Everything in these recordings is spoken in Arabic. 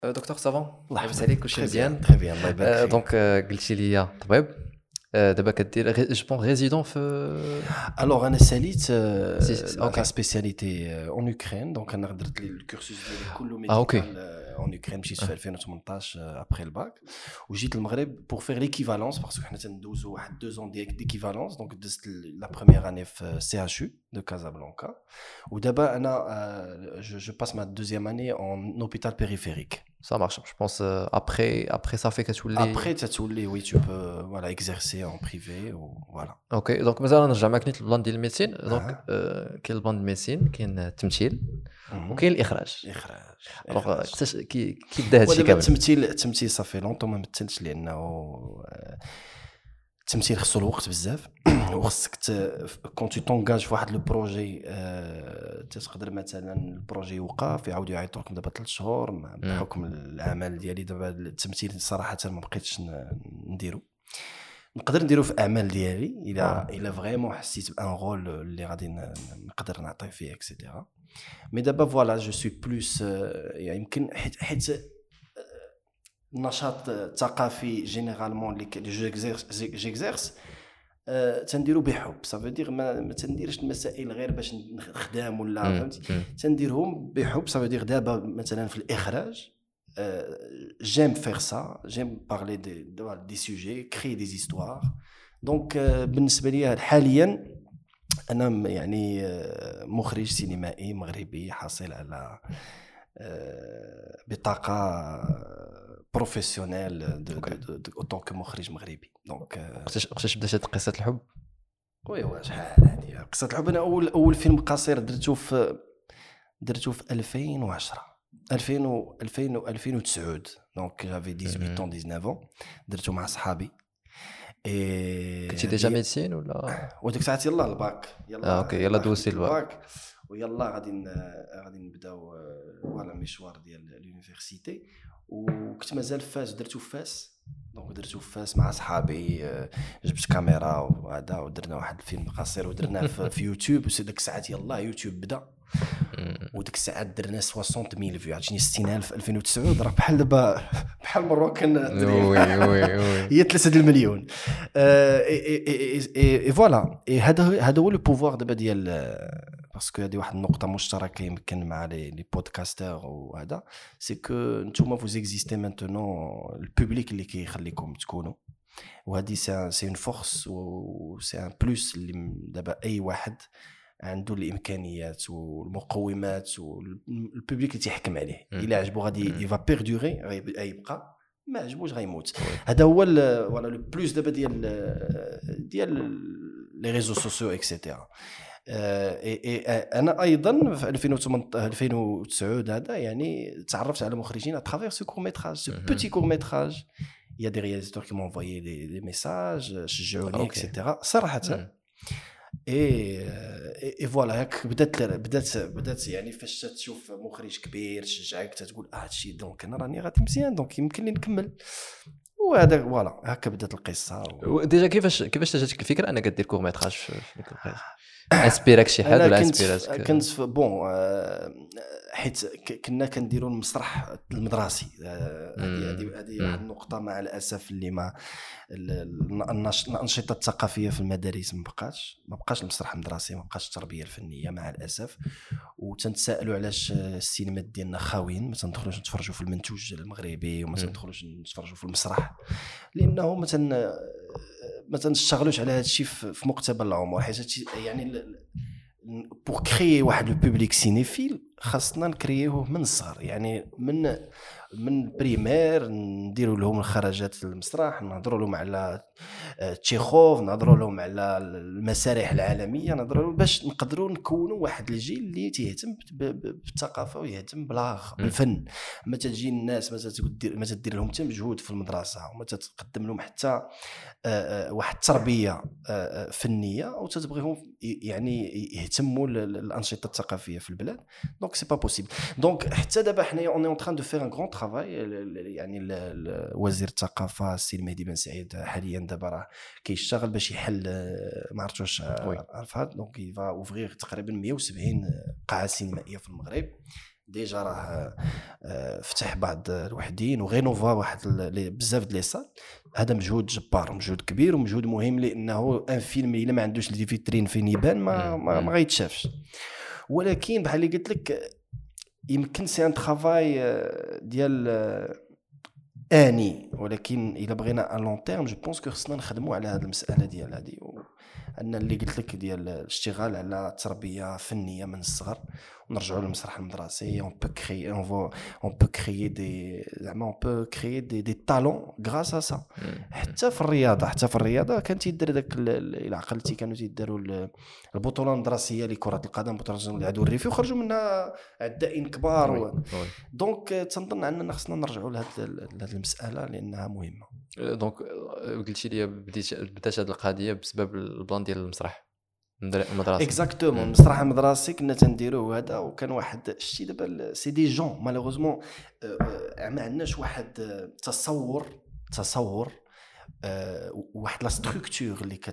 دكتور سافون الله لاباس يحفظك. عليك كلشي مزيان. تري بيان الله يبارك فيك. دونك قلتي لي طبيب. دابا كدير جو بون ريزيدون في الوغ انا ساليت اوكي. لا سبيسياليتي اون اوكرين. دونك انا درت لي الكورسوس ديالي كله اوكي. ميديكال اون اوكرين. مشيت في 2018 ابري الباك وجيت للمغرب بور فير ليكيفالونس باسكو حنا تندوزو واحد 2 زون ديكيفالونس. دونك دزت لا بروميير اني في سي اتش يو دو كازابلانكا ودابا انا جو باس ما دوزيام اني اون اوبيتال بيريفيريك. Ça marche, je pense après ça fait كتولي. Après, oui, tu peux voilà, exercer en privé ou voilà. اوكي دونك مثلا نرجع معاك نيت للبلان ديال الميديسين. دونك كاين البلان ديال الميديسين، كاين التمثيل وكاين الاخراج. اخراج الوغ كيفاش كي بدا هادشي ودابا كامل؟ التمثيل صافي لونطون ما مثلتش لانه التمثيل خصو الوقت بزاف وخصك كون تو تونغاج في واحد لو بروجي تقدر مثلا البروجي يوقف يعاود يعيطوا لكم دابا 3 شهور بحكم الاعمال ديالي. دابا التمثيل صراحه ما بقيتش نديرو. نقدر نديرو في اعمال ديالي الا فريمون حسيت بان رول اللي غادي نقدر نعطي فيه اكسيتيرا. مي دابا فوالا جو سوي بلوس يعني يمكن حيت النشاط الثقافي جينيرالمون اللي جيكزيرس تنديرو بحب. صافي دير ما تنديرش المسائل غير باش نخدم ولا فهمتي، تنديرهم بحب. صافي دير دابا مثلا في الاخراج j'aime faire ça, j'aime parler des sujets, créer des histoires. Donc بالنسبه لي حاليا انا يعني مخرج سينمائي مغربي حاصل على بطاقه بروفيسيونيل اوتو كمخرج مغربي. دونك وقتاش بدات هاد قصه الحب؟ وي شحال هادي قصه الحب. انا اول فيلم قصير درته في 2009. دونك جافي 18 ans 19 ans درته مع صحابي. كنتي ديجا ميديسين ولا وديك الساعه يلاه الباك يلا اوكي يلا دوزتي الباك ويلا غادي نبداو فوالا مشوار ديال اليونيفرسيتي. وكنت مازال فاس درتو فاس. دونك درتو فاس مع صحابي جبت كاميرا وهذا ودرنا واحد الفيلم قصير ودرناه في يوتيوب. وديك الساعه يلا يوتيوب بدا وديك الساعه درنا 60000 فيو. عرفتني 60000 2009 راه بحال دابا بحال مروكن وي هي 3 المليون. اي فوالا هذا هو لو بوفوار دابا ديال باسكو هذه واحد النقطه مشتركه يمكن مع لي بودكاستر. وهذا سي كو نتوما فوز اكزيستي مانتونون البوبليك اللي كيخليكم تكونوا. وهذه سي اون فورس و سي ان بلوس اللي دابا اي واحد عنده الامكانيات والمقومات والبوبليك اللي تيحكم عليه. الا عجبو غادي يفا بيردوري غيبقى، ما عجبوش غيموت. هذا هو ولا لو بلوس دابا ديال لي ريزو سوسيو اكسيتيرا. انا ايضا في 2009 هذا يعني تعرفت على مخرجين اترافير سو كور ميتراج سو بوتي كور ميتراج. يا دي رياليزاتور كي مونفويي دي ميساج شجعوني اكسيتيرا صراحه. اي فوالا هاك بدات يعني فاش تشوف مخرج كبير تشجعك تقول هادشي دونك انا راني غادي مزيان دونك يمكن لي نكمل. وهذا فوالا هكا بدات القصه. ديجا كيفاش جاتك الفكره انك دير كور ميتراج في البريز؟ اسبيرك شي حد ولا اسبيرك؟ كنت بون حيت كنا كنديروا المسرح المدرسي. هذه واحد النقطه مع الاسف اللي ما الانشطه الثقافيه في المدارس ما بقاش المسرح المدرسي، ما بقاش التربيه الفنيه مع الاسف. وتنتسائلوا علاش السينما ديالنا خاويين، ما تندخلوش نتفرجوا في المنتوج المغربي وما تندخلوش نتفرجوا في المسرح لانه ما تنشتغلوش على هذا الشيء في مقتبل العمر. حيت يعني بور كريي واحد لو بوبليك سينيفيل خاصنا نكريوه من الصغر، يعني من بريمير نديروا لهم الخرجات المسرح، نهضروا لهم على تشيخوف، نهضروا لهم على المسارح العالميه، نهضروا لهم باش نقدروا نكونوا واحد الجيل اللي تيهتم بالثقافه ويهتم بالفن. ما تجي الناس ما تدير لهم حتى مجهود في المدرسه وما تقدم لهم حتى واحد التربيه فنيه وتتبغيهم يعني يهتموا الانشطه الثقافيه في البلاد. دونك سي با بوسيبل. دونك حتى دابا حنايا اون اون تران دو فير ان غران ترافاي. يعني وزير الثقافه السي المهدي بن سعيد حاليا دابا راه كيشتغل باش يحل ما عرفتش عرفات. دونك يفا اوفرير تقريبا 170 قاعه سينمائيه في المغرب ديجا راه فتح بعض الوحدين وغينوفا واحد بزاف د لي صال. هذا مجهود جبار ومجهود كبير ومجهود مهم، لانه ان فيلم الا ما عندوش دي فيترين فين يبان ما غيتشافش. ولكن بحال اللي قلت لك يمكن سي ان ترافاي ديال اني، ولكن الا بغينا ان لون تيرم جو بونس كو خصنا نخدموا على هذه المساله ديال هذه، ان اللي قلت لك ديال الاشتغال على تربيه فنيه من الصغر ونرجعوا للمسرح المدرسي. اون بو كريي اون بو كريي دي زعما اون بو كريي دي تالون غراس ا سا. حتى في الرياضه كان تيدير داك الى عقلتي كانوا تيداروا البطوله المدرسيه لكره القدم، بطوله العدو الريفي، وخرجوا منها عدائين كبار. دونك تنظن اننا خصنا نرجعوا لهذه المساله لانها مهمه. دونك قلتي لي بدات هذه القضيه بسبب البلان ديال المسرح المدرسي. اكزاكتومون المسرح المدرسي كنا تنديروه هذا، وكان واحد شتي دابا سي دي جون مالوغوزمون ما عندناش واحد تصور واحد لا ستركتور اللي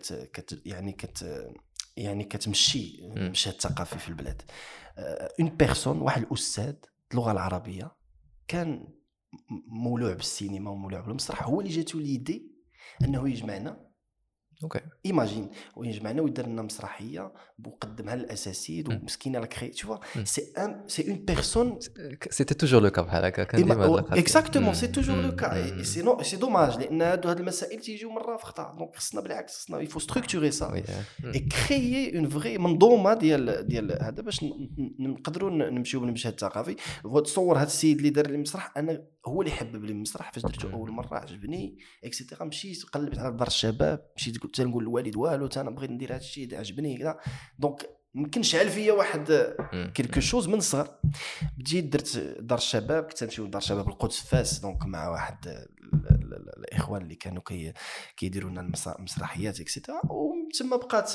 يعني كتمشي المشهد الثقافي في البلاد. اون بيرسون، واحد الاستاذ اللغه العربيه كان مولوع بالسينما ومولوع بالمسرح، هو اللي جاتو ليدي انه يجمعنا. اوكي ايماجين ويجمعنا ويدير لنا مسرحيه وقدمها للاساتذه ومسكينه لا كري تو سي اون بيرسون. سيتي توجور لو كا بحال هكا كان ديما هاد القضيه. اكزاكتومون سي توجور لو كا. سي دوماج لان هادو هاد المسائل تيجيو مره في خطا. دونك خصنا بالعكس خصنا يفو ستركتوري سا اي كريي اون فري منظومه ديال هذا باش نقدروا نمشيو بالمشهد الثقافي. تصور هاد السيد اللي دار لي المسرح، انا هو اللي حبب لي المسرح فاش درته اول مره عجبني اكسيتيرا. مشيت قلبت على دار الشباب، مشيت قلت نقول للوالد والو انا بغيت ندير هذا الشيء عجبني كذا. دونك يمكن شعل فيا واحد كيلكو شوز من الصغر. بديت درت دار الشباب، كنت نمشيو لدار الشباب القدس فاس، دونك مع واحد الاخوان اللي كانوا كيديروا لنا المسرحيات اكسيتيرا. وتما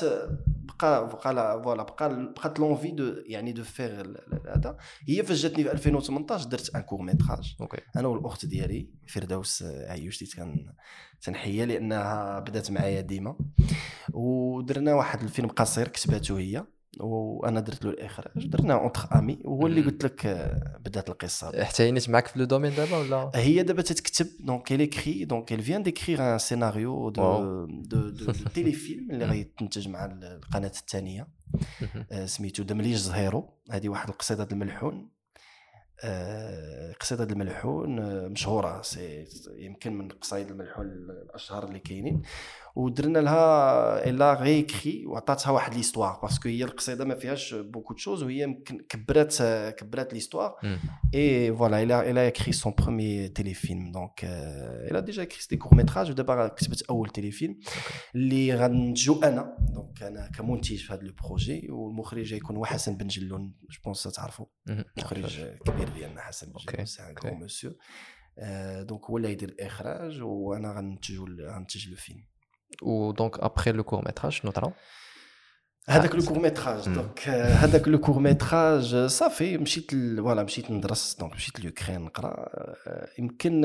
بقات لونفي دو يعني دو فير هذا. هي فاش جاتني في 2018 درت ان كور ميتراج انا والاخت ديالي فردوس عيوش اللي تنحيا لانها بدات معايا ديما. ودرنا واحد الفيلم قصير كتباتو هي وانا درت له الاخراج، درنا اونتر امي. وهو اللي قلت لك بدات القصه. حتى هي نيت معاك في لو دومين دابا ولا هي دابا تتكتب؟ دونك elle écrit donc elle vient d'écrire un scénario de téléfilm اللي غيتنتج مع القناه الثانيه سميتو دمليج زهيرو. هذه واحد القصيده الملحون. قصيده الملحون مشهوره، يمكن من قصايد الملحون الاشهر اللي كاينين. ودرنا لها الا ريكري وعطاتها واحد ليستوار باسكو هي القصيده ما فيهاش بوكو تشوز، وهي يمكن كبرات ليستوار. اي فوالا الا écrit son premier téléfilm. دونك الا ديجا écrit دي كور ميتراج، ودابا كتبت اول تيليفيلم اللي غنتجو انا. دونك انا كمنتج في هذا لو بروجي، والمخرج غيكون هو حسن بن جلون. جو بونس تعرفوا مخرج كبير ديالنا حسن بن جلون، سي ان غران مسيو. دونك هو اللي يدير الاخراج وانا غنتج لو فيلم. ودونك ابري لو كور ميتراج شنو طرا؟ هذاك لو كور ميتراج دونك هذاك لو كور ميتراج صافي مشيت مشيت ندرس. دونك مشيت لوكرين نقرا. يمكن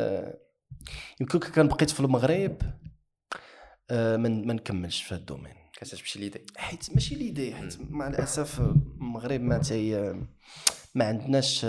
كان بقيت في المغرب ما نكملش في هذا الدومين. كتمشي ليدي حيت ماشي ليدي، حيت مع الاسف المغرب ما عندناش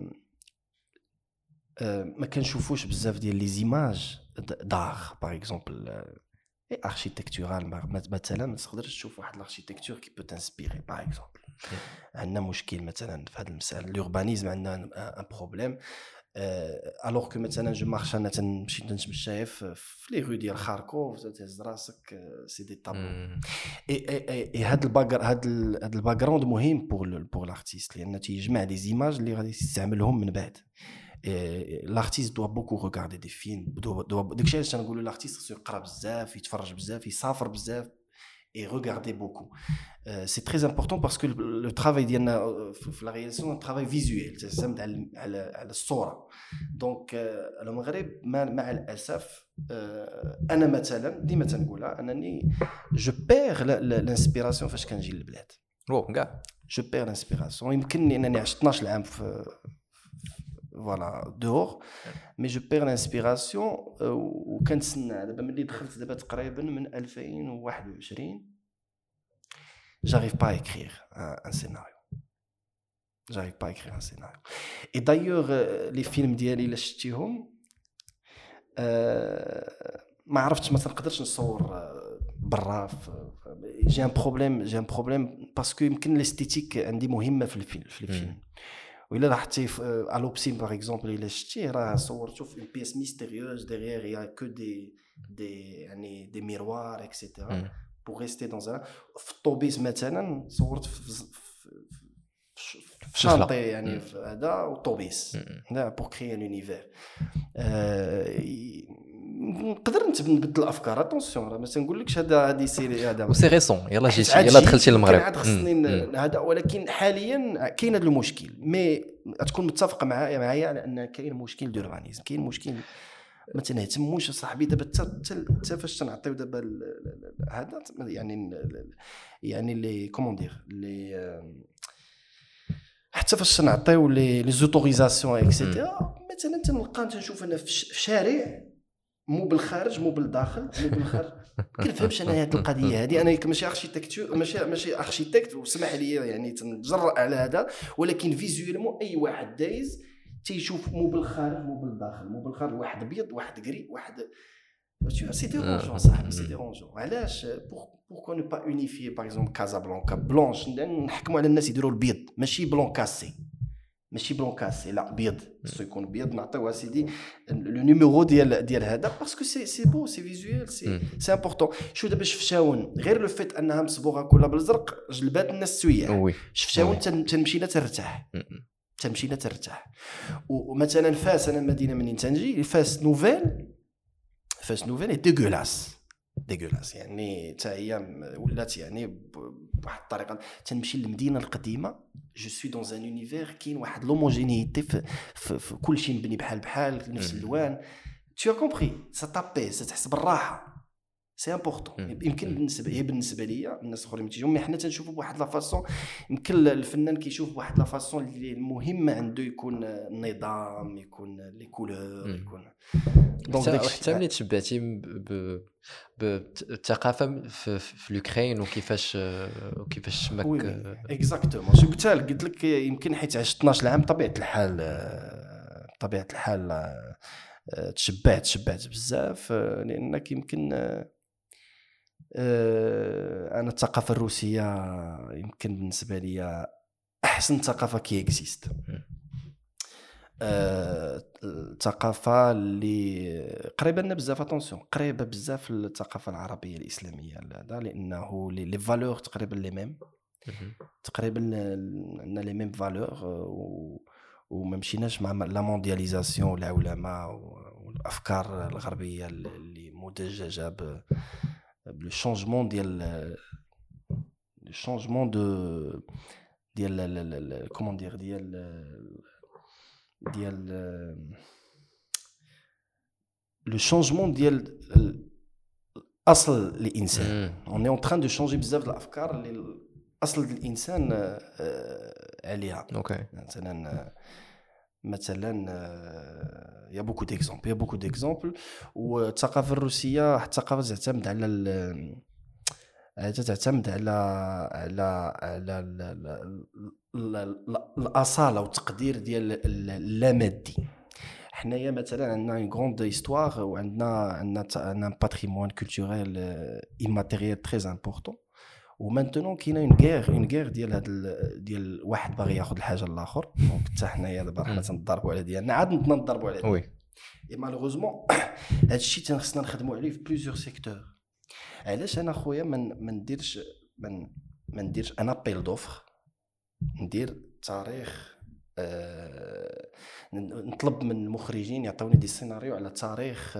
ما كنشوفوش بزاف ديال لي زيماج دار باغ اكزومبل اركيتكتورال. مثلا ما تقدرش تشوف واحد الاركيتكتور كي بو تانسبيري باغ اكزومبل. عندنا مشكل مثلا في هذه المساله الوربانيزم، عندنا ان بروبليم. الوغ كو مثلا جو مارش انا تنمشي نتمشى في لي رو ديال خاركوف تهز راسك سي دي طابلو. اي هذا الباك جراوند مهم بور لارتيست، لان تيجمع دي زيماج اللي غادي يستعملهم من بعد. l'artiste doit beaucoup regarder des films. داكشي علاش تنقولوا l'artiste خصو يقرا بزاف، يتفرج بزاف، يسافر بزاف et regarder beaucoup. C'est très important parce que le travail ديالنا في la réalisation un travail visuel تعتمد على الصوره. دونك المغرب مع الاسف انا مثلا ديما تنقولها انني جو بير لانسبيراسيون فاش كنجي للبلاد. كاع جو بير لانسبيراسيون. يمكن لانني عشت 12 عام في فوالا دور، مي جو بير لانسبيراسيون. وكنتسنى دابا ملي دخلت دابا تقريبا من 2021 j'arrive pas à écrire un scénario. j'arrive pas à écrire un scénario. Et d'ailleurs les films ديالي الا شفتيهم ما عرفتش ما تنقدرش نصور برا. j'ai un problème parce que يمكن الاستيتيك عندي مهمه في الفيلم. وإلا لاحظتي à l'Obscene par exemple الا شفتيه راه صورته في une pièce mystérieuse derrière il y a que des يعني des miroirs etc. pour rester dans un في الطوبيس مثلا صورت في شانطي يعني في هذا والطوبيس هذا pour créer un univers. نقدر نبدل الافكار اتونسيون راه ما تنقولكش هذه سيري هذا وسي ريسون يلا دخلتي للمغرب هذا. ولكن حاليا كاين هذا المشكل مي تكون متفق معايا على ان كاين مشكل دوربانيزم كاين مشكل ما تنهتموش صاحبي دابا حتى فاش تنعطيو دابا هذا يعني لي كومون دير لي حتى فاش تنعطيو لي زوتوريزاسيون اكسيتيرا مثلا تنلقى تنشوف انا في شارع مو بالخارج مو بالداخل مو بالخارج كنفهمش انا هذه القضيه هذه. انا ماشي اركيتكتور ماشي اركيتكت وسمح لي يعني تنجرأ على هذا ولكن فيزوالمون اي واحد دايز تيشوف مو بالخارج مو بالداخل مو بالخارج واحد ابيض واحد غري واحد سي ديرونجون صاحبي سي ديرونجون. علاش بوركو نو با اونيفي باغ اكزومبل كازابلانكا بلونش نحكموا على الناس يديروا البيض ماشي بلون كاسي ماشي بلون كاسي لا بيض خصو يكون بيض نعطيوها سيدي لو نيميرو ديال هذا باسكو سي بو سي فيزوال سي امبورطون. شو دابا شفتاون غير لو فيت انها مصبوغه كلها بالزرق جلبات الناس السوياح شفتاون تنمشينا ترتاح. ومثلا فاس انا المدينه منين تنجي فاس نوفيل اي ديغولاس يعني حتى هي ولات يعني بواحد الطريقه تنمشي للمدينه القديمه جو سوي دون ان اونيفير كاين واحد لوموجينيتي في كل شيء مبني بحال نفس اللوان tu as compris ça t'apaise تحس بالراحه سي امبورطون. يمكن بالنسبه ليا الناس الاخرين تيجيو مي حنا تنشوفوا بواحد لا فاصون يمكن الفنان كيشوف بواحد لا فاصون اللي المهم عنده يكون النظام يكون لي كولور يكون دونك حتى ملي تشبعتي بالثقافه في الاوكران وكيفاش شمك اكزاكتومون شو قلت لك يمكن حيت عشت 12 عام طبيعه الحال تشبعت بزاف لانك يمكن انا الثقافه الروسيه يمكن بالنسبه لي احسن ثقافه كي اكزيست. الثقافه اللي قريبه لنا بزاف اتونسيون قريبه بزاف للثقافه العربيه الاسلاميه هذا لانه لي فالور تقريبا لي ميم تقريبا عندنا لي ميم فالور وما مشيناش مع لا موندياليزاسيون والعولمه والافكار الغربيه اللي مدججه بلو شونجمون ديال كومون دير ديال لو شونجمون ديال اصل الانسان اون اي اون تران دو شونجي بزاف الافكار اللي اصل الانسان عليها. اوكي مثلا يا بوكو ديكزامبل والثقافه الروسيه الثقافه تعتمد على الاصاله والتقدير ديال اللامادي. حنايا مثلا عندنا اون غروند هيستوار وعندنا ان باتريمون كولتوريل ايماتيريال تري امبورطون ومانتونون كاينه اون غير ديال واحد باغي ياخذ الحاجه الاخر دونك حتى حنايا دابا حنا تنضربوا على ديالنا عاد نضربوا على وي اي مالوغوزمون هذا الشيء تنخصنا نخدموا عليه في بليزيور سيكتور. علاش انا خويا ما نديرش انا ابيل دوفر ندير تاريخ نطلب من المخرجين يعطوني دي سيناريو على تاريخ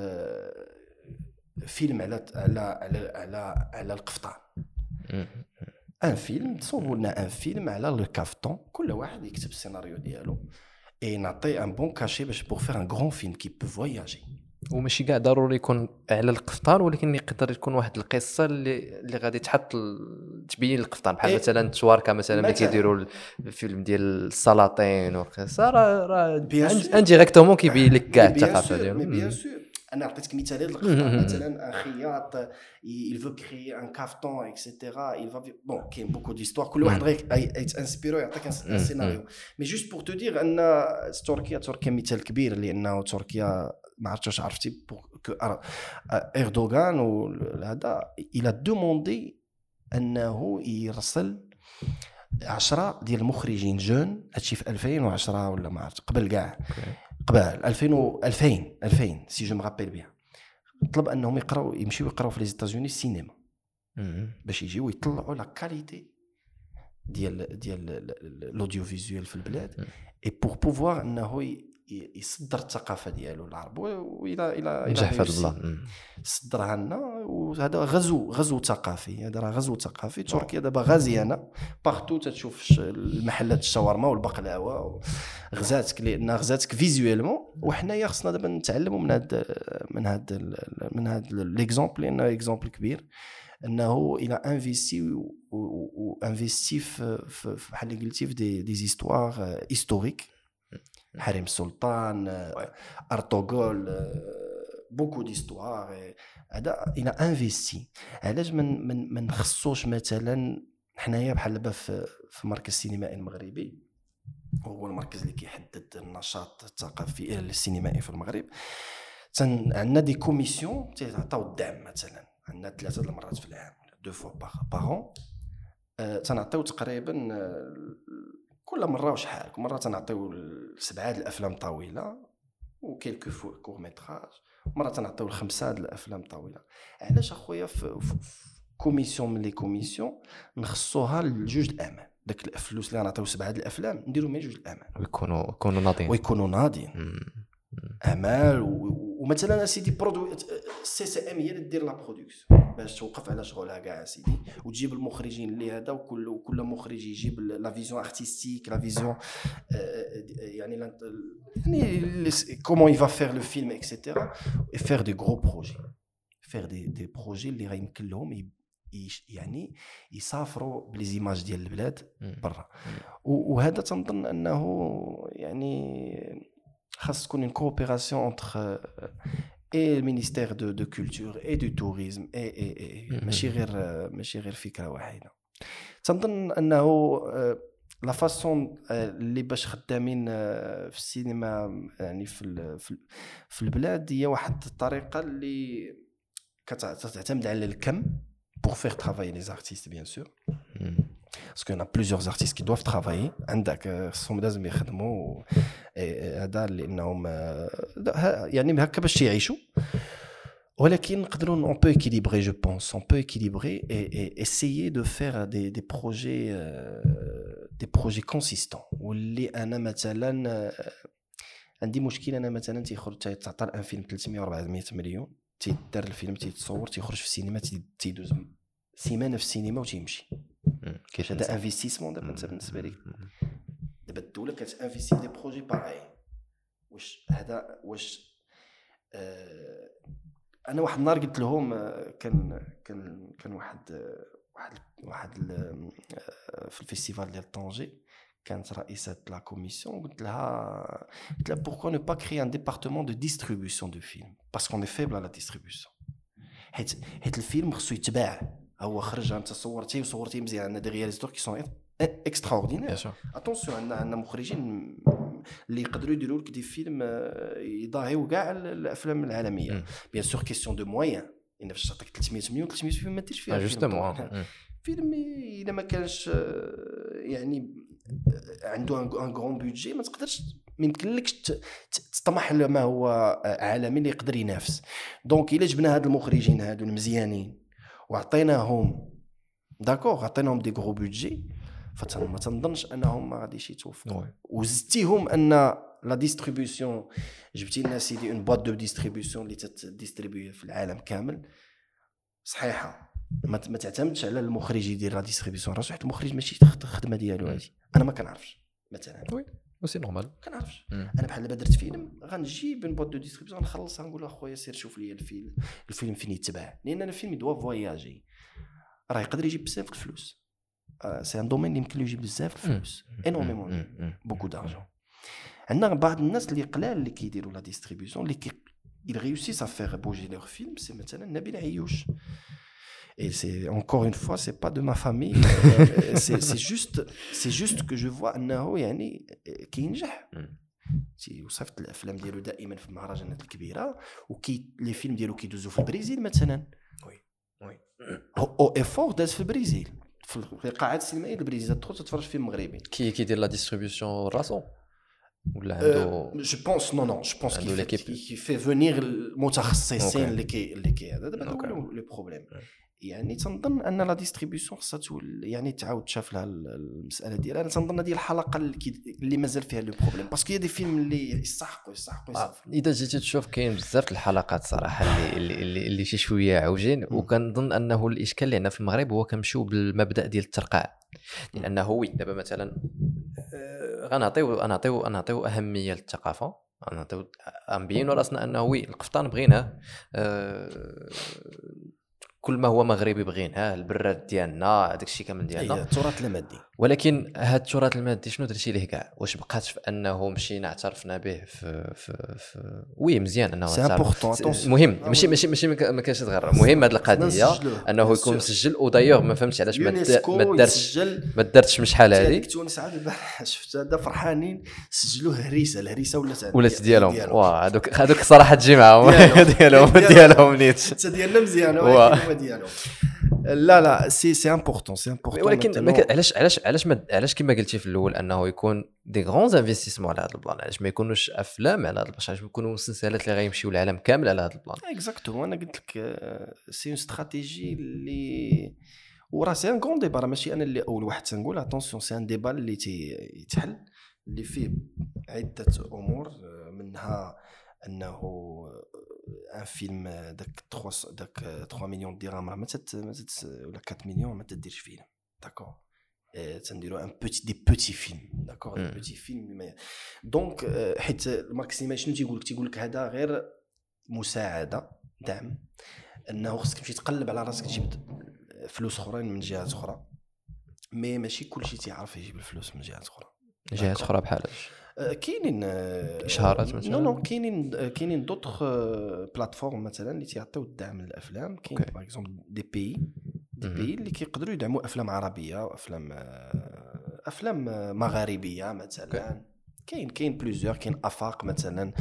فيلم على القفطان ان فيلم تصوروا لنا ان فيلم على الكافتون كل واحد يكتب السيناريو ديالو اي نعطي ان بون كاشي باش بور فير ان غران فيلم كي بو فواياجي وماشي كاع ضروري يكون على القفطان ولكن يقدر تكون واحد القصه اللي غادي تحط تبين القفطان بحال مثلا تواركا مثلا ملي كيديروا الفيلم ديال السلاطين والقصه راه انديريكتومون كيبين لك كاع الثقافه ديالهم. بيان سور انا عطيتك مثال هذا القطار مثلا ان خياط il veut créer un cafeton etc il va bon كاين beaucoup d'histoire كل واحد غير يتانسبيرو يعطيك ان سيناريو مي جوست بور تو دير ان تركيا مثال كبير لانه تركيا ما عرفتش واش عرفتي اردوغان وهذا il a demandé انه يرسل 10 ديال المخرجين جون. هادشي في 2010 ولا ما عرفت قبل كاع قبل 2000 سي جو مغابيل بيان. طلب انهم يمشيو يقراو في لي زيتازوني السينما باش يجيو يطلعوا لا كاليتي ديال الاوديو فيزوال في البلاد اي بور بوفوار انه يصدر الثقافه ديالو العرب والى نجح في البلان صدرها لنا. وهذا غزو ثقافي. هذا راه غزو ثقافي. تركيا دابا غازيانه بارتو تشوف المحلات الشاورما والبقلاوه غزاتك لان غزاتك فيزوالمون. وحنايا خصنا دابا نتعلموا من هذا ليكزامبل لانه اكزامبل كبير انه الى انفيستي في بحال اللي قلتي في دي زيستوار هيستوريك. حريم السلطان ارطغرل بوكو ديستوار هذا الى انفيستي. علاش من نخصوش مثلا حنايا بحال دابا في مركز السينمائي المغربي وهو المركز اللي كيحدد النشاط الثقافي السينمائي في المغرب. عندنا دي كوميسيون تعطيو الدعم مثلا عندنا 3 المرات في العام 2 فوا باغ تنعطيو تقريبا كل مره وشحال. كل مره تنعطيو 7 الافلام طويله وكيلكو كور ميتراج. مره تنعطيو 5 الافلام طويله. علاش اخويا في كوميسيون من لي كوميسيون نخصوها لجوج الامان. داك الفلوس اللي غنعطيو 7 الافلام نديرو مع جوج الامان ويكونوا ناضين اعمال. ومثلا سيدي برودوي سي سي ام هي اللي دير لا برودكسيون باش توقف على شغلها كاع سيدي وتجيب المخرجين اللي هذا وكل مخرج يجيب لا فيزيون ارتستيك لا فيزيون يعني كومون يفا فير لو فيلم اكسيتيرا فير دي غرو بروجي فير دي بروجي اللي غيمكن لهم يعني يسافروا بليزيماج ديال البلاد برا. وهذا تنظن انه يعني خاص تكون une coopération entre et le ministère de culture et du tourisme et ماشي غير فكره واحده. تنظن انه لا فاصون اللي باش خدامين في السينما يعني في البلاد هي واحد الطريقه اللي كتعتمد على الكم pour faire travailler les artistes bien sûr parce qu'il y en a plusieurs artistes qui doivent travailler عندك خصهم لازم يخدموا هذا لانهم يعني هكا باش يعيشوا. ولكن نقدروا on peut équilibrer je pense on peut équilibrer et essayer de faire des projets consistants. واللي انا مثلا عندي مشكله انا مثلا تيخرج تعطى ان فيلم 300 400 مليون تيدار الفيلم تيتصور تيخرج في السينما تيدوز سيمانه في السينما وتيمشي. كيفاش هذا انفستيسمون دابا انت بالنسبه لك دابا الدوله كتانفيستي في دي بروجي باغي واش هذا واش انا واحد النهار قلت لهم كان واحد في الفيستيفال ديال طنجة كانت رئيسة لا كوميسيون قلت لها pourquoi ne pas créer un département de distribution de films parce qu'on est faible à la distribution. حيت الفيلم خصو يتباع. هو خرج انت صورتيه مزيان. عندنا دي رياليزاتور كي سون اكستراوردينير. اتونسيون عندنا مخرجين اللي يقدروا يديروا لك دي فيلم يضاهيو كاع الافلام العالميه. بيان سور كيسيون دو موين. ان باش تعطيك 300 مليون ما ديرش فيها فيلم الا ما كانش يعني عنده ان غران بودجي ما تقدرش ما يمكنلكش تطمح لما هو عالمي اللي يقدر ينافس. دونك الا جبنا هاد المخرجين هادو المزيانين وعطيناهم داكوغ عطيناهم دي غرو بودجي فما تنظنش انهم ما غاديش يتوفقوا. وزدتيهم ان لا ديستريبيوشن جبتي لنا سيدي اون بواط دو ديستريبيوشن اللي تديستريبيو في العالم كامل صحيحه. ما تعتمدش على المخرج يدير لا ديستريبيوشن راسو حيت المخرج ماشي الخدمه ديالو هادي. انا ما كنعرفش مثلا وي سي نورمال كنعرفش. انا بحال دابا درت فيلم غنجيب اون بواط دو ديستريبيوشن نخلصها نقول اخويا سير شوف لي الفيلم فين يتباع لان الفيلم يدوا فواياجي راه يقدر يجيب بزاف الفلوس. سي ان دومين اللي يمكن له يجيب بزاف الفلوس انورميمون بوكو دارجون. عندنا بعض الناس اللي قلال اللي كيديروا لا ديستريبيوشن اللي ils réussissent à faire bouger leurs films, c'est maintenant Nabil Ayouch. Et c'est encore une fois, c'est pas de ma famille. c'est juste que je vois انه يعني كينجح. وصفت الافلام ديالو دائما في المهرجانات الكبيره وكي لي فيلم ديالو كيدوزو في البرازيل مثلا. وي او افور داز في البرازيل في القاعات السينمائيه البرازيليه تدخل تتفرج فيلم مغربي. كيدير لا ديستريبيوشن راسو ولا عنده جو بونس نو جو بونس كي في فينير المتخصصين اللي كي هذا دابا هو لو بروبليم. يعني تنظن ان لا ديستريبيوشن خصها يعني تعاود تشاف لها المساله ديالها. انا تنظن هذه الحلقه اللي مازال فيها لو بروبليم باسكو هي دي فيلم اللي يستحقوا اذا جيتي تشوف كاين بزاف الحلقات صراحه اللي شي شويه عوجين. وكنظن انه الاشكال اللي عندنا في المغرب هو كنمشيو بالمبدا ديال الترقاع. لانه وي دابا مثلا غنعطيو اهميه للثقافه. غنبينوا راسنا انه وي القفطان بغيناه، كل ما هو مغربي بغيناه، البراد ديالنا، هذاك الشيء كامل ديالنا، التراث المادي. ولكن هذا التراث المادي شنو درتي ليه كاع؟ واش بقات في انه مشينا اعترفنا به في وي مزيان انه مهم، ماشي ما كانش تغير. مهم هذه القضيه انه يكون مسجل. ودايوغ ما فهمتش علاش ما دارتش من شحال هذه. تونس عاد البارح شفت هذا فرحانين سجلوه الهريسه ولات ديالهم. واه هذوك صراحه تجي معاهم ديالهم نيت حتى ديالنا مزيان ديالهم. لا سي امبورطون ولكن علاش كما قلتي في الاول انه يكون دي غران انفستيسمون على هذا البلان؟ علاش ما يكونوش افلام على هذا البلان؟ علاش ما يكونوا مسلسلات اللي غيمشيو العالم كامل على هذا البلان؟ اكزاكتومون. انا قلت لك سي اون استراتيجي اللي وراه سي ان غون ديبا. ماشي انا اللي اول واحد تنقول اتونسيون، سي ان ديبا اللي يتحل اللي فيه عده امور. منها انه ان فيلم داك 3 مليون درهم راه ما ولا 4 مليون ما تديرش فيلم. داكور تنديروا ان دي بوتي فيلم. داكور دي بوتي فيلم. دونك حيت الماركسيمال شنو تيقول لك هذا غير مساعده دعم، انه خصك تمشي تقلب على راسك تجيب فلوس اخرين من جهات اخرى. ماشي كلشي تيعرف يجيب الفلوس من جهات اخرى بحال كاينين اشهارات مثلا. نو كاينين دوطخ بلاتفورم مثلا اللي تيعطيو الدعم للافلام. كاين باغ اكزومبل دي بي اللي كيقدروا يدعموا افلام عربيه وافلام مغاربيه مثلا. كاين بليزيور. كاين افاق مثلا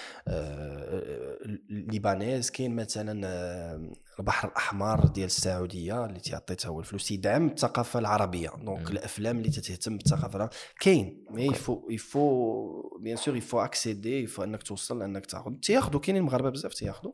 ليبانيز. كاين مثلا البحر الاحمر ديال السعوديه اللي تيعطي هو الفلوس يدعم الثقافه العربيه. دونك الافلام اللي تهتم بالثقافه كاين. مي يفو بيان سور يفو اكسيدي، يفو انك توصل انك تاخذوا. كاينين المغاربه بزاف تاخذوا.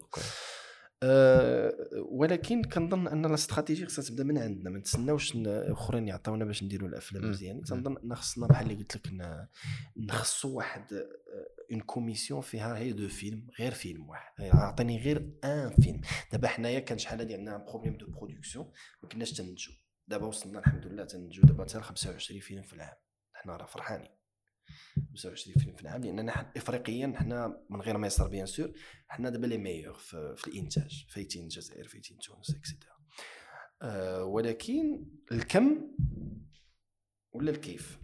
ولكن كنظن ان الاستراتيجي خصها تبدا من عندنا. ما نتسناوش اخرين يعطيونا باش نديروا الافلام مزيان. تنظن ان خصنا بحال اللي قلت لك نخصوا واحد اون كوميسيون فيها هي دو فيلم، غير فيلم واحد. عطيني غير ان فيلم. دابا حنايا كان شحال هادي عندنا بروبليم دو برودكسيون ما كناش تنتجوا. دابا وصلنا الحمد لله تنتجوا دابا حتى 25 فيلم في العام. حنا راه فرحانين 25 فيلم في العام، لاننا افريقيا حنا من غير ما يصير بيان سور حنا دابا لي ميور في الانتاج. فايتين الجزائر، فايتين تونس اكسيتيرا. ولكن الكم ولا الكيف.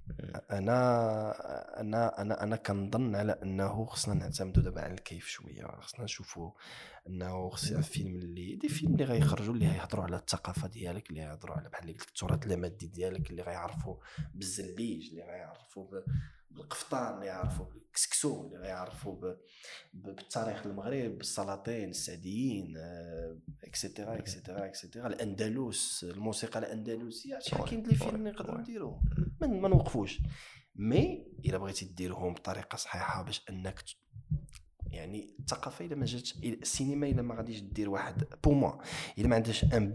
انا كنظن على انه خصنا نعتمدوا دابا على الكيف شويه. خصنا نشوفوا انه خص فيلم اللي دي فيلم اللي غيخرجوا اللي غيهضروا على الثقافه ديالك، اللي غيهضروا على بحال اللي قلت التراث المادي ديالك، اللي غيعرفوا بالزليج، اللي غيعرفوا بالقفطان، اللي يعرفوا بالكسكسو، اللي غيعرفوا بالتاريخ المغرب، بالسلاطين السعديين اكسيتيرا اكسيتيرا اكسيتيرا. الاندلس، الموسيقى الاندلسيه. كاين لي فيلم نقدروا نديروه ما نوقفوش. مي الا بغيتي ديرهم بطريقه صحيحه باش انك يعني الثقافه الا ما جاتش السينما الا ما غاديش دير واحد بو موا الا ما عندهاش ان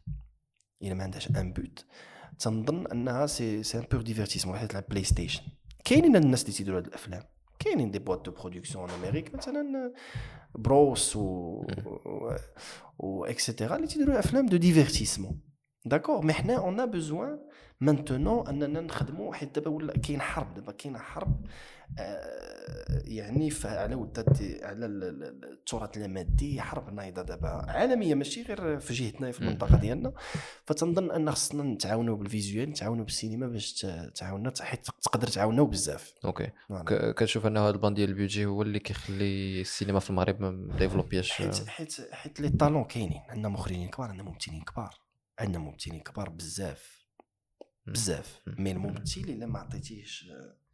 بوت تنظن انها سي ان بور ديفيرتيسمون. حيت بلاي ستيشن كاينين الناس اللي تيديروا هاد الافلام. كاينين دي بوات دو برودكسيون ان امريك مثلا بروس و اكسيتيرا اللي تيديروا افلام دو ديفيرتيسمون. داكور. مي حنا اون ا بوزوان مانتونون اننا نخدموا، حيت دابا ولا كاين حرب، دابا كاينه حرب يعني على ودات على التراث اللامادي، حرب نايضه دابا عالميه ماشي غير في جهتنا في المنطقه ديالنا. فتنظن ان خصنا نتعاونوا بالفيزيوال، نتعاونوا بالسينما باش تعاوننا، حيت تقدر تعاونوا بزاف. اوكي كتشوف ان هذا البان ديال البيدجي هو اللي كيخلي السينما في المغرب ما ديفلوبياش؟ حيت لي طالون كاينين، عندنا مخرجين كبار، عندنا ممثلين كبار، عندنا ممثلين كبار بزاف بزاف. مي الممثل الا ما عطيتيهش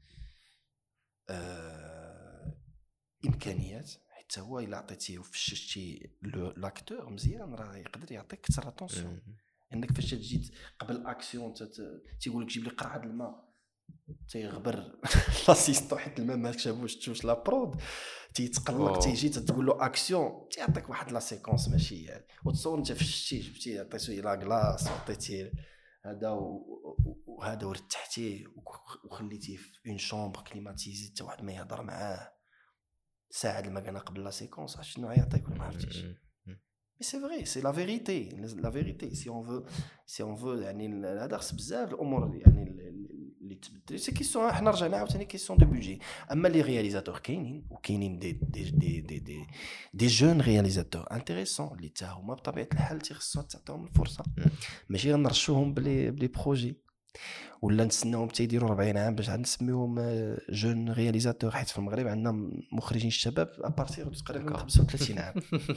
امكانيات، حيت هو الا عطيتيه وفششتي لاكتور مزيان راه يقدر يعطيك كثر اتونسيون. انك فاش تجي قبل اكسيون تيقول لك جيب لي قرعه الماء، تيغبر لاسيستون حيت الماء ما كتشافوش تشوش لا برود، تيتقلق، تيجي تقول له اكسيون، تيعطيك واحد لا سيكونس ماشي يعني، وتصور انت فششتي جبتي عطيتيه لا كلاص وعطيتيه هذا وهذا ورتحتيه وخليتيه في اون شومبر كليماتيزي حتى واحد ما يهضر معاه ساعه المكانه قبل لا سيكونس، شنو غيعطيك ولا ما عرفتيش. مي سي فري، سي لا فيريتي، لا فيريتي. سي اون فو يعني هذا خص بزاف الامور يعني اللي تبدل. سي كيسيون، حنا رجعنا عاوتاني كيسيون دو بودجي. اما لي رياليزاتور كاينين، وكاينين دي جون رياليزاتور انتريسون اللي حتى هما بطبيعه الحال تيخصو تعطيهم الفرصه، ماشي غنرشوهم بلي بروجي ولا نستناوهم حتى يديروا 40 عام باش نسميوهم جون رياليزاتور. حيت في المغرب عندنا مخرجين الشباب ابارتيغ تقريبا 35 عام.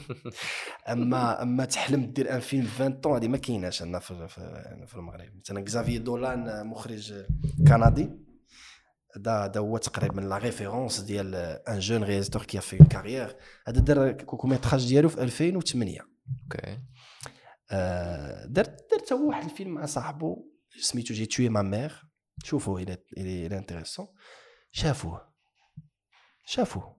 اما تحلم دير ان فيلم 20 طون هذه ما كايناش عندنا في المغرب. مثلا كزافيي دولان مخرج كندي، هذا هو تقريبا لا ريفيرونس ديال ان جون رياليزاتور كي في اون كارير. هذا دار كوكوميتراج ديالو في 2008. اوكي درت هو واحد الفيلم مع صاحبه سميتو جي توي ما مير. شوفوا الى انتريسون، شافوه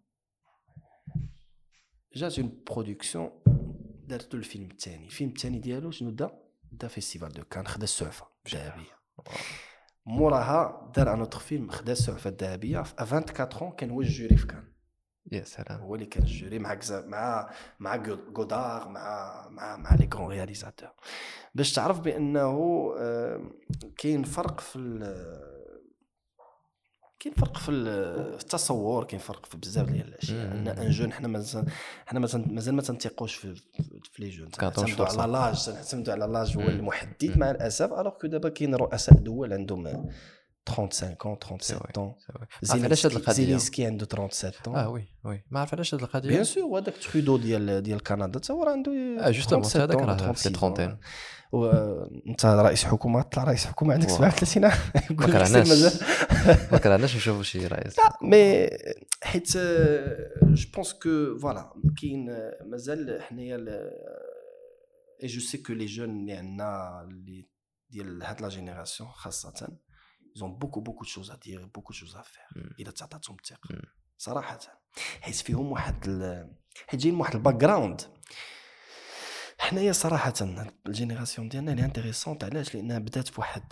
جات اون برودكسيون، دارتو الفيلم الثاني ديالو شنو دا فيستيفال دو كان، خدا السعفه الذهبيه. موراها دار ان اوتر فيلم خدا السعفه الذهبيه في 24 كان هو الجوري في كان. يا سلام، هو اللي كان الجوري مع غودار مع لي كون رياليزاتور. باش تعرف بانه كاين فرق في التصور، كاين فرق في بزاف ديال الاشياء. ان جون حنا مازال ما تنثقوش في لي جون، نعتمدوا على لاج هو المحدد مع الاسف. الوغ كو دابا كاين رؤساء دول عندهم 35 37 علاش هاد القضيه زيلينسكي عنده 37 وي ما عرف علاش هاد القضيه. بيان سور، وهذاك ترودو ديال كندا حتى هو عنده جوستومون هذاك راه في 30. وانت رئيس حكومه، طلع رئيس حكومه عندك 37 عام. ما كرهناش نشوفوا شي رئيس. لا مي حيت جو بونس كو فوالا كاين مازال حنايا اي جو سي كو لي جون اللي عندنا اللي ديال هاد لا جينيراسيون خاصه ils ont beaucoup de choses à dire, beaucoup de choses à faire. إلا تعطاتهم الثقة صراحة، حيت فيهم حيت جايين واحد الباك جراوند. حنايا صراحة الجينيراسيون ديالنا اللي انتريسونت، علاش؟ لأنها بدات في واحد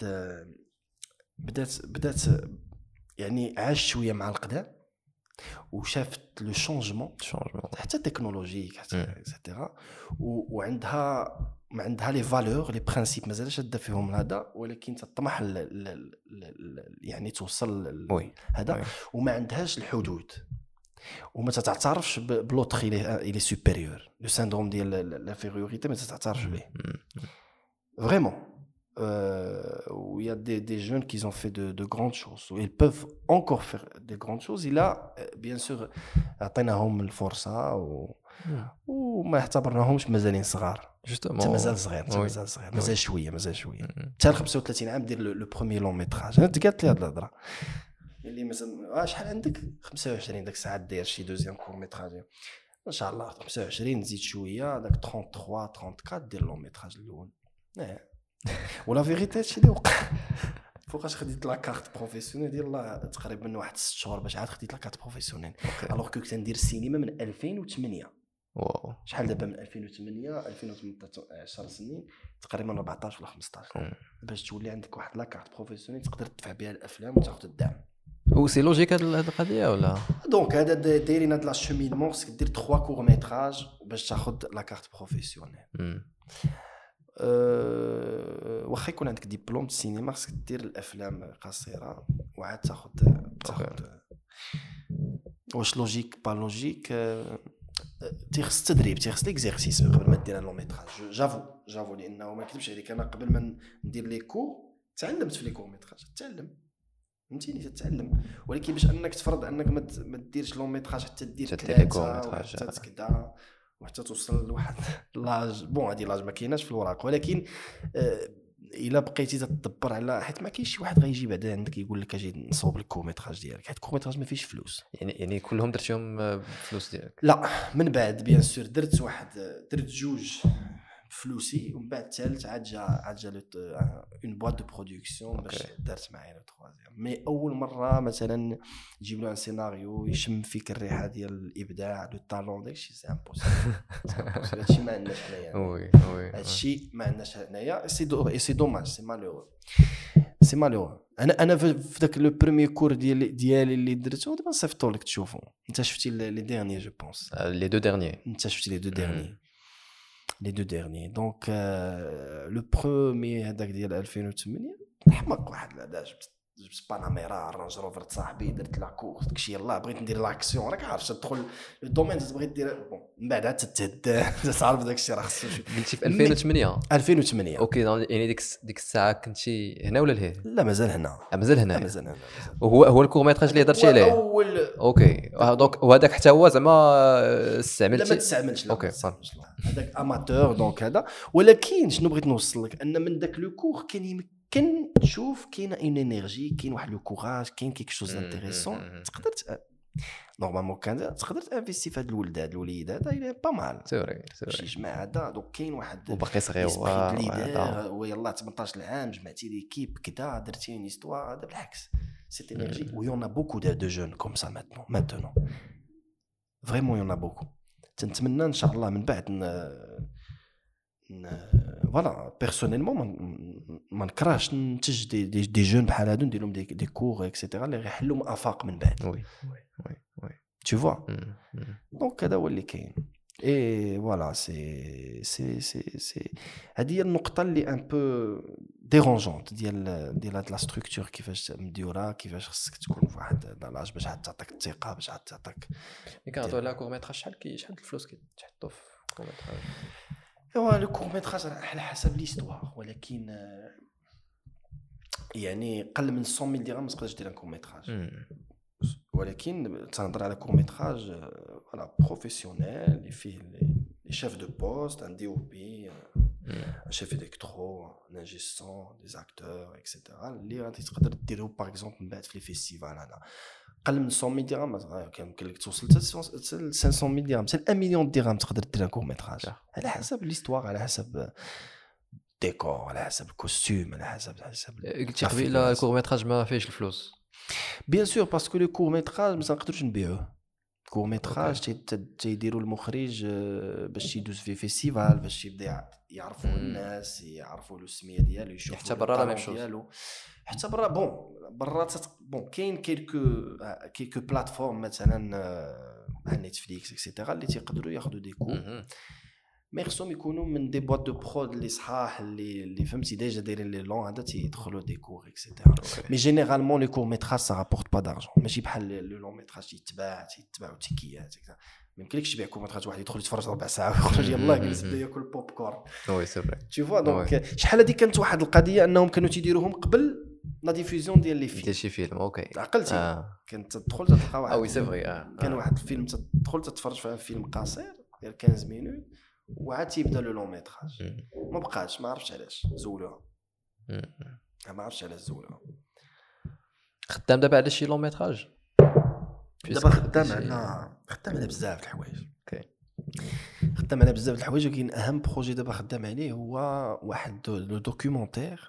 بدات يعني عاشت شوية مع القدام وشافت لو شونجمون حتى تكنولوجيك حتى اكسيتيرا، وعندها لي فالور لي برينسيپ مازال شاده فيهم هذا، ولكن تطمح يعني توصل هذا، وما عندهاش الحدود وما تتعترفش بلوتر الى سوبيريور. لو سيندروم ديال لافيريوريتي ما تتعترفش به فريمون. où il y a des jeunes qui ont fait de grandes choses, où ils peuvent encore faire de grandes choses. Il a bien sûr عطيناهم الفرصة وما اعتبرناهمش مازالين صغار. جوستومون مازال صغير مازال شوية حتى 35 عام دير لو بروميير لون ميتراج. انا قالت لي هاد الهضره اللي مثلا شحال عندك 25 داك الساعه داير شي دوزيام كور ميتراج ان شاء الله 25 نزيد شويه داك 33 34 دير لون ميتراج الاول. ولا فيغيتي هادشي اللي وقع. فوقاش خديت لا كارت بروفيسيونيل ديال الله تقريبا من واحد 6 شهور باش عاد خديت لا كارت بروفيسيونيل. الوغ كنت كندير السينما من 2008. واو شحال دابا من 2008 10 سنين تقريبا 14 ولا 15 باش تولي عندك واحد لا كارت بروفيسيونيل تقدر تدفع بها الافلام وتاخذ الدعم. وسي لوجيك هاد القضيه ولا؟ دونك هذا دايرين هاد لا شومينمون، خصك دير 3 كور ميتراج باش تاخذ لا كارت بروفيسيونيل. واخا يكون عندك ديبلوم السينما خاصك دير الافلام قصيره وعاد تاخذ واش لوجيك با لوجيك تيخص تدريب تيخص ليكزيرسيس قبل ما دير لون ميتراج. جافو لانه ما نكذبش عليك انا قبل ما ندير لي كور تعلمت في لي كور ميتراج فهمتيني تتعلم ولكن باش انك تفرض انك ما ديرش لون ميتراج حتى دير لي كور ميتراج حتى تكدا وحتى توصل لواحد لاج بون هذه لاج ما كايناش في الوراق ولكن الا بقيتي تدبر على حيت ما كاينش شي واحد غيجي بعدا عندك يقول لك اجي نصوب الكورميتراج ديالك حيت الكورميتراج ما فيش فلوس يعني كلهم درتيهم بفلوس ديالك لا من بعد بيان سور درت جوج فلوسي ومن بعد الثالث عاد جا اون بواط دو برودكسيون باش دارت معايا لو تروازيام مي اول مره مثلا نجيب له ان سيناريو يشم فيك الريحه ديال الابداع دو طالون داكشي سي امبوسيبل هادشي ما عندناش حنايا وي هادشي ما عندناش حنايا سي دوماج سي مالو انا في داك لو بريمير كور ديالي اللي درته دابا صيفطو لك تشوفو انت شفتي لي ديرني جو بونس لي دو ديرني انت شفتي لي دو ديرني دونك لو بروميير هذاك ديال 2008 حمق واحد لا جبت باناميرا رانج روفر صاحبي درت لا كورس داكشي يلاه بغيت ندير لاكسيون راك عارف تدخل لو دومين تبغي دير بون من بعد عاد تتهد تعرف داكشي راه خصو قلتي في 2008 اوكي يعني ديك الساعه كنتي هنا ولا لهيه لا مازال هنا مازال وهو الكورميتراج اللي هضرتي عليه اوكي دونك وهذاك حتى هو زعما استعملتي لا ما تستعملش اوكي هذاك اماتور دونك هذا ولكن شنو بغيت نوصل لك ان من داك لو كور كاين تشوف كاينه اون انرجي كاين واحد لو كوراج كاين كيك شوز انتريسون تقدر نورمالمون كان تقدر تانفيستي في هاد الوليدات هذا با مال سوري شي جماعه هذا دونك كاين واحد وباقي صغير ويلا 18 عام جمعتي ليكيب كدا درتي اون هيستوار هذا بالعكس سيت انرجي ويون ا بوكو دو جون كوم سا ماتونون فريمون يون ا بوكو تنتمنى ان شاء الله من بعد فوالا بيرسونيلمون ما نكرهش ننتج دي جون بحال هادو ندير لهم دي كور اكسيتيرا اللي غيحلوا من افاق من بعد وي tu vois دونك هذا هو اللي كاين اي فوالا سي هذه هي النقطه اللي ان بو ديرونجونت ديال هاد لا ستركتور كيفاش مديوره كيفاش خصك تكون في واحد لاج باش عاد تعطيك الثقه باش عاد تعطيك كنهضروا على كورميتراج شحال الفلوس كيتحطوا في كورميتراج ايوا لو كورميتراج على حسب ليستوار ولكن يعني قل من 100,000 درهم ما تقدرش دير ان كورميتراج ولكن تنهضر على كورميتراج فوالا بروفيسيونيل اللي فيه لي شيف دو بوست ان دي او بي ان شيف الكترو ان انجيسون دي اكتور اكسيتيرا اللي غادي تقدر ديرو باغ اكزومبل من بعد في لي فيستيفال هذا قل من 100,000 درهم كيمكن لك توصل حتى 500,000 درهم حتى 1 مليون درهم تقدر دير ان كورميتراج على حسب ليستوار على حسب ديكور على حسب الكوستيم على حسب قلتي قبيله الكورميتراج ما فيهش الفلوس بيان سور باسكو لو كورميتراج ما نقدروش نبيعوه كورميتراج تيديروا المخرج باش يدوز في فيستيفال باش يبدا يعرفوا الناس يعرفوا له السميه ديالو يشوفوا حتى برا لا ميم شوز حتى برا برا كاين كيلكو بلاتفورم مثلا على نتفليكس اكسيتيرا اللي تيقدروا ياخذوا دي كور مي خصهم يكونوا من دي بواط دو برود اللي صحاح اللي فهمتي ديجا دايرين لي لون هذا تيدخلوا دي كور اكسيتيرا مي جينيرالمون لي كور ميتراج سا رابورت با دارجون ماشي بحال لو لون ميتراج تيتباعوا تيكيات ما يمكنلكش تبيع كور ميتراج واحد يدخل يتفرج ربع ساعه ويخرج يلاه جلس بدا ياكل بوب كورن وي سي فري تي فوا دونك شحال هذه كانت واحد القضيه انهم كانوا تيديروهم قبل لا ديفوزيون ديال لي فيلم ديال شي فيلم اوكي عقلتي كنت تدخل تلقى واحد وي سي فري كان واحد الفيلم تدخل تتفرج في فيلم قصير ديال 15 مينوت وعاد تيبدا لو لون ميتراج ما بقاش ما عرفتش علاش زولوها ما عرفتش علاش زولوها خدام دابا على شي لون ميتراج دابا خدام على بزاف د الحوايج اوكي خدام على بزاف د الحوايج ولكن اهم بروجي دابا خدام عليه هو واحد لو دوكيومونتير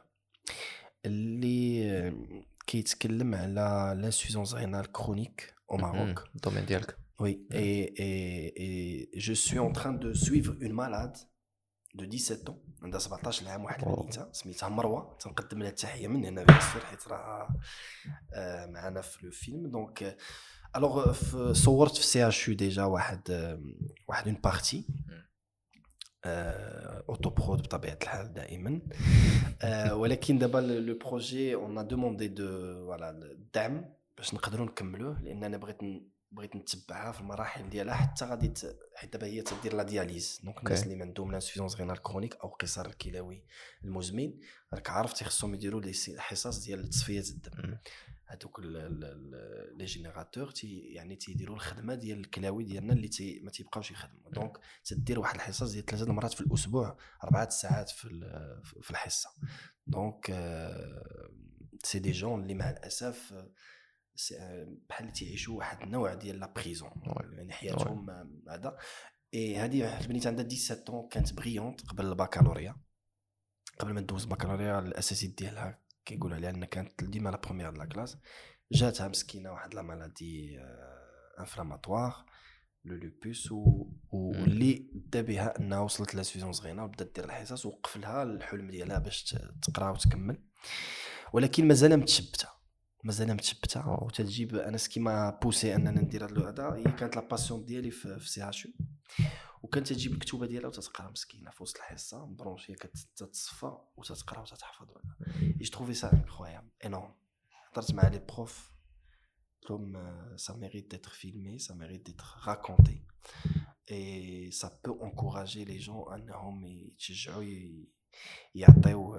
اللي كيتكلم على لانسوفيسونس رينال كرونيك au Maroc. Domaine ديالك. Oui, et je suis en train de suivre une malade de 17 ans عندها 17 عام واحد البنيته سميتها مروه تنقدم لها التحيه من هنا بيسير حيت راه معنا في لو فيلم دونك الوغ صورت في سي اش يو ديجا واحد اون بارتي اوتو برود بطبيعه الحال دائما. ولكن دابا لو بروجي اون ا دوموندي دو فوالا الدعم باش نقدروا نكملوه، لان انا بغيت نتبعها في المراحل ديالها حتى غادي حيت دابا هي تدير لا دياليز. دونك الناس اللي عندهم لانسفيزونس رينال كرونيك او قصر الكلوي المزمن راك عارف تيخصهم يديروا لي حصص ديال تصفيه الدم. هذوك لي جينيراتور يعني تيديروا الخدمه ديال الكلاوي ديالنا اللي ما تيبقاوش يخدموا. دونك تدير واحد الحصص ديال 3 مرات في الاسبوع 4 ساعات في الحصه. دونك سي دي جون اللي مع الاسف بحال تيعيشوا واحد النوع ديال لا بريزون، يعني حياتهم هذا. هذه البنيته عندها 17 كانت بريونت قبل الباكالوريا، قبل ما ندوز الباكالوريا الاساسي ديالها كيقولوا عليها ان كانت ديما لا بروميير د لا كلاس. جاتها مسكينه واحد لا مالادي انفلاماتوار لو لوبوس، واللي دا بها انها وصلت لانسفيزونس غينا وبدات دير الحصص، وقف لها الحلم ديالها باش تقرا وتكمل. ولكن مازال متشبته وتجيب انا سكيما بوسي اننا ندير هذا. هي كانت لا باسيون ديالي في سي اتش، وكانت تجيب الكتوبه ديالها وتتقرا مسكينه في وسط الحصه مبرونشيه كتتصفى وتتقرا وتتحفظ. جو تروفي سا انكرويابل انورم. هضرت مع لي بروف قلت لهم سا ميريت ديتر فيلمي، سا ميريت ديتر راكونتي، اي سا بو انكوراجي لي جون انهم يتشجعوا يعطيو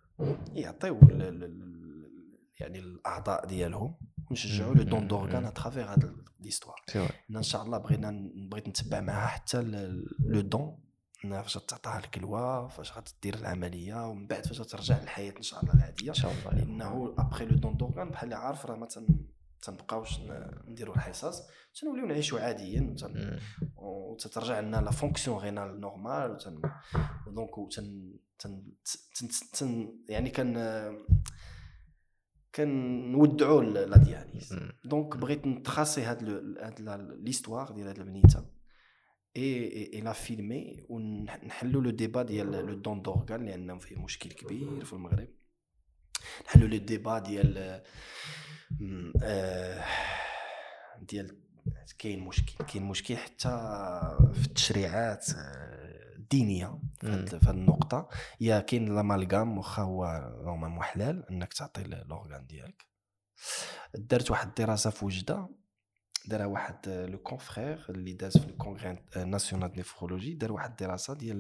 يعني الاعضاء ديالهم ونشجعوا لو دون دورغان اترافير هذا ليستوار. ان شاء الله بغيت نتبع معها حتى لو دون، فاش تعطيها الكلوه، فاش غتدير العمليه، ومن بعد فاش ترجع للحياه ان شاء الله العاديه ان شاء الله. لانه ابري لو دون دورغان بحال اللي عارف راه ما تنبقاوش نديروا الحصص، تنوليو نعيشوا عاديا وتترجع لنا لا فونكسيون غينال نورمال. دونك يعني كنودعوا لا دياليز. دونك بغيت نتراسي هاد ليستوار ديال هاد البنيته اي لا فيلمي ونحلوا لو ديبا ديال لو دون دورغان، لانه فيه مشكل كبير في المغرب. نحلوا لو ديبا ديال كاين مشكل حتى في التشريعات الدينيه في هذه النقطه. يا كاين لامالغام واخا هو نورمالمون حلال انك تعطي لورغان ديالك. درت واحد الدراسه في وجده، دار واحد لو كونفرير اللي داز في الكونغري ناسيونال دو نيفرولوجي، دار واحد الدراسه ديال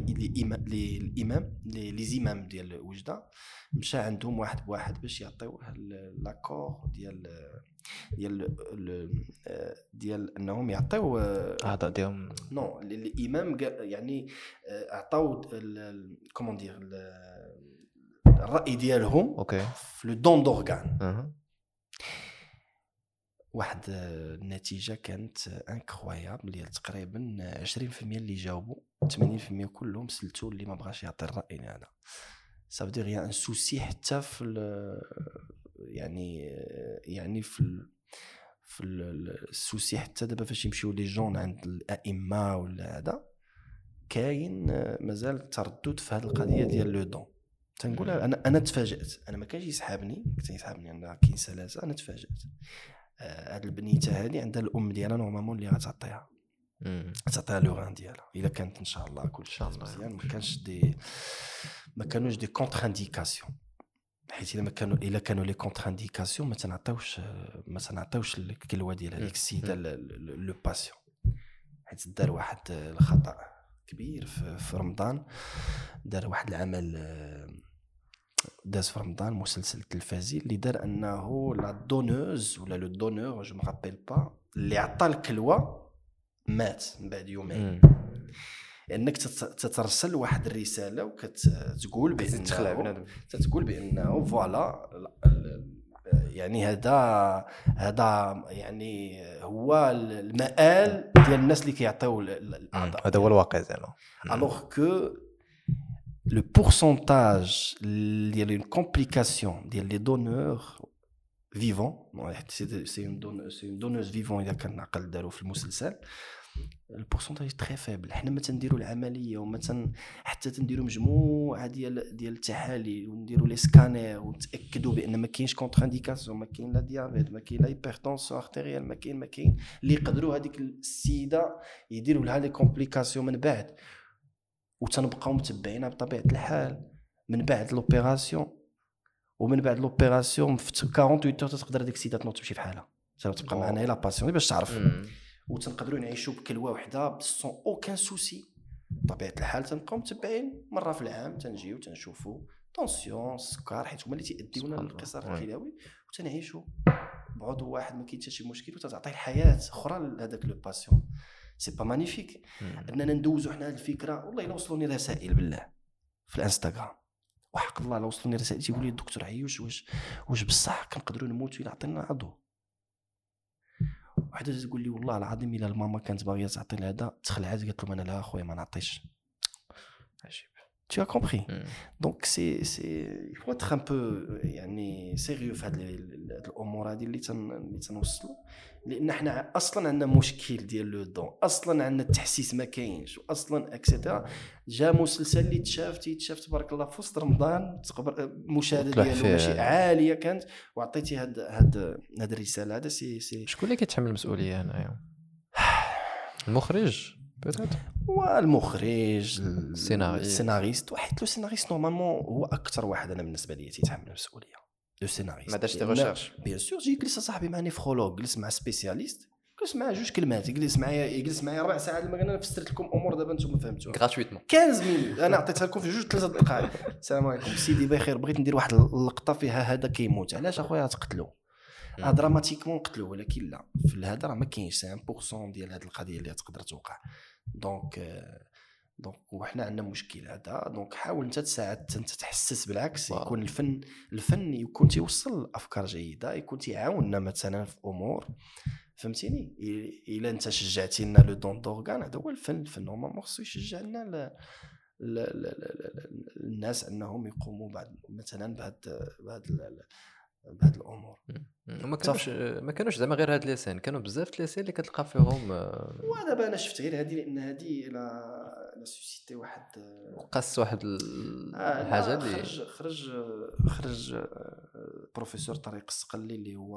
لي زيمام ديال وجده، مشى عندهم واحد بواحد باش يعطيوه لاكور ديال انهم يعطيو اعضاء ديالهم. نو الامام يعني عطاو كومون دير الراي ديالهم في لو دون دورغان. واحد النتيجه كانت انكرويابل ديال تقريبا 20% اللي جاوبوا، 80% كلهم سلتوا اللي ما بغاش يعطي الراي هذا. صافي دير يا ان سوسي حتى في يعني في السوسي حتى دابا فاش يمشيو لي جون عند الائمه ولا هذا، كاين مازال تردد في هذه القضيه ديال لو دون. تنقول انا تفاجات، انا ما كانش يسحابني، كنت يسحابني انا كاين سلاسه. انا تفاجات هاد البنيته هذه عندها الام ديالها نورمالمون اللي غتعطيها لوغان ديالها الا كانت ان شاء الله كل شيء مزيان. ما كانوش دي كونتر انديكاسيون، حيت الا كانوا لي كونتر انديكاسيون ما تنعطيوش الكلوه ديال هذيك السيده لو باسيون. حيت دار واحد الخطا كبير في رمضان، دار واحد العمل داز في رمضان مسلسل تلفزي اللي دار انه لا دونوز ولا لو دونور جو مابيل با اللي عطى الكلوه مات من بعد يومين. لانك تترسل واحد الرساله وكتقول بانه فوالا يعني هذا يعني هو المآل ديال الناس اللي كيعطيو الاعضاء. هذا هو الواقع زعما. الوغ كو le pourcentage ديال une complication ديال les donneurs vivants، c'est une donneuse vivant اذا كان عقل داروا في المسلسل، البورسونتاج تري فيبل. حنا ما تنديروا العمليه وما حتى تنديروا مجموعه ديال التحاليل ونديروا لي سكانير ونتاكدوا بان ما كاينش كونتر انديكاسيون، ما كاين لا ديابيت، ما كاين لا هايبرتونسيون ارتيريال، ما كاين اللي يقدروا هذيك السيده يديروا لها لي كومبليكاسيون من بعد. وتنبقاو متبعينها بطبيعه الحال من بعد لوبيراسيون. ومن بعد لوبيراسيون في 48 ساعه تقدر ديك السيده تنوض تمشي بحالها، تبقى معنا لا باسيون باش تعرف. وتنقدروا نعيشوا بكلوه وحده بسون اوكان سوسي بطبيعه الحال. تنبقاو متبعين مره في العام، تنجيو تنشوفوا طونسيون السكر، حيت هما اللي تيأديونا للقصر الكلوي، وتنعيشوا بعضو واحد ما كاين حتى شي مشكل، وتعطيه الحياه اخرى لهذاك لو باسيون. سي با مانيفيك اننا ندوزو حنا هذه الفكره. والله الا وصلوني رسائل بالله في الانستغرام، وحق الله لو وصلوني رسائل تيقول لي الدكتور عيوش واش بصح كنقدروا نموتوا الا عطينا عضو. وحده تقول لي والله العظيم الا الماما كانت باغيه تعطي هذا تخلعات، قالت له انا لا اخويا ما نعطيش. عجيب. Tu as compris. Donc il faut être un peu يعني sérieux في هاد الامور هذه اللي تنوصلوا، لان حنا اصلا عندنا مشكل ديال لو دون، اصلا عندنا التحسيس ما كاينش، واصلا اكسيتيرا. جا مسلسل اللي تشاف تبارك الله في وسط رمضان، المشاهده ديالو ماشي عاليه كانت، وعطيتي هاد الرساله. هذا سي شكون اللي كيتحمل المسؤوليه هنايا؟ المخرج والمخرج، السيناريست. وحيت لو سيناريست نورمالمون هو اكثر واحد انا بالنسبه لي تيتحمل المسؤوليه. لو سيناريست ما دارش دي ريشيرش بيان سور. جي جلس صاحبي مع نيفرولوج، جلس مع سبيسياليست، جلس مع جوج كلمات، يجلس معايا 4 ساعات. لما انا فسرت لكم امور دابا نتوما فهمتوها غراتويتمون 15 مينوت انا عطيتها لكم في 2-3 دقائق. السلام عليكم سيدي بخير، بغيت ندير واحد اللقطه فيها هذا كيموت، علاش اخويا تقتلوا دراماتيكمون قتلوه، ولكن لا في الهذا راه ما كاينش 1% ديال هذه القضيه اللي تقدر توقع. دونك وحنا عندنا مشكل هذا. دونك حاول انت تساعد، انت تحسس بالعكس. يكون الفن يكون تيوصل افكار جيده، يكون تيعاوننا مثلا في امور، فهمتيني. الا انت شجعتينا لو دون دورغان، هذا هو الفن نورمالمون خصو يشجع لنا الناس انهم يقوموا بعد مثلا بهاد الامور. ما كانوش زعما غير هاد ليسين، كانوا بزاف ليسين اللي كتلقى فيهم. ودابا انا شفت غير هذه، لان هذه لا سوسيتي واحد قص واحد الحاجه اللي خرج بروفيسور طريق السقلي اللي هو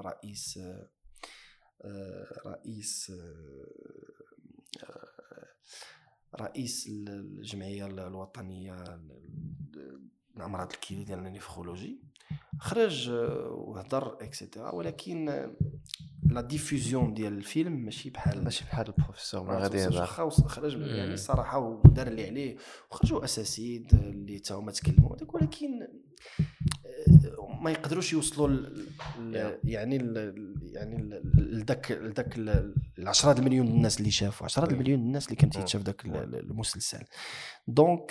رئيس الجمعيه الوطنيه للامراض الكلى ديال النيفرولوجي، خرج وهضر اكسيتيرا. ولكن لا ديفوزيون ديال الفيلم ماشي بحال البروفيسور ما غادي يهضر. خرج يعني الصراحه ودار اللي عليه، وخرجوا اساسيين اللي تا هما تكلموا داك، ولكن ما يقدروش يوصلوا يعني لذاك 10 مليون الناس اللي شافوا، 10 مليون الناس اللي كانت تشاف داك المسلسل. دونك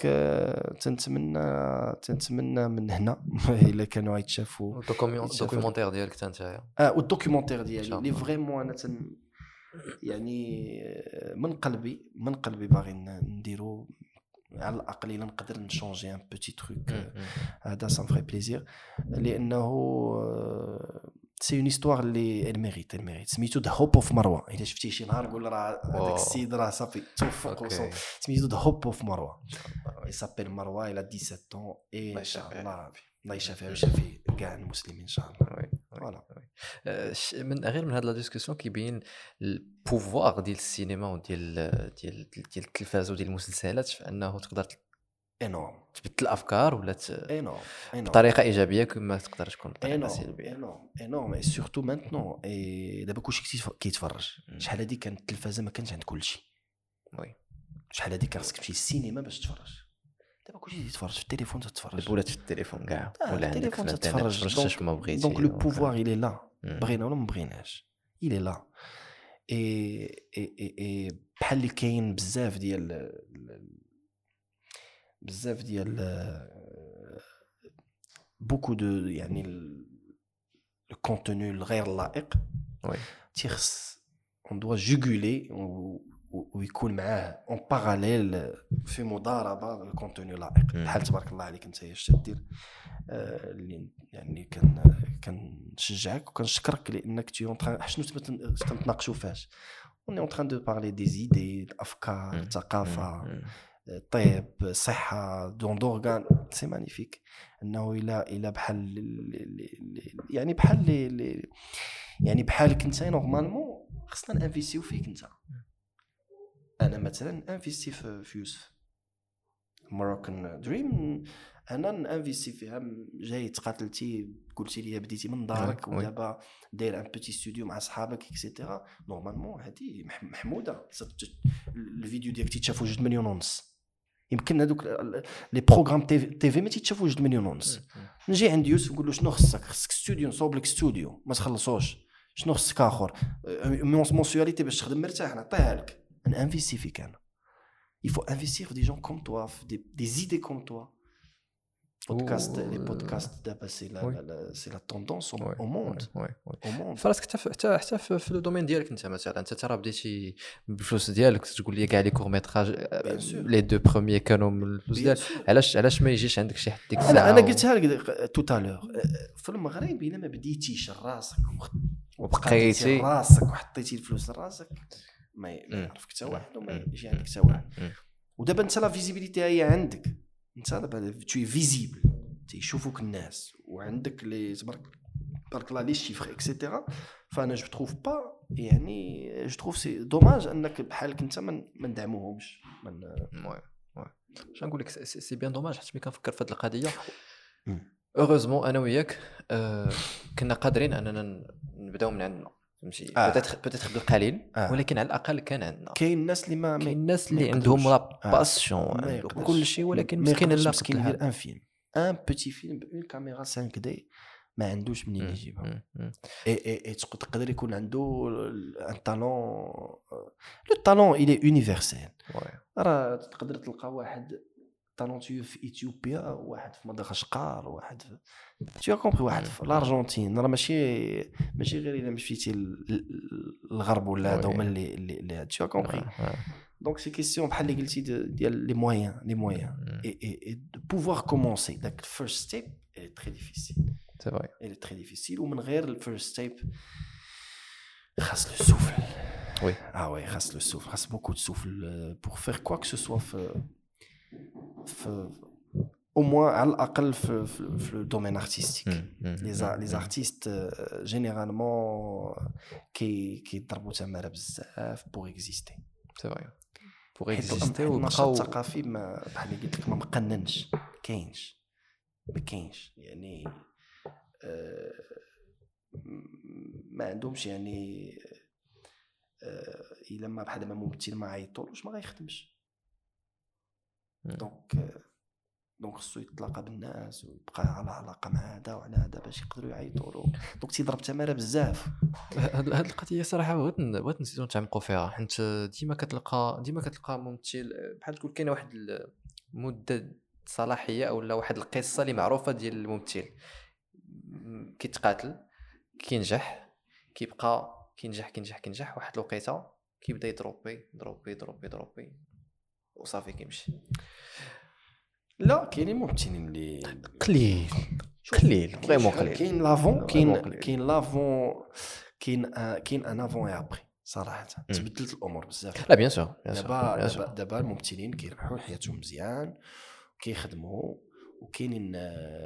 تنتمنى من هنا الا كانوا يتشافوا الدوكيومونتير ديالك انت والدوكيومونتير ديالي اللي فريمون انا يعني من قلبي باغي نديرو على الاقل الا نقدر نشونجي ان بوتي تروك. هذا سان فري بليزير، لانه سي اون هيستوار اللي الميريت سميتو ذا هوب اوف مروه. الا شفتيه شي نهار قول راه هذاك السيد راه صافي توفق. سميتو ذا هوب اوف مروه. يسابيل مروه الى 17 اي ان شاء الله الله يشافيه ويشافي كاع المسلمين ان شاء الله. فوالا من غير من هذه لا ديسكوسيون كيبين البوفوار ديال السينما وديال التلفاز وديال المسلسلات في انه تقدر انورم تبدل الافكار ولا انورم بطريقه ايجابيه كما تقدر تكون بطريقه سلبيه. انورم اي سورتو مانتنون. دابا كلشي كيتفرج. شحال هذه كانت التلفازه ما كانش عند كلشي. وي شحال هذه كان خصك تمشي للسينما باش تتفرج. دابا كلشي تتفرج في التليفون، تتفرج ولات في التليفون كاع ولا عندك في تتفرج ما بغيتي. دونك لو بوفوار إلي لا، بغينا ولا ما بغيناش إلي لا. اي بحال اللي كاين بزاف ديال بوكو دو يعني الكونتوني الغير لائق. وي تيخص اون دوا جوغولي ويكون معاه اون باراليل في مضاربه الكونتوني لائق. بحال تبارك الله عليك انت اش تدير اللي يعني كنشجعك وكنشكرك لانك تي اون تران شنو تنتناقشوا فاش اون اون تران دو بارلي دي زيدي الافكار الثقافه طيب صحه دون دورغان. سي مانيفيك انه الى بحال يعني بحالك انت نورمالمون خصنا نانفيستيو فيك انت. انا مثلا انفيستي في يوسف ماروكان دريم انا نانفيستي فيها. جاي تقاتلتي قلتي لي بديتي من دارك ودابا داير ان بيتي ستوديو مع صحابك اكسيتيرا. نورمالمون هذه محموده. الفيديو ديالك تيتشافوا 2 مليون ونص. يمكن هذوك لي بروغرام تي في ما تيتشافوا 2 مليون ونص. نجي عند يوسف نقول له شنو خصك ستوديو، نصوب لك ستوديو ما تخلصوش. شنو خصك اخر مونسياليتي باش تخدم مرتاح نعطيها لك. نانفيستي فيك انا. il faut investir des gens comme toi, des idées comme toi. Les podcasts d'abord c'est la tendance au monde. Au monde. فراسك حتى في لو دومين ديالك انت مثلا انت ترى بديتي بالفلوس ديالك تقول لي كاع لي كور ميتراج لي دو بروميير كانوا من الفلوس ديالك. علاش ما يجيش عندك شي حد ديك الساعه؟ انا قلتها لك توتالور في المغرب الا ما بديتيش راسك وبقيتي راسك وحطيتي الفلوس لراسك ما يعرفك حتى واحد وما يجي عندك حتى واحد. ودابا انت لا فيزيبيليتي هي عندك انت دابا تو فيزيبل تيشوفوك الناس وعندك لي تبارك الله لي شيفر اكسيتيرا. فانا جو تروف با يعني جو تروف سي دوماج انك بحالك انت ما ندعموهمش. واش نقول لك سي بيان دوماج حيت ملي كنفكر في هذه القضيه اوغوزمون انا وياك كنا قادرين اننا نبداو من عندنا فهمتي. بوتيتر بالقليل ولكن على الاقل كان عندنا. كاين الناس اللي كاين الناس اللي عندهم لا باسيون كل شيء ولكن مسكين لا مسكين يدير ان فيلم ان بيتي فيلم بون كاميرا 5 دي ما عندوش منين يجيبها. اي تقدر يكون عنده ان طالون. لو طالون il est universel. راه تقدر تلقى واحد طالونتيو في اثيوبيا واحد في مدغشقر واحد تو كومبري واحد في الارجنتين. راه ماشي غير الا مشيتي للغرب ولا هذا هما اللي تو كومبري. دونك سي كيسيون بحال اللي قلتي ديال لي مويان اي بوفوار كومونسي. داك الفيرست ستيب اي تري ديفيسيل. سي فري اي تري ديفيسيل ومن غير الفيرست ستيب خاص لو سوفل. وي خاص لو سوفل. خاص بوكو دو سوفل بور فير كوا كو سو سوا au moins على الأقل في le domaine artistique. les artistes généralement كيضربوا تماره بزاف pour exister. c'est vrai pour exister. والنشاط الثقافي بحال اللي قلت لك ما مقننش ما كاينش يعني ما عندهمش يعني الا ما بحال ما ممثل ما عيطولوش ما غيخدمش. دونك خصو يتلاقى بالناس ويبقى على علاقه مع هذا وعلى هذا باش يقدروا يعيطوا له. دونك تيضرب تماره بزاف. هاد القضيه صراحه بغيت نزيدو نتعمقوا فيها حيت ديما كتلقى ممثل بحال تقول كاينه واحد المده صلاحيه او لا واحد القصه اللي معروفه ديال الممثل كيتقاتل كينجح كيبقى كينجح واحد الوقيته كيبدا يضربي وصافي كيمشي. لا كاينين ممثلين اللي قليل فريمون قليل. كاين لافون كاين ان افون اي ابري صراحه. تبدلت الامور بزاف. لا بيان سور دابا الممثلين كيربحوا حياتهم مزيان كيخدموا وكاينين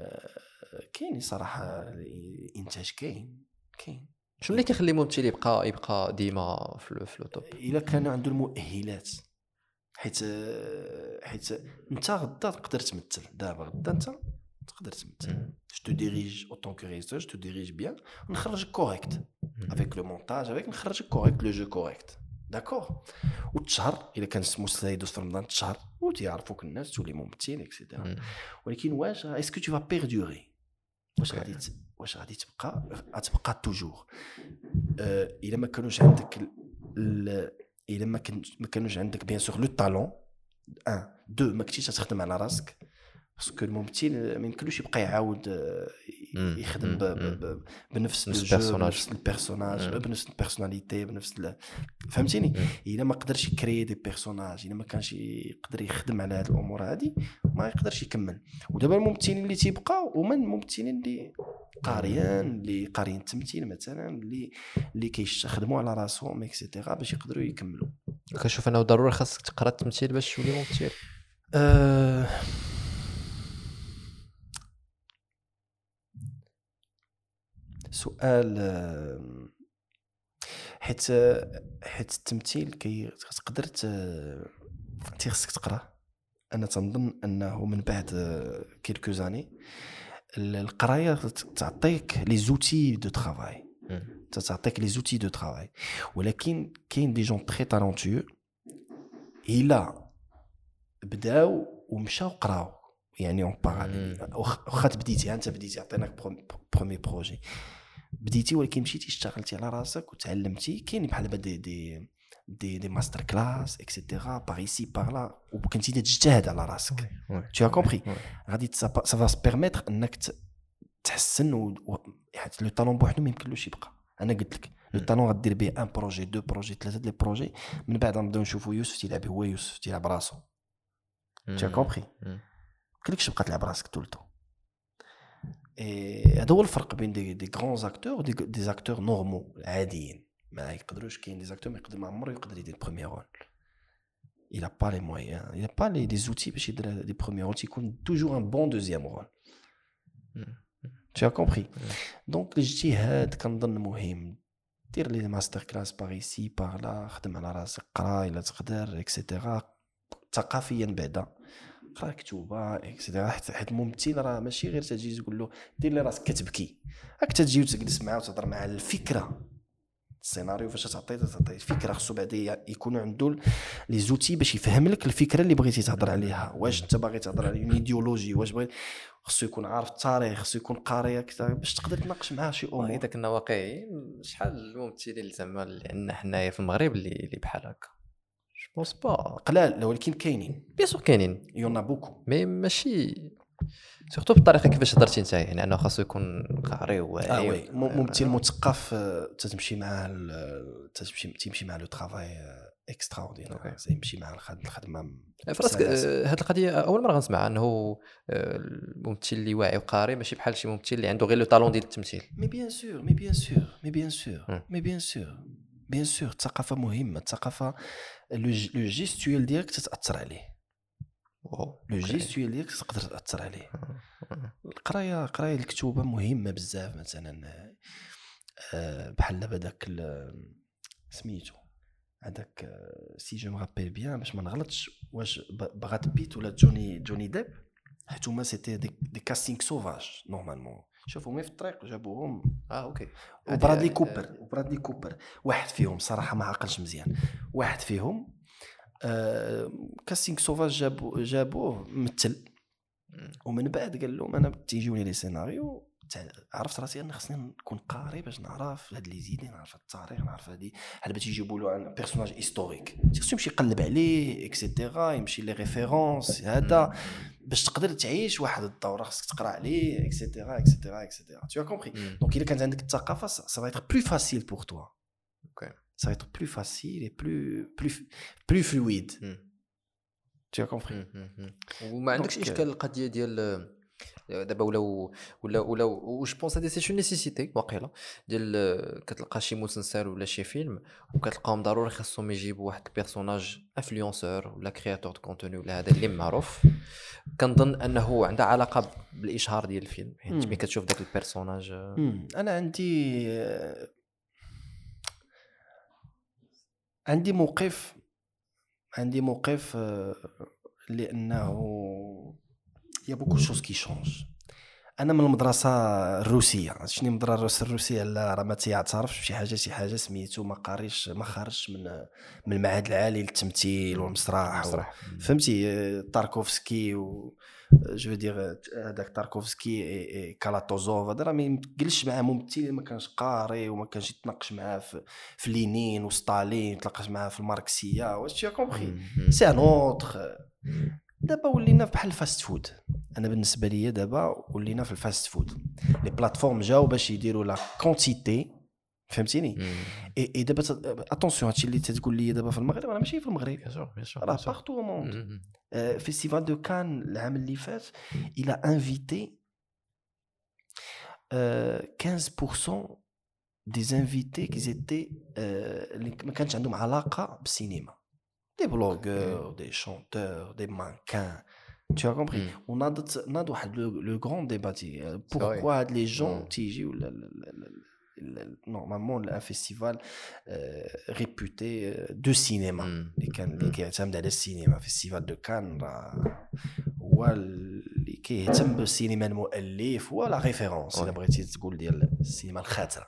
صراحه الانتاج كاين. شنو اللي كيخلي ممثل يبقى ديما في التوب؟ الا كانوا عنده المؤهلات. حيت انت غدا تقدر تمثل. دابا غدا انت تقدر تمثل. جو تو ديريج اوتون كو ريزور جو تو ديريج بيان نخرجك كوريكت افيك لو مونتاج افيك نخرجك كوريكت لو جو كوريكت داكور. وتشهر الا كان المسلسل يدوز في رمضان تشهر وتيعرفوك الناس تولي ممثل اكسيتيرا. ولكن واش اسكو تو فا بيردوري واش غادي تبقى توجور. الا ما كانوش عندك الا ما كانوش عندك بيان سور لو طالون 1 2 ما كنتيش تخدم على راسك باسكو الممثل ما يمكنلوش يبقى يعاود يخدم بنفس البيرسوناج بنفس البيرسوناليتي بنفس فهمتيني. الا ما قدرش يكري دي بيرسوناج الا ما كانش يقدر يخدم على هذه الامور هذه ما يقدرش يكمل. ودابا الممثلين اللي تيبقاو هما الممثلين اللي قاريين التمثيل مثلا اللي كيخدموا على راسهم اكسيتيرا باش يقدروا يكملوا. كنشوف انه ضروري خاصك تقرا التمثيل باش تولي ممثل. سؤال حيت التمثيل تقدر خصك تقرا انا تنظن انه من بعد كيلكو زاني القرايه تعطيك لي زوتي دو ترافاي، تعطيك لي زوتي دو ترافاي. ولكن كاين دي جون تري تالونتيو الا بداو ومشاو قراو يعني اون باراليل. واخا تبديتي انت بديتي عطيناك برومي بروجي بديتي ولكن مشيتي اشتغلتي على راسك وتعلمتي، كاين بحال دي ماستر كلاس اكسيتيرا باغ ايسي باغ لا، وكنتي تجتهد على راسك. tu as compris غادي سا فا بيرميتر انك تحسن لو طالون بوحدو ما يمكنلوش يبقى. انا قلت لك لو طالون غدير به ان بروجي دو بروجي ثلاثه لي بروجي، من بعد نبداو نشوفوا يوسف تيلعب، هو يوسف تيلعب راسو. tu as compris كلكش بقى تلعب راسك طول الوقت. هذا هو الفرق بين دي غران زاكتور و دي زاكتور نورمال عاديين ما يقدروش. كاين دي زاكتور ما يقدر ما عمره يقدر يدير بروميير رول، il a pas les moyens, il a pas les outils باش يدير دي بروميير رول، يكون توجور ان بون دوزيام رول. tu as compris. دونك الاجتهاد كنظن مهم، دير لي ماستر كلاس باغ ايسي باغ لا، خدم على راسك، قرا الا تقدر اكسيتيرا. ثقافيا بعدا قرا كتوبه اكسيتيرا، حيت الممثل راه ماشي غير تجي تقول له دير لي راسك كتبكي، راك تجي وتجلس معاه وتهضر معاه على الفكره. السيناريو فاش تعطي الفكره خصو بعدا يكون عنده لي زوتي باش يفهم لك الفكره اللي بغيتي تهضر عليها. واش انت باغي تهضر على اون ايديولوجي، واش بغيت، خصو يكون عارف التاريخ، خصو يكون قاري اكثر باش تقدر تناقش معاه شي امور. اذا كنا واقعيين شحال الممثلين زعما اللي عندنا حنايا في المغرب اللي بحال هكا؟ جو بونس با قلال، ولكن كاينين بيان سور كاينين يونا بوكو، مي ماشي سورتو بالطريقه كيفاش هضرتي نتايا، يعني انه خاصو يكون قاري وواعي. وي ممثل مثقف تمشي معاه تمشي مع لو ترافاي اكستراوردينير، يمشي مع الخدمه. فراسك هذه القضيه اول مره غنسمعها، انه الممثل اللي واعي وقاري ماشي بحال شي ممثل اللي عنده غير لو طالون ديال التمثيل. مي بيان سور الثقافه مهمه. الثقافه لو جيستويل ديالك تتاثر عليه، لو جيستويل ديالك تقدر تاثر عليه. قرايه الكتوبه مهمه بزاف. مثلا بحال دابا داك سميتو هذاك سي جو مغابيل بيان باش ما نغلطش، واش بغات بيت ولا جوني ديب، حيت هما سيتي دي كاستينغ سوفاج نورمالمون. شوفوا في الطريق جابوهم اوكي وبرادلي كوبر واحد فيهم صراحه ما عقلش مزيان، واحد فيهم كاستينغ سوفاج جابوه ممثل، ومن بعد قال لهم انا تيجوني لي سيناريو عرفت راسي انا خصني نكون قاري باش نعرف هاد لي زيدي، نعرف التاريخ، نعرف هادي بحال باش يجيبوا له ان بيرسوناج هيستوريك خصو يمشي يقلب عليه اكسيتيرا، يمشي لي ريفيرونس هذا باش تقدر تعيش واحد الدوره، خصك تقرا عليه اكسيتيرا. tu as compris. donc الا كانت عندك الثقافه ça va être plus facile pour toi. ok ça va être plus facile et plus fluide. tu as compris. وما عندكش اشكال القضيه ديال دابا ولا جو بونس هادي سي نيسيسيتي واقيلا ديال كتلقى شي مسلسل ولا شي فيلم وكتلقاهم ضروري خاصهم يجيبوا واحد البيرسوناج انفلونسور ولا كرياتور دو كونتوني ولا هذا اللي معروف. كنظن انه عنده علاقه بالاشهار ديال الفيلم، حيت ملي كتشوف داك البيرسوناج. انا عندي موقف لانه يا بوكو شوز كي شونج. انا من المدرسه الروسيه، شنو المدرسه الروسيه؟ لا راه ما تيعترفش بشي حاجه سميتو ما خرجش من المعهد العالي للتمثيل والمسرح فهمتي. تاركوفسكي جو دير هذاك تاركوفسكي كالاتوزوف هذا راه ما يمكنش معاه ممثل ما كانش قاري وما كانش يتناقش معاه في لينين وستالين، تلاقاش معاه في الماركسيه. واش تي كومبري سي ان اوتر. دابا ولينا بحال الفاست فود. انا بالنسبه لي دابا ولينا في الفاست فود، لي بلاتفورم جاو باش يديروا لا كونتيتي، فهمتيني. اي دابا اتونسيون هادشي اللي تتقول لي دابا في المغرب راه ماشي في المغرب، راه بارتو موند. فيستيفال دو كان العام اللي فات الى انفيتي 15% دي انفيتي كي زيتي اللي ما كانش عندهم علاقه بالسينما، des blogueurs, des chanteurs, des mannequins. Tu as compris. On a le grand débat. Pourquoi les gens تيجيو نورمالمون ان فيستيفال ريبوتي دو سينما اللي كيعتمد على السينما. فيستيفال دو كان هو اللي كيهتم بالسينما المؤلف ولا ريفيرونس الا بغيتي تقول ديال السينما الخاتره.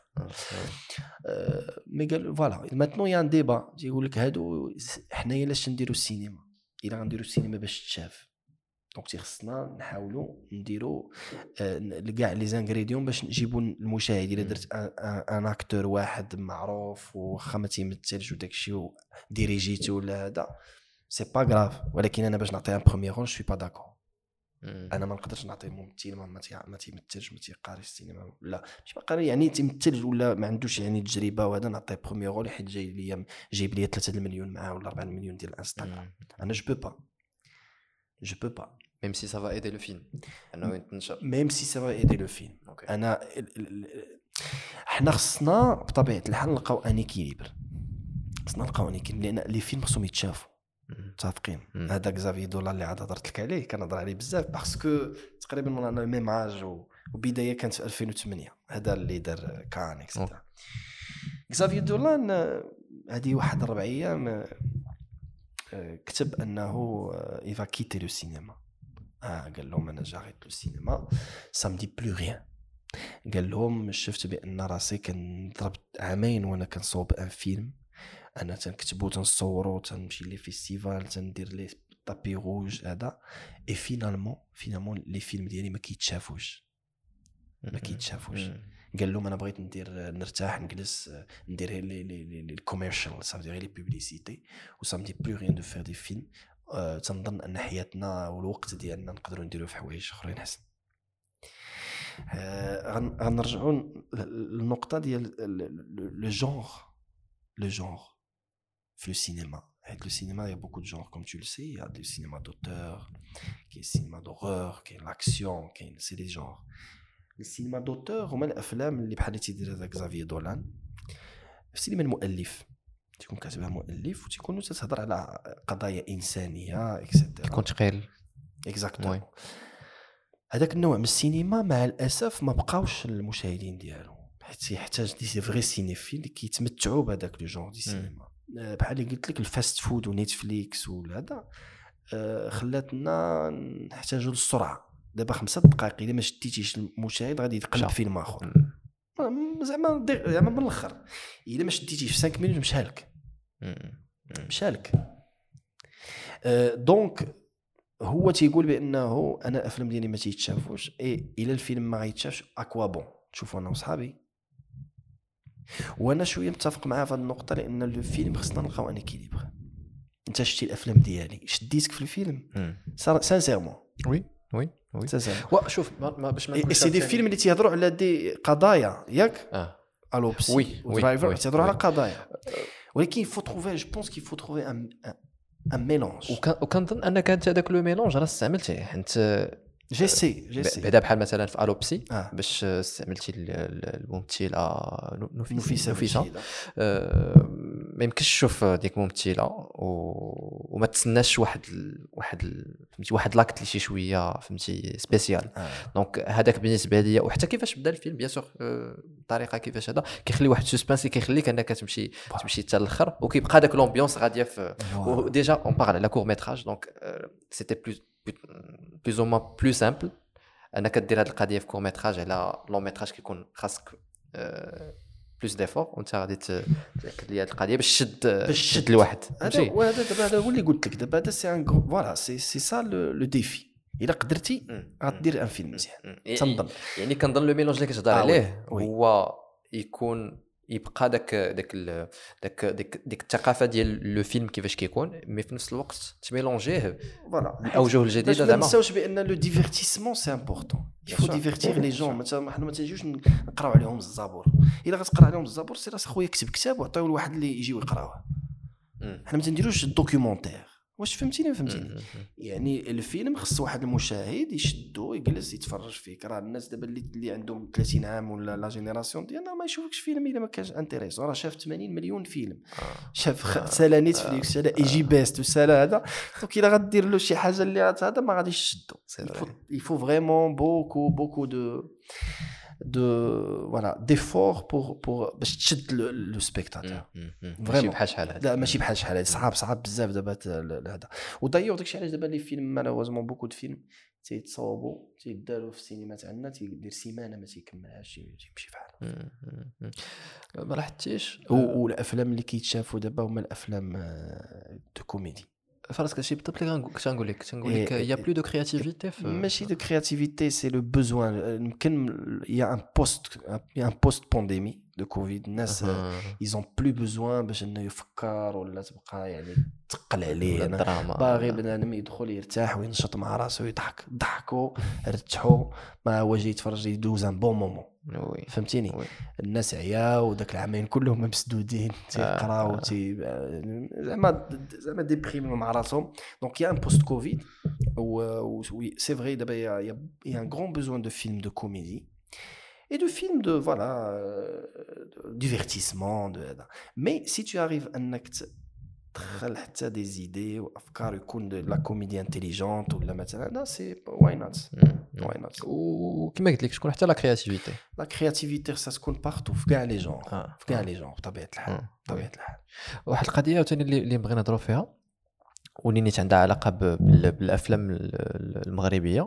مي قال فوالا ماتنو يان ديبا تيقول لك هادو حنايا لاش نديروا السينما الا غنديروا السينما باش تشاف. دونك تيخصنا نحاولوا نديروا كاع لي زانغريديون باش نجيبوا المشاهد. الا درت ان اكتور واحد معروف وخا ما تيمثلش وداكشي وديريجيتو ولا هذا سي با غراف، ولكن انا باش نعطي ان بروميير رول شوي با داكور. انا ما نقدرش نعطي ممثل ما تيمثلش ما تيقاريش السينما ولا مش باقي يعني تيمثل ولا ما عندوش يعني تجربه وهذا نعطيه بروميير رول حيت جايب لي 3 المليون معاه ولا 4 المليون ديال الانستغرام. انا جو peux pas même si ça va aider le film انه يتنشر même si ça va aider le film. انا حنا خصنا بطبيعه الحال نلقاو ان اكيليبر. خصنا نلقاو ان اكيليبر لان لي فيلم خصهم يتشافوا متفقين. هذا كزافي دولار اللي عاد هضرت لك عليه كنهضر عليه بزاف باسكو تقريبا رانا ميم عاج وبدايه كانت في 2008 هذا اللي دار كان اكسترا. كزافي دولان هذه واحد 4 ايام كتب انه يفا كيتي لو سينما. قال لهم انا جاريت لو سينما سامدي بلو ريان. قال لهم شفت بان راسي كنضرب عامين وانا كنصوب ان فيلم. انا تنكتبو تنصورو تنمشي لي فيستيفال تندير لي طابي روج هذا اي فينالمون لي فيلم ديالي ما كيتشافوش. قال لهم انا بغيت نرتاح نجلس ندير لي كوميرشال صافي لي بوبليسيتي وسامدي بلو ريان دو فير دي فيلم. تنظن ان حياتنا والوقت ديالنا نقدروا نديروا في حوايج اخرين احسن. غنرجعوا للنقطه ديال لو جونغ في السينما. حيت السينما يا بوكو دو جونغ كوم تو لو سي. يا دي سينما دوتور كاين سينما دورور كاين لاكسيون كاين سي دي جونغ. السينما دوتور هما الافلام اللي بحال اللي تيدير هذا كزافي دولان. السينما المؤلف تكون كاتبها مؤلف وتكون تهضر على قضايا انسانيه اكسترا يكون ثقيل اكزاكتومون. هذاك النوع من السينما مع الاسف ما بقاوش المشاهدين ديالو حيت يحتاج دي فري سينيفيل اللي كيتمتعوا بهذاك لو جونغ دي سينما. بحال اللي قلت لك الفاست فود ونيتفليكس ولا هذا خلاتنا نحتاجوا للسرعه. دابا 5 دقائق الا ما شديتيش المشاهد غادي يتقلب فيلم اخر زعما من الاخر. الا ما شديتيش في 5 مينوت مشالك. دونك هو تيقول بانه انا الافلام ديالي ما تيتشافوش الا الفيلم ما غيتشافش اكوا بون. تشوفوا انا وصحابي وانا شويه متفق معاه في هذه النقطه لان الفيلم خصنا نلقاو ان اكيليبر. انت شتي الافلام ديالي شديتك في الفيلم سانسيرمون وي شوف ما باش ما نقولش سي دي فيلم اللي تيهضروا على دي قضايا ياك الوبسي ودرايفر تيهضروا على قضايا ولكن فو تروفي جو بونس كي فو تروفي ان ميلونج. وكنظن انك انت هذاك لو ميلونج راه استعملتيه حيت جيسي بعدا بحال مثلا في الوبسي باش استعملتي الممثله نفيسه ما يمكنش تشوف ديك ممثله وما تسناش واحد لاكت اللي شي شويه فهمتي سبيسيال. دونك هذاك بالنسبه ليا وحتى كيفاش بدا الفيلم بيان سور الطريقه كيفاش هذا كيخلي واحد سسبانس كيخليك انك تمشي حتى الاخر وكيبقى داك لومبيونس غاديه في ديجا اون بارل على كور ميتراج. دونك سيتي plus ou moins plus simple انك دير هذه القضيه في كور ميتراج على لون ميتراج كيكون خاصك بلوس ديفور وانت غادي تاكد لي هذه القضيه باش تشد الواحد. هذا هو اللي قلت لك دابا هذا سي ان فوالا سي سا لو ديفي. الا قدرتي غدير ان فيلم مزيان تنظن. يعني كنظن لو ميلونج اللي كتهضر عليه هو يكون يبقى داك الثقافه ديال لو فيلم كيفاش كيكون مي في نفس الوقت تميلونجيه فوالا الاوجه الجديده. زعما ما نساوش بان لو ديفيرتيسمون سي امبورطون. يفو ديفيرتيغ لي جون. حنا ما تجيوش نقراو عليهم الزبور. الا غتقرا عليهم الزبور سير خويا كتب كتاب وعطيوه لواحد اللي يجي ويقراوه. حنا ما تنديروش الدوكيومونتير. واش فهمتيني يعني الفيلم خص واحد المشاهد يشدو يجلس يتفرج فيه. راه الناس دابا اللي عندهم 30 عام ولا لا جينيراسيون ديالنا ما يشوفكش فيلم الا ما كانش انتريسون. راه شاف 80 مليون فيلم شاف سالا نيتفليكس سالا اي جي بيست وسالا هذا. دونك الا غدير له شي حاجه اللي هذا ما غاديش يشدو. يفو فريمون بوكو دو d'effort pour باش تشد لو سبيكتاتور فريمون بحال شحال هذا لا ماشي بحال شحال صعاب بزاف دابا هذا ودايوغ داكشي علاش دابا لي فيلم مالوزمون بوكو دو فيلم تيتصاوبوا تيداروا في السينما تاعنا تيدير سيمانه ما تيكملهاش تيمشي بحال ما لاحظتيش والافلام اللي كيتشافوا دابا هما الافلام دو كوميدي فراسك هادشي بالضبط اللي كنقول لك يا بلو دو كرياتيفيتي ماشي دو كرياتيفيتي سي لو بوزوان يمكن يا ان بوست بانديمي دو كوفيد الناس ils ont plus besoin باش انه يفكر ولا تبقى يعني تقل عليه انا باغي بنادم يدخل يرتاح وينشط مع راسه ويضحك ضحكوا رتحوا ما هو جاي يتفرج يدوز ان بون مومون فهمتيني الناس عيا وداك العامين كلهم مسدودين تيقراو زعما ديبريم مع راسهم دونك يا ان بوست كوفيد وي سي فري دابا يا ان غران بوزوان دو فيلم دو كوميدي et de films de divertissement mais si tu arrives انك تدخل حتى دي زيدي وافكار يكون لا كوميدي انتيليجونت ولا مثلا لا سي واي نوت وكما قلت لك شكون حتى لا كرياتيفيتي سا تكون بارتو في كاع لي جون في كاع لي جون بطبيعه الحال واحد القضيه عاوتاني اللي بغينا نهضروا فيها واللي نيت عندها علاقه بالافلام المغربيه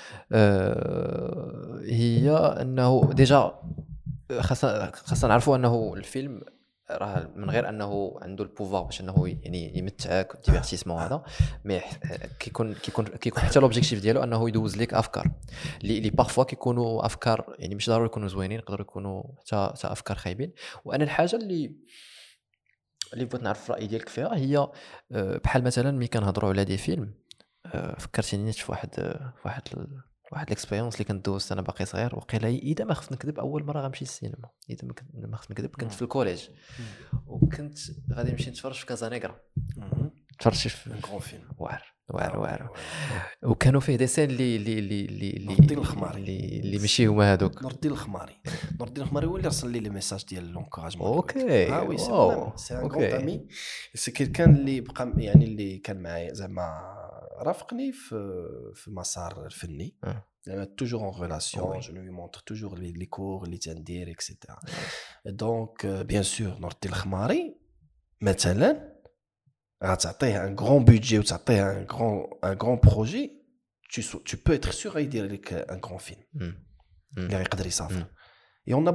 هي انه ديجا خاصنا نعرفوا انه الفيلم راه من غير انه عنده البوفوار باش انه يعني يمتعك ديفيرتيسمون هذا مي كيكون حتى لوبجيكتيف ديالو انه يدوز لك افكار اللي بارفوا كيكونوا افكار يعني مش ضروري يكونوا زوينين يقدروا يكونوا حتى افكار خايبين. وانا الحاجه اللي بغيت نعرف الراي ديالك فيها هي بحال مثلا ملي كنهضروا على دي فيلم فكرتيني في واحد الاكسبيريونس اللي كنت دوزت انا باقي صغير وقيلا اذا ما خفت نكذب اول مره غنمشي للسينما اذا ما خفت نكذب كنت في الكوليج وكنت غادي نمشي نتفرج في كازانيغرا تفرجت في غون فيلم واعر وكانوا فيه دي سين اللي نور الدين الخماري اللي ماشي هما هذوك نور الدين الخماري هو اللي رسل لي لي ميساج ديال لونكوراجمون اوكي وي سي ان غون امي سي كيلكان اللي بقى يعني اللي كان معايا زعما رافقني في المسار الفني زعما توجور اون ريلاسيون جو لوي مونتر توجور لي كور اللي تندير اكسيتيرا دونك بيان سور نور الدين الخماري مثلا غتعطيه ان غران بودجي وتعطيه ان غران بروجي tu peux être sûr يدير لك ان غران فيلم اللي يقدر يسافر يون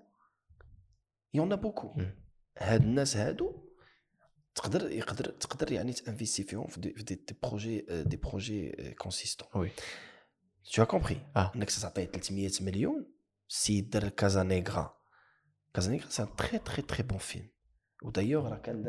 بوكو هاد الناس هادو تقدر يعني تانفيستي فيهم في دي بروجي كونسيستون وي tu as compris انك تعطيه 300 مليون سي دار كازانيغرا سي ان تري تري تري بون فيلم ودايوغ راه كان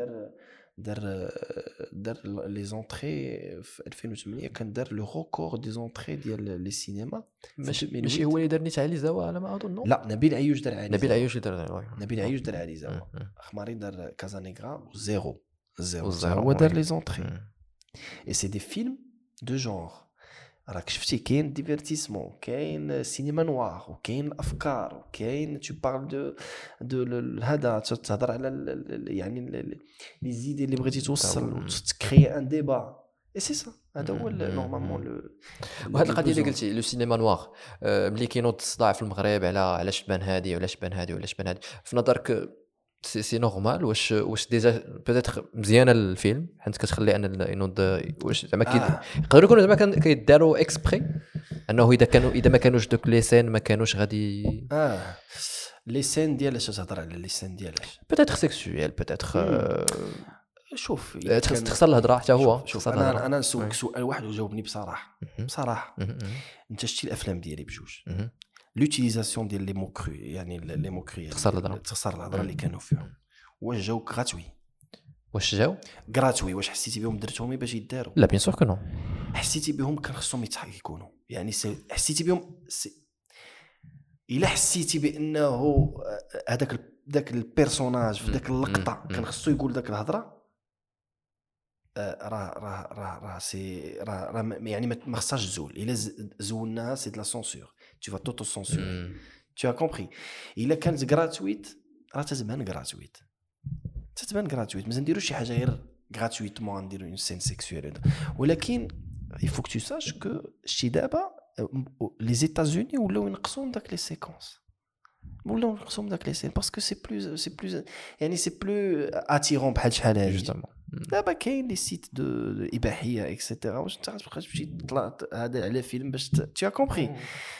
دار لي زونطري في 2008 كان دار لو ريكورد دي زونطري ديال لي سينما ماشي هو اللي دار نيت علي زاوا على ما اظن لا نبيل عيوش دار علي زاوا خماري دار كازانيغرا زيرو هو دار لي زونطري اي سي دي فيلم دو جونغ راك شفتي كاين ديفيرتيسمون كاين سينما نوار وكاين افكار وكاين tu parles de هذا تهضر على يعني لي زيدي اللي بغيتي توصل وتكري ان ديبا اي سي سا هذا هو نورمالمون وهاد القضيه اللي قلتي لو سينما نوار ملي كينوض الصداع في المغرب على شبان هادي ولا شبان هادي في نظرك سي نورمال واش ديجا بيتيتر مزيانه الفيلم حيت كتخلي ان ينوض واش زعما يقدروا يكونوا زعما كيداروا اكسبري انه اذا ما كانوش دوك لي سين ما كانوش غادي لي سين ديالاش تهضر على لي سين ديالاش بيتيتر سيكسويل بيتيتر شوف تخسر الهضره حتى هو شوف انا نسولك سؤال واحد وجاوبني بصراحه انت شتي الافلام ديالي بجوج لوتيليزاسيون ديال لي موكرو يعني لي موكرو تخسر الهضره اللي كانوا فيهم واش جاو غراتوي غراتوي واش حسيتي بهم درتهم باش يداروا لا بيان سور كو نو حسيتي بهم كان خصهم يكونوا يعني حسيتي بهم الا حسيتي بانه داك البيرسوناج في داك اللقطه كان خصو يقول داك الهضره راه يعني ما خصهاش تزول الا زولناها سي دو لا سونسور tu vas t'auto-censurer tu as compris الا كانت غراتويت راه تتبان غراتويت ما نديروش شي حاجه غير غراتويتمون نديرو اون سين سيكسويل ولكن il faut que tu saches que شي دابا لي زيتازوني ولاو ينقصوا داك لي سيكونس ولا نقصهم داك لي سين باسكو سي بلوز يعني سي بلو اتيرون بحال شحال هادي جوستومون. دابا كاين لي سيت دو اباحيه اكسيتيرا واش انت غتبقى تمشي تطلع هذا على فيلم باش تي كومبري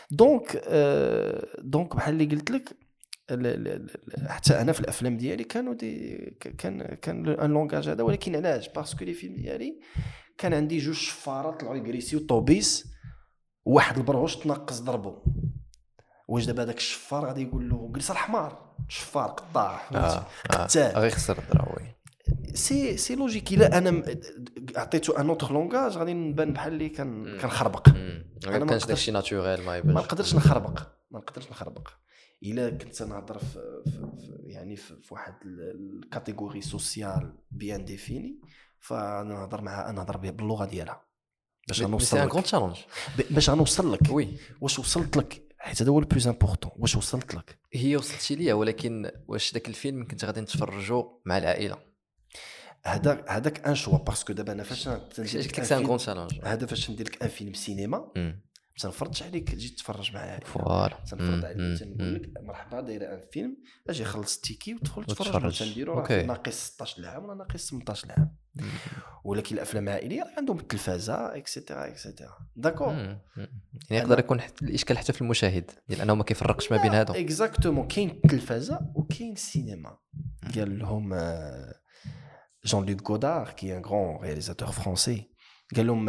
دونك بحال اللي قلت لك حتى انا في الافلام ديالي كانوا كان ان لونغاج هذا ولكن علاش باسكو لي فيلم ديالي كان عندي جوج شفارات طلعوا يغريسيو طوبيس واحد البرغوش تنقص ضربو واش دابا داك الشفار غادي يقول له جلس الحمار شفار قطاع قتال غير خسر الدراوي سي لوجيك الا انا عطيته ان اوتر لونغاج غادي نبان بحال اللي كنخربق انا ما كانش داكشي ناتوريل ما نقدرش نخربق الا كنت نهضر يعني في واحد الكاتيجوري سوسيال بيان ديفيني فنهضر باللغه ديالها باش نوصل لك باش نوصل لك وي واش وصلت لك حيت هذا هو البلوز امبورطون واش وصلت لك هي وصلتي ليا ولكن واش داك الفيلم كنت غادي نتفرجوا مع العائله هذاك ان شوا باسكو دابا انا فاش قلت لك سان كون تشالنج هذا فاش ندير لك ان فيلم سينما تنفرضش عليك تجي تتفرج معايا فوالا تنفرض عليك تنقول لك مرحبا دايره ان فيلم اجي خلص التيكي وتدخل تتفرج تنديرو راه ناقص 16 عام ولا ناقص 18 عام ولكن الافلام العائليه عندهم التلفازه اكسيتيرا داكور يعني يقدر يكون الاشكال حتى في المشاهد لانه ما كيفرقش ما بين هادو اكزاكتومون كاين التلفازه وكاين السينما قال لهم Jean-Luc Godard qui est un grand réalisateur français قال لهم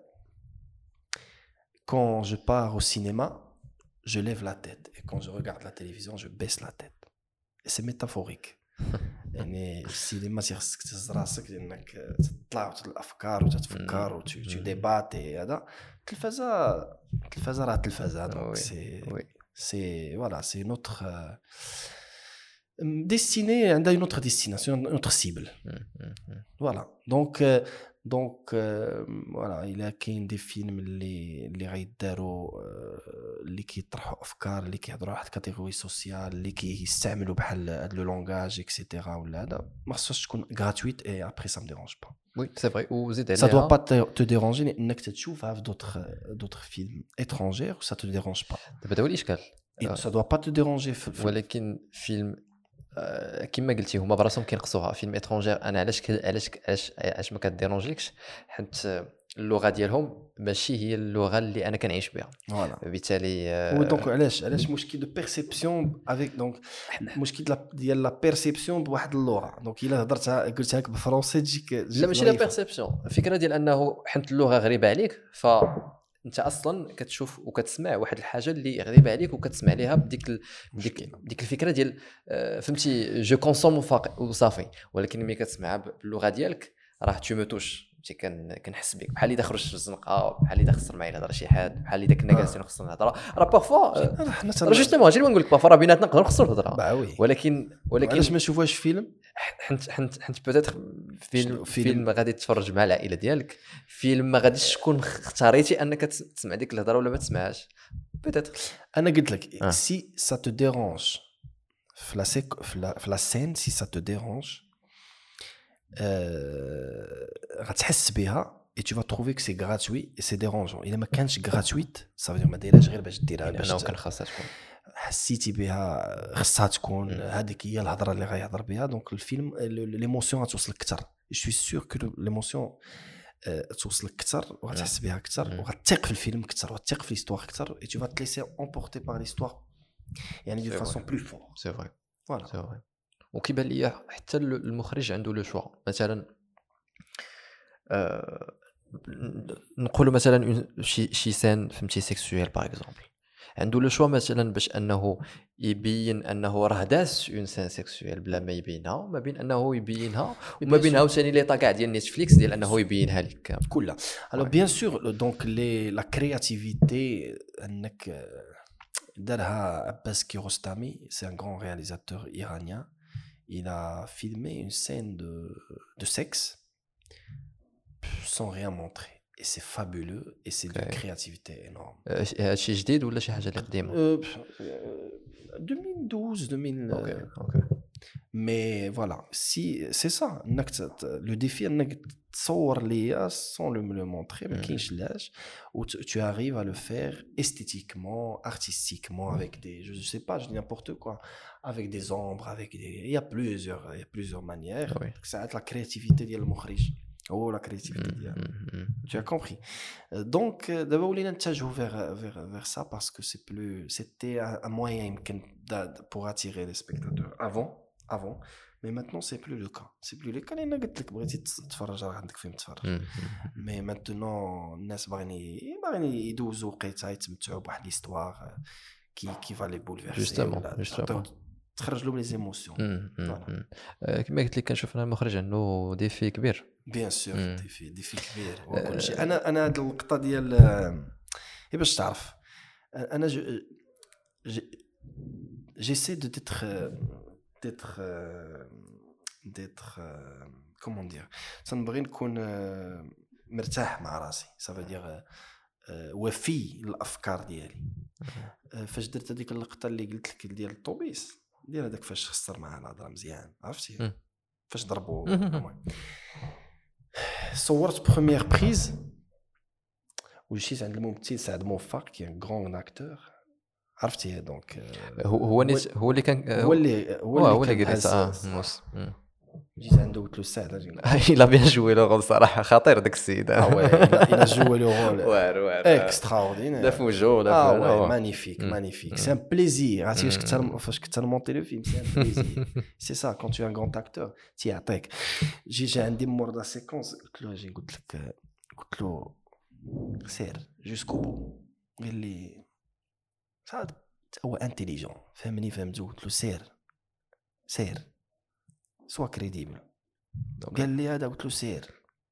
quand je pars au cinéma je lève la tête et quand je regarde la télévision je baisse la tête et c'est métaphorique يعني السينما تيخصك تهز راسك لانك تطلع الافكار وتتفكر وتو ديباتي هذا التلفازه راه التلفازه دونك سي فوالا سي نوتر destiné à une autre destination, une autre cible. Voilà. Donc voilà, il y a des films اللي غيداروا اللي كيطرحوا افكار اللي كيهضروا على واحد كاتيجوري سوسيال اللي كيستعملوا بحال هاد لو لونغاج اكسيتيرا ولا هذا ما خصهاش تكون غراتويت اي ابري سا مديرونج با. وي سي فري وزيد عليها ça doit pas te déranger لانك تشوفها في d'autres films étrangers ça te dérange pas. دابا هو الاشكال ça doit pas te déranger ولكن فيلم كما قلتي هما براسهم كينقصوها فيلم اترونجير انا علاش ما كديرونجيكش حيت اللغه ديالهم ماشي هي اللغه اللي انا كنعيش بها بالتالي دونك علاش مشكل دو بيرسيبسيون افيك دونك مشكل ديال لا بيرسيبسيون بواحد اللغه دونك الا هضرتها قلتها لك بالفرنسي تجيك لا ماشي لا بيرسيبسيون الفكره ديال انه حيت اللغه غريبه عليك انت اصلا كتشوف وكتسمع واحد الحاجه اللي غريبه عليك وكتسمع ليها بديك الفكره ديال فهمتي جو كونسوم وصافي ولكن ملي كتسمعها باللغه ديالك راه تو موتوش كنحس بك بحال اللي خرجت في الزنقه بحال اللي خسر معايا نهضر شي حد بحال اللي كنا جالسين خصنا نهضر راه بارفوا حنا جوستومون هادشي اللي نقول لك بارفوا راه بيناتنا نقدروا نخسروا الهضره ولكن علاش ما نشوفوهاش فيلم حنت بوتيتر فيلم غادي تتفرج مع العائله ديالك فيلم ما غاديش تكون اختاريتي انك تسمع ديك الهضره ولا ما تسمعهاش بوتيتر انا قلت لك سي سا تو ديرونج في لا سين سي سا تو ديرونج غتحس بها et tu vas trouver que c'est gratuit et c'est dérangeant. Il ما كانش gratuit ça veut dire ما دايرهاش غير باش ديرها باش انا كان خاصها تكون حسيتي بها خصها تكون هذيك هي الهضره اللي غيهضر بها دونك الفيلم ليموسيون غتوصلك اكثر جو سوي سور كو ليموسيون توصلك اكثر وغتحس بها اكثر وغتثق في الفيلم اكثر وغتثق في ليستوار اكثر et tu vas te laisser emporter par l'histoire يعني de façon plus forte. C'est vrai. Voilà. C'est vrai. وكيبان لي حتى المخرج عنده لو شوا مثلا نقولوا مثلا شي سين فهمتي سيكسويل باغ اكزومبل عنده لو شوا مثلا باش انه يبين انه راه داس اون سين سيكسويل بلا ما يبينها وما بين انه يبينها وما بين عاوتاني لي طا كاع ديال نيتفليكس ديال انه يبينها لك كلها. الو بيان سور دونك لي لا كرياتيفيتي انك دارها عباس كيروستامي سي ان غران رياليزاتور ايرانيان il a filmé une scène de sexe sans rien montrer et c'est fabuleux et c'est de créativité énorme. هادشي جديد ولا شي حاجه اللي قديمه 2012 2000 اوكي mais voilà si c'est ça le défi انك تصور ليا sans me le montrer ما كاينش لاش ou tu arrives à le faire esthétiquement artistiquement avec des je sais pas je dis n'importe quoi avec des ombres avec des il y a plusieurs manières ça la créativité ديال المخرج Oh, la créativité. Tu as compris. Donc, d'abord, on a vers ça parce que c'était un moyen pour attirer les spectateurs avant. Mais maintenant, c'est plus le cas. C'est plus le cas. Il y a des gens qui mais maintenant, الناس باغيين يدوزوا وقيته يتمتعوا بواحد l'histoire qui va les bouleverser. تخرج لهم لي زيموسيون. كما قلت لك كنشوف انا المخرج عنده ديفي كبير بيان سور ديفي كبير وكل شيء. انا هاد اللقطه ديال باش تعرف انا j'essaie d'être comment dire تنبغي نكون مرتاح مع راسي ça veut dire وفي الافكار ديالي. فاش درت هذيك اللقطه اللي قلت لك ديال الطوبيس ديال هذاك فاش خسر معاه الهضره مزيان عرفتي فاش ضربوا صورت بروميير بريز ومشيت عند الممثل سعد موفق كي ان غران اكتور عرفتي دونك هو اللي كان هو اللي قريت موس جيت عنده قلت له سعد الا بيان جوي لو رول صراحه خطير داك السيد الا جوي لو رول وار اكستراوردينير لا فوجو لا مانيفيك سي ان بليزير عرفتي فاش كنت نمونتي لو فيلم سي ان بليزير سي سا كون تو ان غران اكتور تيعطيك جي عندي مور دا سيكونس قلت له سير جوسكو بو قال لي صاد هو انتيليجون فهمني فهمتو قلت له سير سوا كريديبل قال لي هذا قلت له سير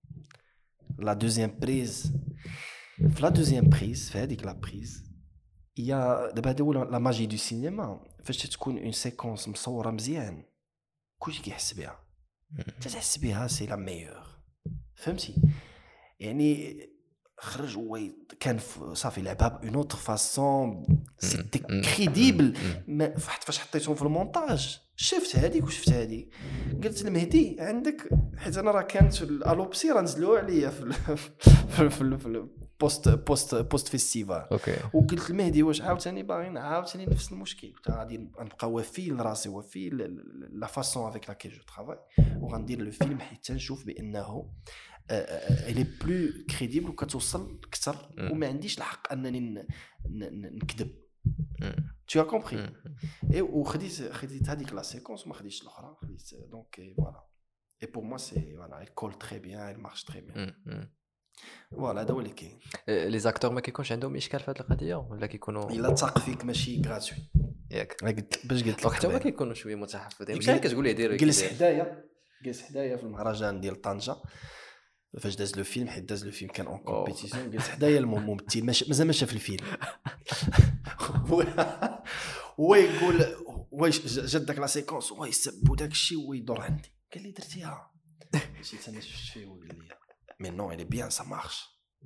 لا دوزيام بريز في لا دوزيام بريز في هذيك لا بريز يا دابا هذا هو لا ماجي دو سينما فاش تكون اون سيكونس مصوره مزيان كلشي كيحس بها تحس بها سي لا ميور فهمتي يعني خرج هو كان صافي لعبها بون اوتر فاسون سيتي كريديبل فاش حطيتهم في المونتاج شفت هذيك وشفت هذيك قلت المهدي عندك حيت انا راه كانت الالوبسي راه نزلوها عليا في بوست فيستيفال وقلت المهدي واش عاوتاني باغي عاوتاني نفس المشكل قلت غادي نبقى وفي لراسي وفي لا فاسون افيك لاكي جو ترافاي وغندير لو فيلم حتى نشوف بانه elle est plus crédible وكتوصل اكثر وما عنديش الحق انني نكذب tu as compris et خديت هذيك لا سيكونس ما خديتش الاخرى خديت دونك فوالا et pour moi c'est voilà elle colle très bien elle marche très bien فوالا هذا هو اللي كاين. لي زاكتور ما كيكونش عندهم اشكال في هذه القضيه ولا كيكونوا الا تاق فيك ماشي غراتوي ياك باش قلت لك حتى هما كيكونوا شويه متحفظين ماشي كتقول لي دير جلس حدايا في المهرجان ديال طنجه فاش داز لو فيلم حيت داز لو فيلم كان اون كومبيتيسيون جلس حدايا الممثل مازال ما شاف الفيلم هو يقول واش جات داك لا سيكونس هو يسب داك الشيء ويدور عندي قال لي درتيها مشيت انا شفت فيه وقال لي مي نو الي بيان سا مارش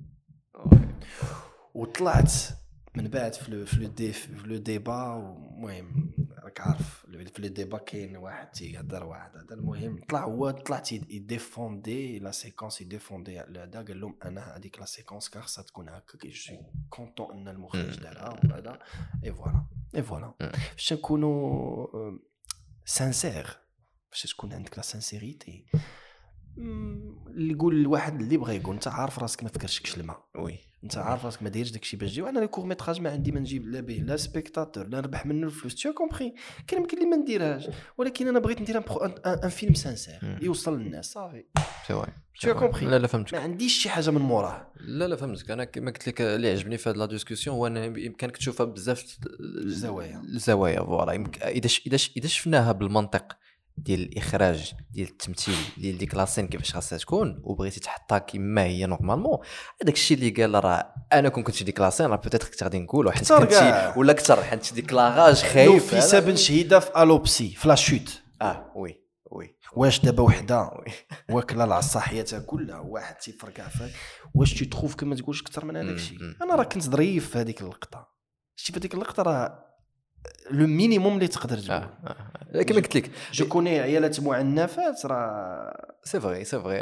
وطلعت من بعد في لو ديبا المهم راك عارف في لو ديبا كاين واحد تيهضر واحد هذا المهم طلعت يديفوندي لا سيكونس يديفوندي هذا قال لهم انا هذيك لا سيكونس خاصها تكون هكا كي جو كونطون ان المخرج دارها وهذا اي فوالا باش نكونوا سانسير باش تكون عندك لا سانسيريتي اللي يقول الواحد اللي بغى يقول انت عارف راسك ما فكرتش الماء وي انت عارف راسك ما دايرش داكشي باش تجي وانا لي كور ميتراج ما عندي ما نجيب لا به لا سبيكتاتور لا نربح منه الفلوس تي كومبري كاين يمكن لي ما نديرهاش ولكن انا بغيت ندير ان فيلم سانسير يوصل للناس صافي سي واي تي كومبري لا فهمتك ما عنديش شي حاجه من موراه لا فهمتك انا كما قلت لك اللي عجبني في هذه لا ديسكوسيون هو انه بامكانك تشوفها بزاف الزوايا فوالا اذا شفناها بالمنطق ديال الاخراج ديال التمثيل ديال ديك لاسين كيفاش خاصها تكون وبغيتي تحطها كما هي نورمالمون هذاك الشيء اللي قال راه انا كنت ديك لاسين راه بوتيتر كنت غادي نقولوا حيت كنتي ولا اكثر حيت ديك لاغاج خايف في سبن شهيده في الوبسي في لا شوت وي واش دابا وحده واكله العصا حياتها كلها واحد تيفرقع فيها واش تي تخوف كما تقولش اكثر من هذاك الشيء انا راه كنت ظريف في هذيك اللقطه شتي في هذيك اللقطه راه لو مينيموم اللي تقدر تقول. كما قلت لك جو كوني عيالات معنفات راه سي فري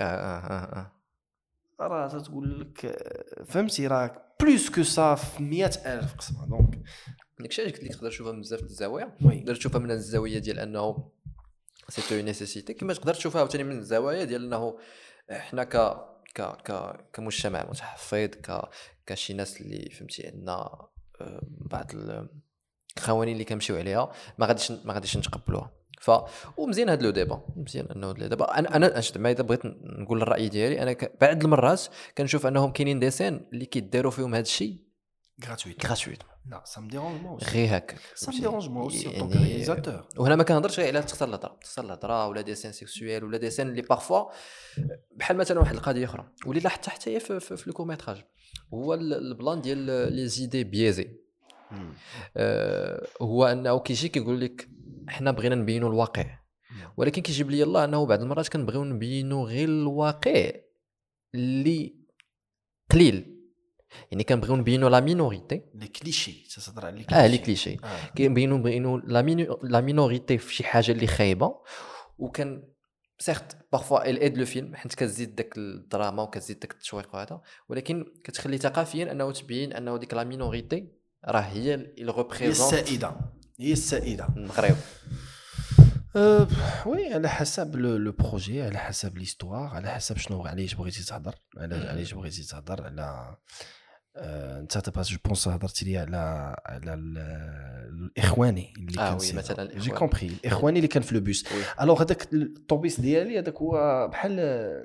راه تقول لك فهمتي راه بلوس كو صا في 100,000 قسمه. دونك داكشي علاش قلت لك تقدر تشوفها من بزاف د الزوايا. وي. تقدر تشوفها من الزاويه ديال انه سي اون نيسيسيتي، كما تقدر تشوفها عاوتاني من الزوايا ديال انه حنا كمجتمع متحفظ، كشي ناس اللي فهمتي عندنا بعض القوانين اللي كنمشيو عليها ما غاديش نتقبلوها. ومزيان هذا لو ديبا، مزيان انه دابا انا زعما اذا بغيت نقول الراي ديالي انا بعض المرات كنشوف انهم كاينين ديسين اللي كيديروا فيهم هذا الشيء غراتويت. لا سا مي ديرونج مو غير هكا سا مي ديرونج مو اوسي اون طونك رياليزاتور. وهنا ما كنهضرش غير على تختار الهضره ولا ديسين سيكسويل ولا ديسين اللي بارفوا بحال مثلا واحد القضيه اخرى واللي لاحظت حتى هي في الكوميتراج، هو البلان ديال لي زيدي بيزي. هو انه كيجي كيقول لك حنا بغينا نبينوا الواقع، ولكن كيجيب لي الله انه بعض المرات كنبغيو نبينوا غير الواقع اللي قليل، يعني كنبغيو نبينوا لا مينوريتي لي كليشي تهضر على لي كليشي كنبغيو لا مينوريتي في شي حاجه اللي خايبه. وكان سيرت بارفوا ال ايد لو فيلم حيت كتزيد داك الدراما وكتزيد داك التشويق وهذا، ولكن كتخلي ثقافيا انه تبين انه ديك لا مينوريتي راه هي اللي ريبريزونت هي السائده المغرب. وي على حسب لو بروجي، على حسب ليستوار، على حسب شنو علاش بغيتي تهضر، علاش بغيتي تهضر على انت تبغى جو بونس هضرتي لي على الاخواني اللي كان وي مثلا جي كومبري الاخواني اللي كان في لو بوس. الوغ هذاك الطوبيس ديالي هذاك هو بحال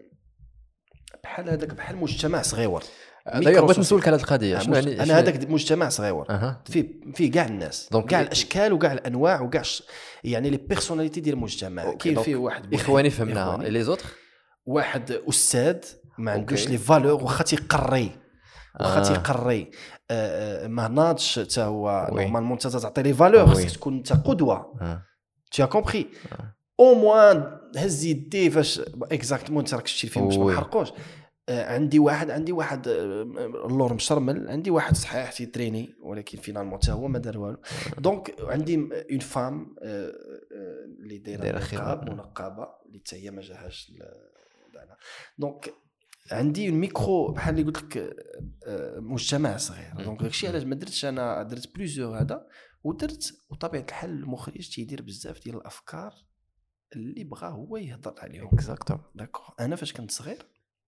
هذاك بحال مجتمع صغيور. داير بغيت نسولك على هذه القضيه شنو يعني انا هذاك مجتمع صغيور فيه كاع الناس كاع الاشكال وكاع الانواع وكاع يعني لي بيرسوناليتي ديال المجتمع. كاين فيه واحد اخواني فهمناها لي زوتر، واحد استاذ ما عندوش لي فالور واخا تيقري ما ناضش حتى هو نورمالمون انت تعطي لي فالور خصك تكون انت قدوه. tu as compris au moins هز يدي فاش اكزاكتومون انت راك شتي الفيلم باش ما نحرقوش. عندي واحد اللور مشرمل، عندي واحد صحيح تيتريني ولكن فينالمون حتى هو ما دار والو. دونك عندي اون فام اللي دايره منقبه اللي حتى هي ما جاهاش دونك عندي اون ميكرو بحال اللي قلت لك مجتمع صغير. دونك داكشي علاش ما درتش انا درت بليزيور هذا وطبيعه الحال المخرج تيدير بزاف ديال الافكار اللي بغا هو يهضر عليهم. اكزاكتوم داكور. انا فاش كنت صغير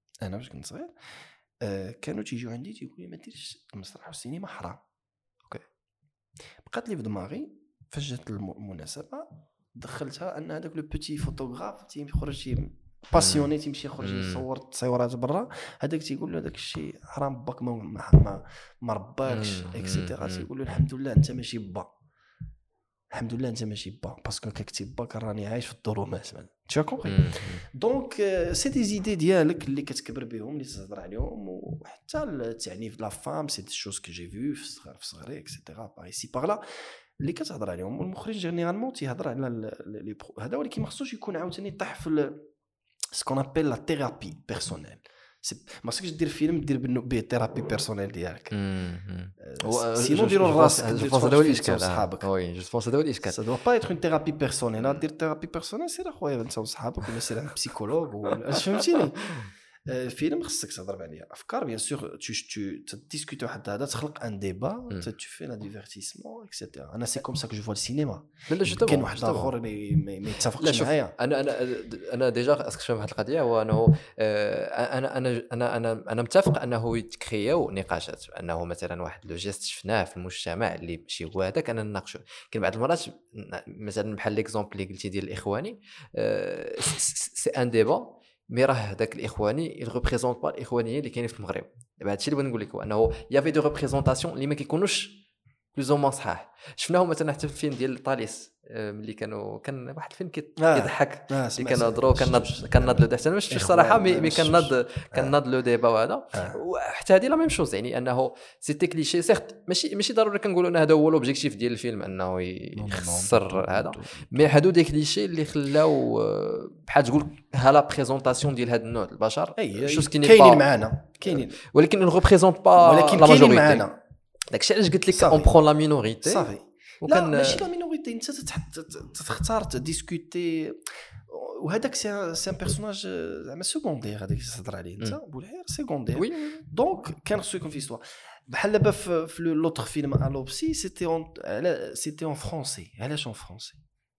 كانوا تيجيو عندي تيقولوا لي ما ديرش المسرح والسينما حرام. اوكي بقات لي في دماغي فاش جات المناسبه دخلتها ان هذاك لو بوتي فوتوغراف تيخرج باسيوني تيمشي يخرج يصور تصويرات برا، هذاك تيقول له داك الشيء حرام باك ما رباكش اكسيتيرا. تيقول له الحمد لله انت ماشي با، الحمد لله انت ماشي با باسكو كتكتب با راني عايش في الظلمات. tu as compris. دونك سي دي زيدي ديالك اللي كتكبر بهم اللي تهضر عليهم. وحتى التعنيف د لا فام سي دي شوز كو جي فيو في صغري اكسيتيرا باغ ايسي باغ لا اللي كتهضر عليهم. والمخرج جينيرالمون تيهضر على هذا، ولكن ما خصوش يكون عاوتاني يطيح في سكون ابل لا ثيرابي بيرسونيل. ما خصكش دير فيلم دير به ثيرابي بيرسونيل ديالك سينو ديروا راسك هذا هو الاشكال. وي جو بونس هذا هو الاشكال. سا دو با ايتر اون ثيرابي بيرسونيل. دير ثيرابي بيرسونيل سير اخويا انت وصحابك ولا سير عند بسيكولوج ولا فهمتيني. فيلم خصك تهضر عليه افكار بيان سور تو تديسكوتي واحد هذا تخلق ان ديبا تو في لا ديفيرتيسمون اكسيتيرا. انا سي كوم سا كو جو فوا السينما. كاين واحد اخر اللي ما يتفقش معايا. انا ديجا اسك فهم واحد القضيه هو انه انا متفق انه يتكرياو نقاشات انه مثلا واحد لو جيست شفناه في المجتمع اللي ماشي هو هذاك انا نناقشو. كاين بعض المرات مثلا بحال ليكزامبل اللي قلتي ديال الاخواني سي ان ديبا مي راه هذاك الاخواني ريبريزونط با الاخوانيه اللي كاينين في المغرب. دابا هادشي اللي بغيت نقول لك هو انه يافي دو ريبريزونطاسيون اللي ما كيكونوش بلوز او مان صحاح. شفناهم مثلا حتى في الفيلم ديال طاليس ملي كان واحد الفيلم كيضحك اللي كنهضروا كناض لو دحت انا ما شفتش الصراحه مي كناض لو ديبا وهذا. وحتى هذه لا ميم شوز يعني انه سيتي كليشي سيرت ماشي ضروري كنقولوا ان هذا هو لوبجيكتيف ديال الفيلم انه يخسر هذا، مي هادو دي كليشي اللي خلاو بحال تقول ها لا بريزونطاسيون ديال هذا النوع البشر شوز كاينين معنا ولكن اون ريبريزونط با ولكن كاينين معنا. داكشي علاش قلت لك اون برون لا مينوريتي صافي لا ماشي لا مينوريتي، انت تختار تديسكوتي، وهذاك سي ان بيرسوناج زعما سكوندير هذاك اللي تهضر عليه انت بولحير سكوندير. دونك كان خصو يكون في استوار بحال دابا في لوطر فيلم الوبسي سيتي اون فرونسي. علاش اون فرونسي؟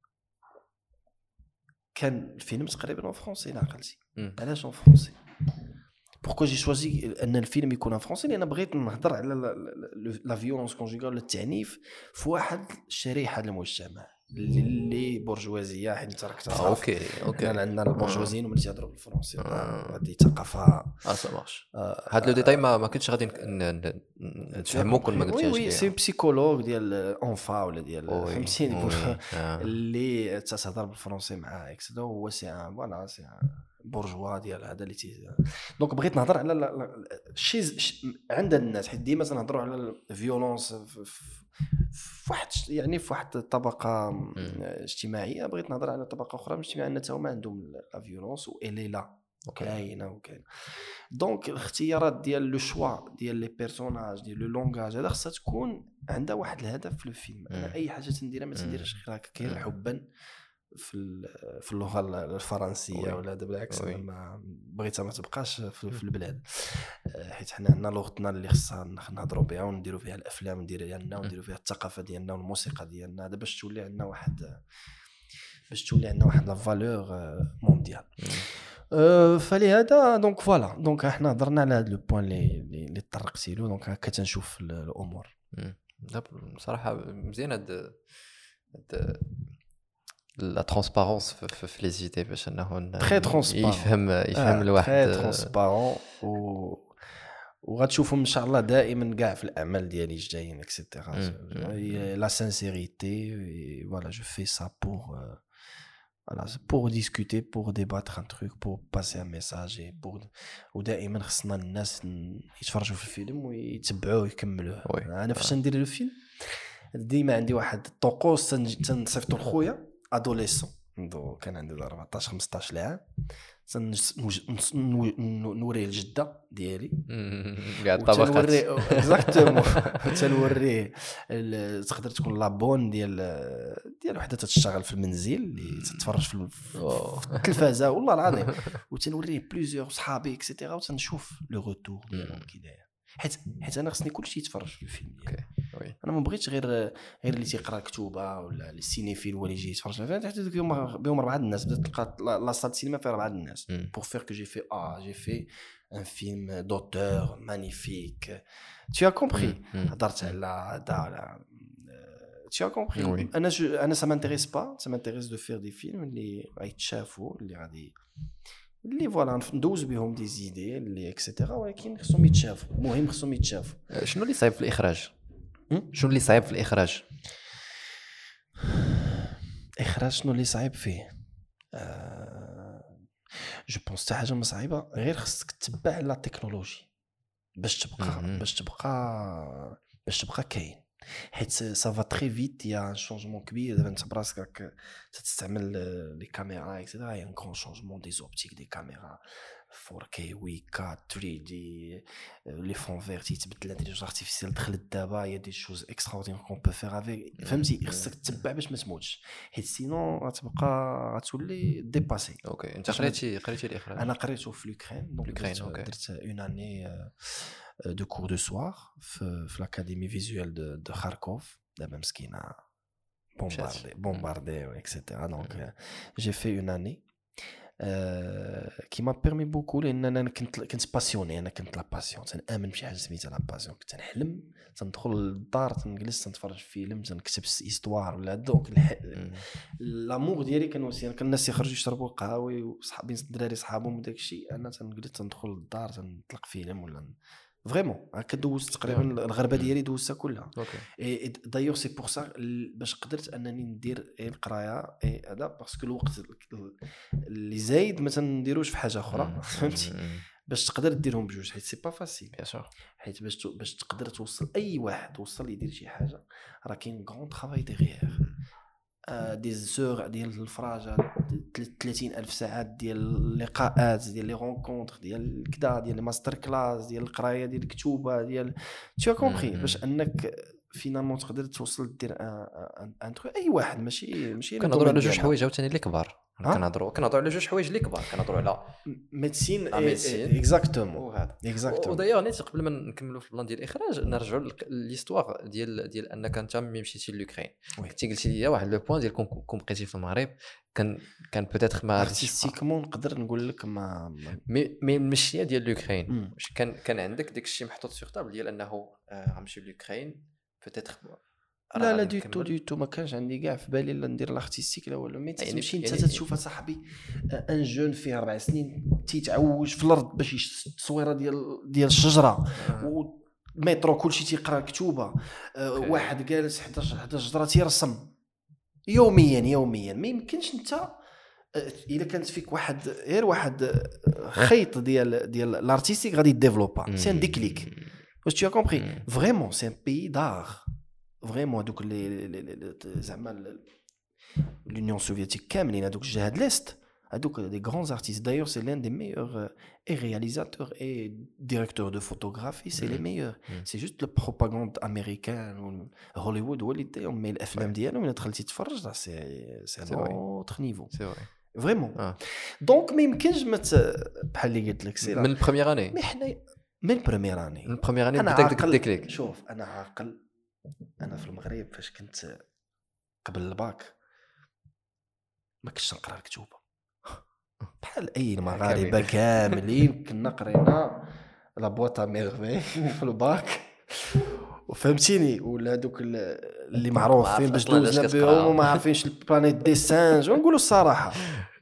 كان الفيلم تقريبا اون فرونسي لا عقلتي. علاش اون فرونسي؟ بوركو جي شوازي ان الفيلم يكون ان فرونسي؟ لان بغيت نهضر على لا فيولونس كونجوغال، التعنيف في واحد الشريحه المجتمع اللي بورجوازيه، حيت انت راك تعرف اوكي عندنا البورجوازيين هما اللي تيهضروا بالفرنسي، هذه ثقافه سامارش. هاد لو ديتاي ما كنتش غادي نفهمو كل ما قلتيهاش. وي سي بسيكولوج ديال اونفا ولا ديال فهمتيني اللي تهضر بالفرنسي معاه اكسدا، هو سي فوالا سي بورجوا ديال هذا اللي دونك بغيت نهضر على شي عند الناس، حيت ديما تنهضروا على الفيولونس فواحد يعني في واحد الطبقه اجتماعيه. بغيت نهضر على طبقه اخرى اجتماعيه ان حتى هما عندهم لا فيولونس والي لا كاينه. دونك الاختيارات ديال لو شوا ديال لي بيرسوناج ديال لو لونغاج هذا خصها تكون عندها واحد الهدف في الفيلم. انا اي حاجه تنديرها ما تنديرهاش غير هكا حبا في اللغه الفرنسيه ولا هذا، بالعكس انا ما بغيتها ما تبقاش في البلاد، حيت حنا عندنا لغتنا اللي خصها نهضروا بها ونديروا فيها الافلام ديالنا ونديروا فيها الثقافه ديالنا والموسيقى ديالنا، هذا باش تولي عندنا واحد لا فالور مونديال. فلهذا دونك فوالا دونك احنا هضرنا على هذا لو بوين اللي طرقتي له. دونك هكا تنشوف الامور. بصراحه مزيان هاد لا ترونسبارونس في لي زيدي باش انه تري ترونسبارون يفهم الواحد تري ترونسبارون وغتشوفهم ان شاء الله دائما كاع في الاعمال ديالي الجايين اكسيتيرا. لا سانسيريتي فوالا جو في سا pour discuter, pour débattre un truc, pour passer un message et pour ودائما خصنا الناس يتفرجوا في الفيلم ويتبعوه ويكملوه. انا فاش ندير الفيلم ديما عندي واحد الطقوس تنصيفطو لخويا ادوليسون كان عنده 14 15 عام، نوريه الجده ديالي كاع الطبقات اكزاكتومون تنوريه تقدر تكون لابون ديال وحده تشتغل في المنزل اللي تتفرج في التلفازه والله العظيم، وتنوريه بليزيور صحابي اكسيتيرا وتنشوف لو روتور ديالهم كي داير، حيت انا خصني كلشي يتفرج في الفيلم ديالي. انا ما بغيتش غير اللي تيقرا كتوبه ولا السينيفيل ولا يجي يتفرج فيها، حتى بهم 4 الناس بدات تلقى لا صال سينما فيها 4 الناس pour faire que j'ai fait un film d'auteur magnifique. Tu as compris. هضرت على tu as compris. انا ça m'intéresse pas, ça m'intéresse de faire des films اللي غيتشافوا اللي غادي اللي فوالا ندوز بهم دي زيدي اللي اكسيتيرا، ولكن خصهم يتشافوا. المهم خصهم يتشافوا. شنو اللي صعيب في الاخراج؟ شنو اللي صعيب في الاخراج؟ شنو اللي صعيب فيه؟ جو بونس حتى حاجه ما صعيبه، غير خصك تتبع لا تكنولوجي باش تبقى كاين، حيت سافا تري فيت. يا ان شونجمون كبير دابا انت براسك تستعمل لي كاميرا اكسيتيرا، يا ان كرون شونجمون دي زوبتيك دي كاميرا 4K 8K 3D لي فون فيرت يتبدل، الانتيليجنس ارتيفيسيال دخلت دابا، يا دي شوز اكستراوردينير كون بو فير افيك. فهمتي خصك تتبع باش ما تموتش، حيت سينون غتولي ديباسي. اوكي انت قريتي الاخراج؟ انا قريته في لوكرين، درت اون اني de cours de soir في l'académie visuelle de Kharkov. دابا مسكينه bombardée etc. donc j'ai fait une année qui m'a permis beaucoup لان انا كنت باسيوني. انا كنت لا باسيون، تنامن بشي حاجه سميتها لا باسيون. كنت نحلم تندخل للدار تنجلس تنتفرج في فيلم تنكتب هيستوار ولا دوك لامور ديالي كان الناس يخرجوا يشربوا قهوه وصحابي الدراري صحابهم وداك الشيء، انا تنجلس تندخل للدار تنطلق فيلم ولا فريمون هكا. دوزت تقريبا الغربه ديالي دوزتها كلها. دايوغ سي بور سا باش قدرت انني ندير القرايه هذا، باسكو الوقت اللي زايد ما تنديروش في حاجه اخرى. فهمتي باش تقدر ديرهم بجوج، حيت سي با فاسيل بيان سور. حيت باش تقدر توصل اي واحد يدير شي حاجه، راه كاين غون طرافاي ديغيير. دي زور ديال الفراجه 30,000 ساعات ديال اللقاءات ديال لي رونكونتر ديال كدا ديال لي ماستر كلاس ديال القرايه ديال الكتوبه ديال تو كومبري باش انك فينالمون تقدر توصل دير ان ترو اي واحد ماشي كنهضروا على جوج حوايج عاوتاني اللي كبار كنهضروا على جوج حوايج اللي كبار كنهضروا على ميديسين اكزاكتومون ودايوغ نيت قبل ما نكملوا في البلان ديال الاخراج نرجعوا لليستواغ ديال انك انت ملي مشيتي لوكرين كنتي قلتي لي واحد لو بوين ديال كون بقيتي في المغرب كان بوتيتر ما ارتستيكمون نقدر نقول لك ما المشيه ديال لوكرين واش كان عندك داك الشيء محطوط سيغ طابل ديال انه غنمشي لوكرين بوتيتر لا دي تو ما كانش عندي كاع في بالي لا ندير لارتستيك لا والو مي تمشي انت تشوف صاحبي ان جون فيه 4 سنين تيتعوج في الارض باش التصويره ديال الشجره والمترو كلشي تيقرا كتوبه واحد جالس 11 جدره تيرسم يوميا ما يمكنش انت الا كانت فيك واحد خيط ديال لارتستيك غادي ديفلوبا سي ان ديكليك واش tu as compris vraiment c'est un pays d'art vraiment دوك زعما l'Union soviétique كاملين هذوك الجهاد ليست هذوك دي grands artistes d'ailleurs c'est l'un des meilleurs et réalisateurs et directeurs de photographie c'est les meilleurs c'est juste le propagande américaine هوليوود هو اللي دايرهم مي الافلام ديالهم الا دخلتي تفرج سي autre niveau c'est vrai vraiment donc ما يمكنش بحال اللي قلت لك سي من البريمير اني مي حنا من البريمير اني بداك الديكليك شوف انا عاقل انا في المغرب فاش كنت قبل الباك ما كنتش نقرا الكتوبه بحال اي المغاربه كاملين كنا قرينا لا بواطا ميرفي في الباك وفهمتيني ولا دوك اللي معروفين باش دوزنا بهم وما عارفينش البلانيت دي سانج ونقولوا الصراحه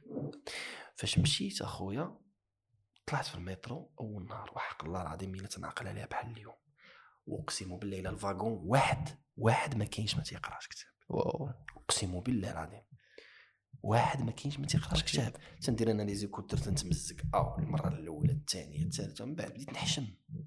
فاش مشيت اخويا طلعت في المترو اول نهار وحق الله العظيم الا تنعقل عليها بحال اليوم واقسم بالله الى الفاغون واحد ما كاينش ما تيقراش كتاب اقسم بالله العظيم واحد ما كاينش ما تيقراش كتاب تندير انا لي زيكوتر تنتمزق المره الاولى الثانيه الثالثه من بعد بديت نحشم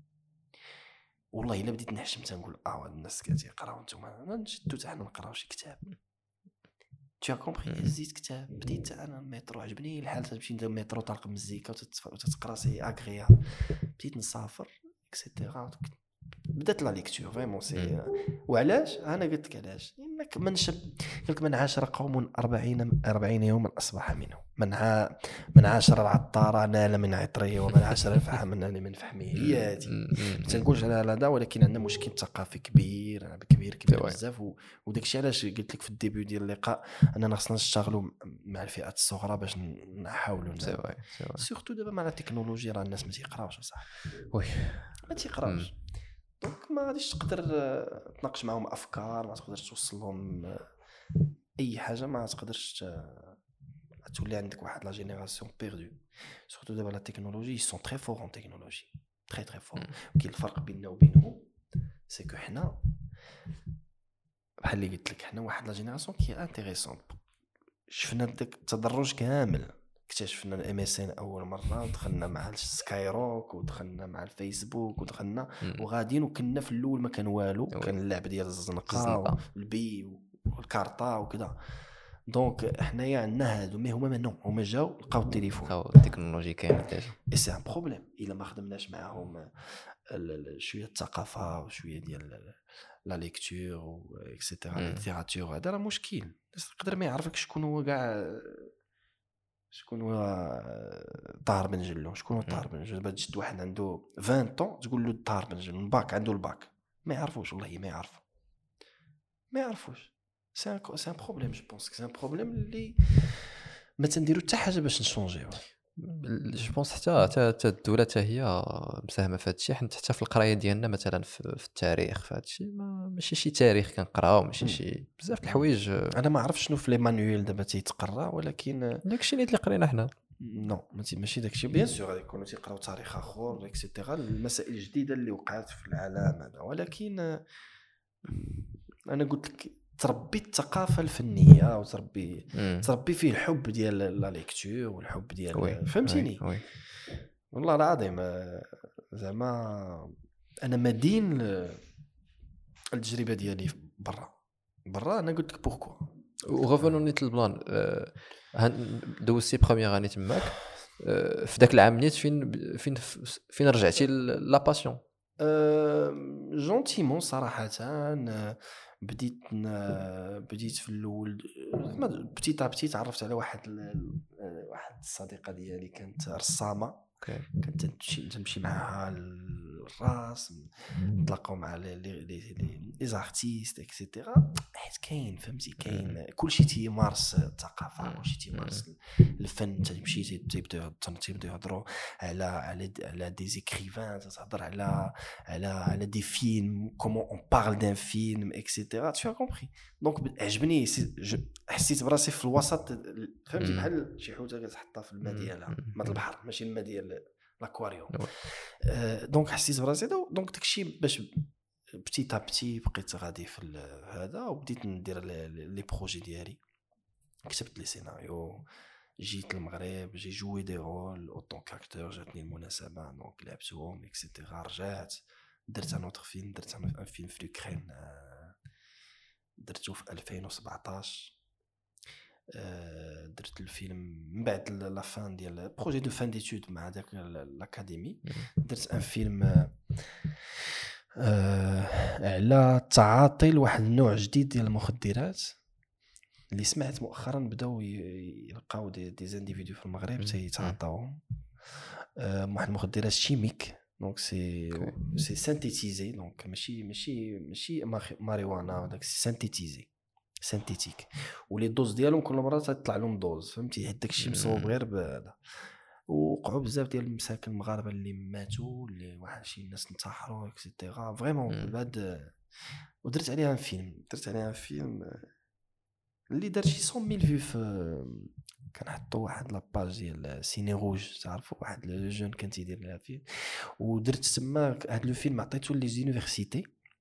والله الا بديت نحشم تنقول الناس كتيقراو نتوما نشدو حتى حنا نقراو شي كتاب tu as compris زيد كتاب بديت انا المترو عجبني الحال تمشي ندير المترو طالق مزيكا وتتقرا سي اغريا بديت نسافر اكسيتيرا بدات لا ليكتور فريمون سي وعلاش انا قلت لك علاش انك قلت من عاشر قوم 40 يوما اصبح منهم من عاشر العطار نال من عطريه ومن عاشر الفحم نال من فحمه هي هذه ما تنقولش على هذا ولكن عندنا مشكل ثقافي كبير بزاف وداك الشيء علاش قلت لك في الديبيو ديال اللقاء اننا خصنا نشتغلوا مع الفئات الصغرى باش نحاولوا سورتو دابا مع التكنولوجيا راه الناس ما تيقراوش صح وي ما تيقراوش دونك ما غاديش تقدر تناقش معهم افكار ما تقدرش توصل لهم اي حاجه ما تقدرش تولي عندك واحد لا جينيراسيون بيردو سورتو دابا لا تكنولوجي سون تري فور ان تكنولوجي تري فور كاين الفرق بيننا وبينهم سي كو حنا بحال اللي قلت لك حنا واحد لا جينيراسيون كي انتريسون شفنا داك التدرج كامل اكتشفنا الام اس ان اول مره ودخلنا مع السكايروك ودخلنا مع الفيسبوك ودخلنا وغاديين وكنا في الاول ما كان والو كان اللعب ديال الزنقه والبي والكارطه وكذا دونك حنايا عندنا هادو مي هما منو هما جاو لقاو التليفون لقاو التكنولوجي كامل ديجا اي سي ان بروبليم الا ما خدمناش معاهم شويه الثقافه وشويه ديال لا ليكتور و اكسيتيرا ليتيراتور هذا راه مشكل الناس تقدر ما يعرفك شكون هو كاع شكون هو طاهر بن جلو شكون هو طاهر بن جلو باش تجد واحد عنده 20 طون تقول له طاهر بن جلو الباك عنده الباك ما يعرفوش والله ما يعرفوش سي ان بروبليم جو بونس سي ان بروبليم اللي ما تنديرو حتى حاجه باش نشونجيو جو بونس حتى الدوله حتى هي مساهمه في هذا الشيء حتى في القرايه ديالنا مثلا في التاريخ في هذا الشيء ماشي شي تاريخ كنقراو ماشي شي بزاف د الحوايج انا ما عرفتش شنو في لي مانويل دابا تيتقرا ولكن داكشي اللي قرينا حنا نو ماشي داكشي بيان سور غادي يكونوا تيقراو تاريخ اخر اكسيتيرا المسائل الجديده اللي وقعت في العالم هذا ولكن انا قلت لك تربي الثقافه الفنيه وتربي فيه الحب ديال لا ليكتور والحب ديال فهمتيني والله العظيم زعما انا مدين التجربه ديالي برا انا قلت لك بوركو وغوفونو نيت البلان دوزتي بروميير اني تماك في ذاك العام نيت فين رجعتي لا باسيون جونتيمون صراحه. بديت في الاول بتيت ابتي تعرفت على واحد الصديقه ديالي كانت رسامه. كنت تمشي معها للراس نتلاقاو مع لي زارتيست اكسيتيرا. حيت كاين فهمتي كاين كلشي تيمارس الثقافه كلشي تيمارس الفن. تمشي تيبداو يهضروا على دي زيكريفان تهضر على دي فيلم كومون اون بارل دان فيلم اكسيتيرا tu as compris. دونك عجبني حسيت براسي في الوسط فهمتي بحال شي حوته كتحطها في الماء ديالها ماء البحر ماشي الماء ديال لاكواريوم. دونك حسيت براسي دونك داكشي باش بتيت ابتي بقيت غادي في هذا وبديت ندير لي بروجي ديالي. كتبت لي سيناريو جيت للمغرب جي جوي دي رول اوتون كاكتور جاتني المناسبه دونك لعبتهم اكسيتيرا. رجعت درت ان اوتر فيلم درت ان فيلم في لوكرين درته في 2017. درت الفيلم من بعد لا فان ديال بروجي دو فان ديتود مع داك لاكاديمي. درت ان فيلم على التعاطي لواحد النوع جديد ديال المخدرات اللي سمعت مؤخرا بداو يلقاو دي زانديفيدو في المغرب تيتعاطاوهم. واحد المخدرات شيميك دونك سي سانتيتيزي دونك ماشي ماريوانا وداك سي سانتيتيك ولي دوز ديالهم كل مره تطلع لهم دوز فهمتي. حيت داكشي مصوب غير بهذا. وقعوا بزاف ديال المساكن المغاربه اللي ماتوا اللي واحد شي ناس انتحروا اكسيتيرا فريمون بعد. ودرت عليها فيلم اللي دار شي 100,000 فيو في كنحطوا واحد لاباج ديال سيني روج تعرفوا واحد لو جون كان تيدير لها فيه. ودرت تما هذا لو فيلم عطيتو لي زونيفرسيتي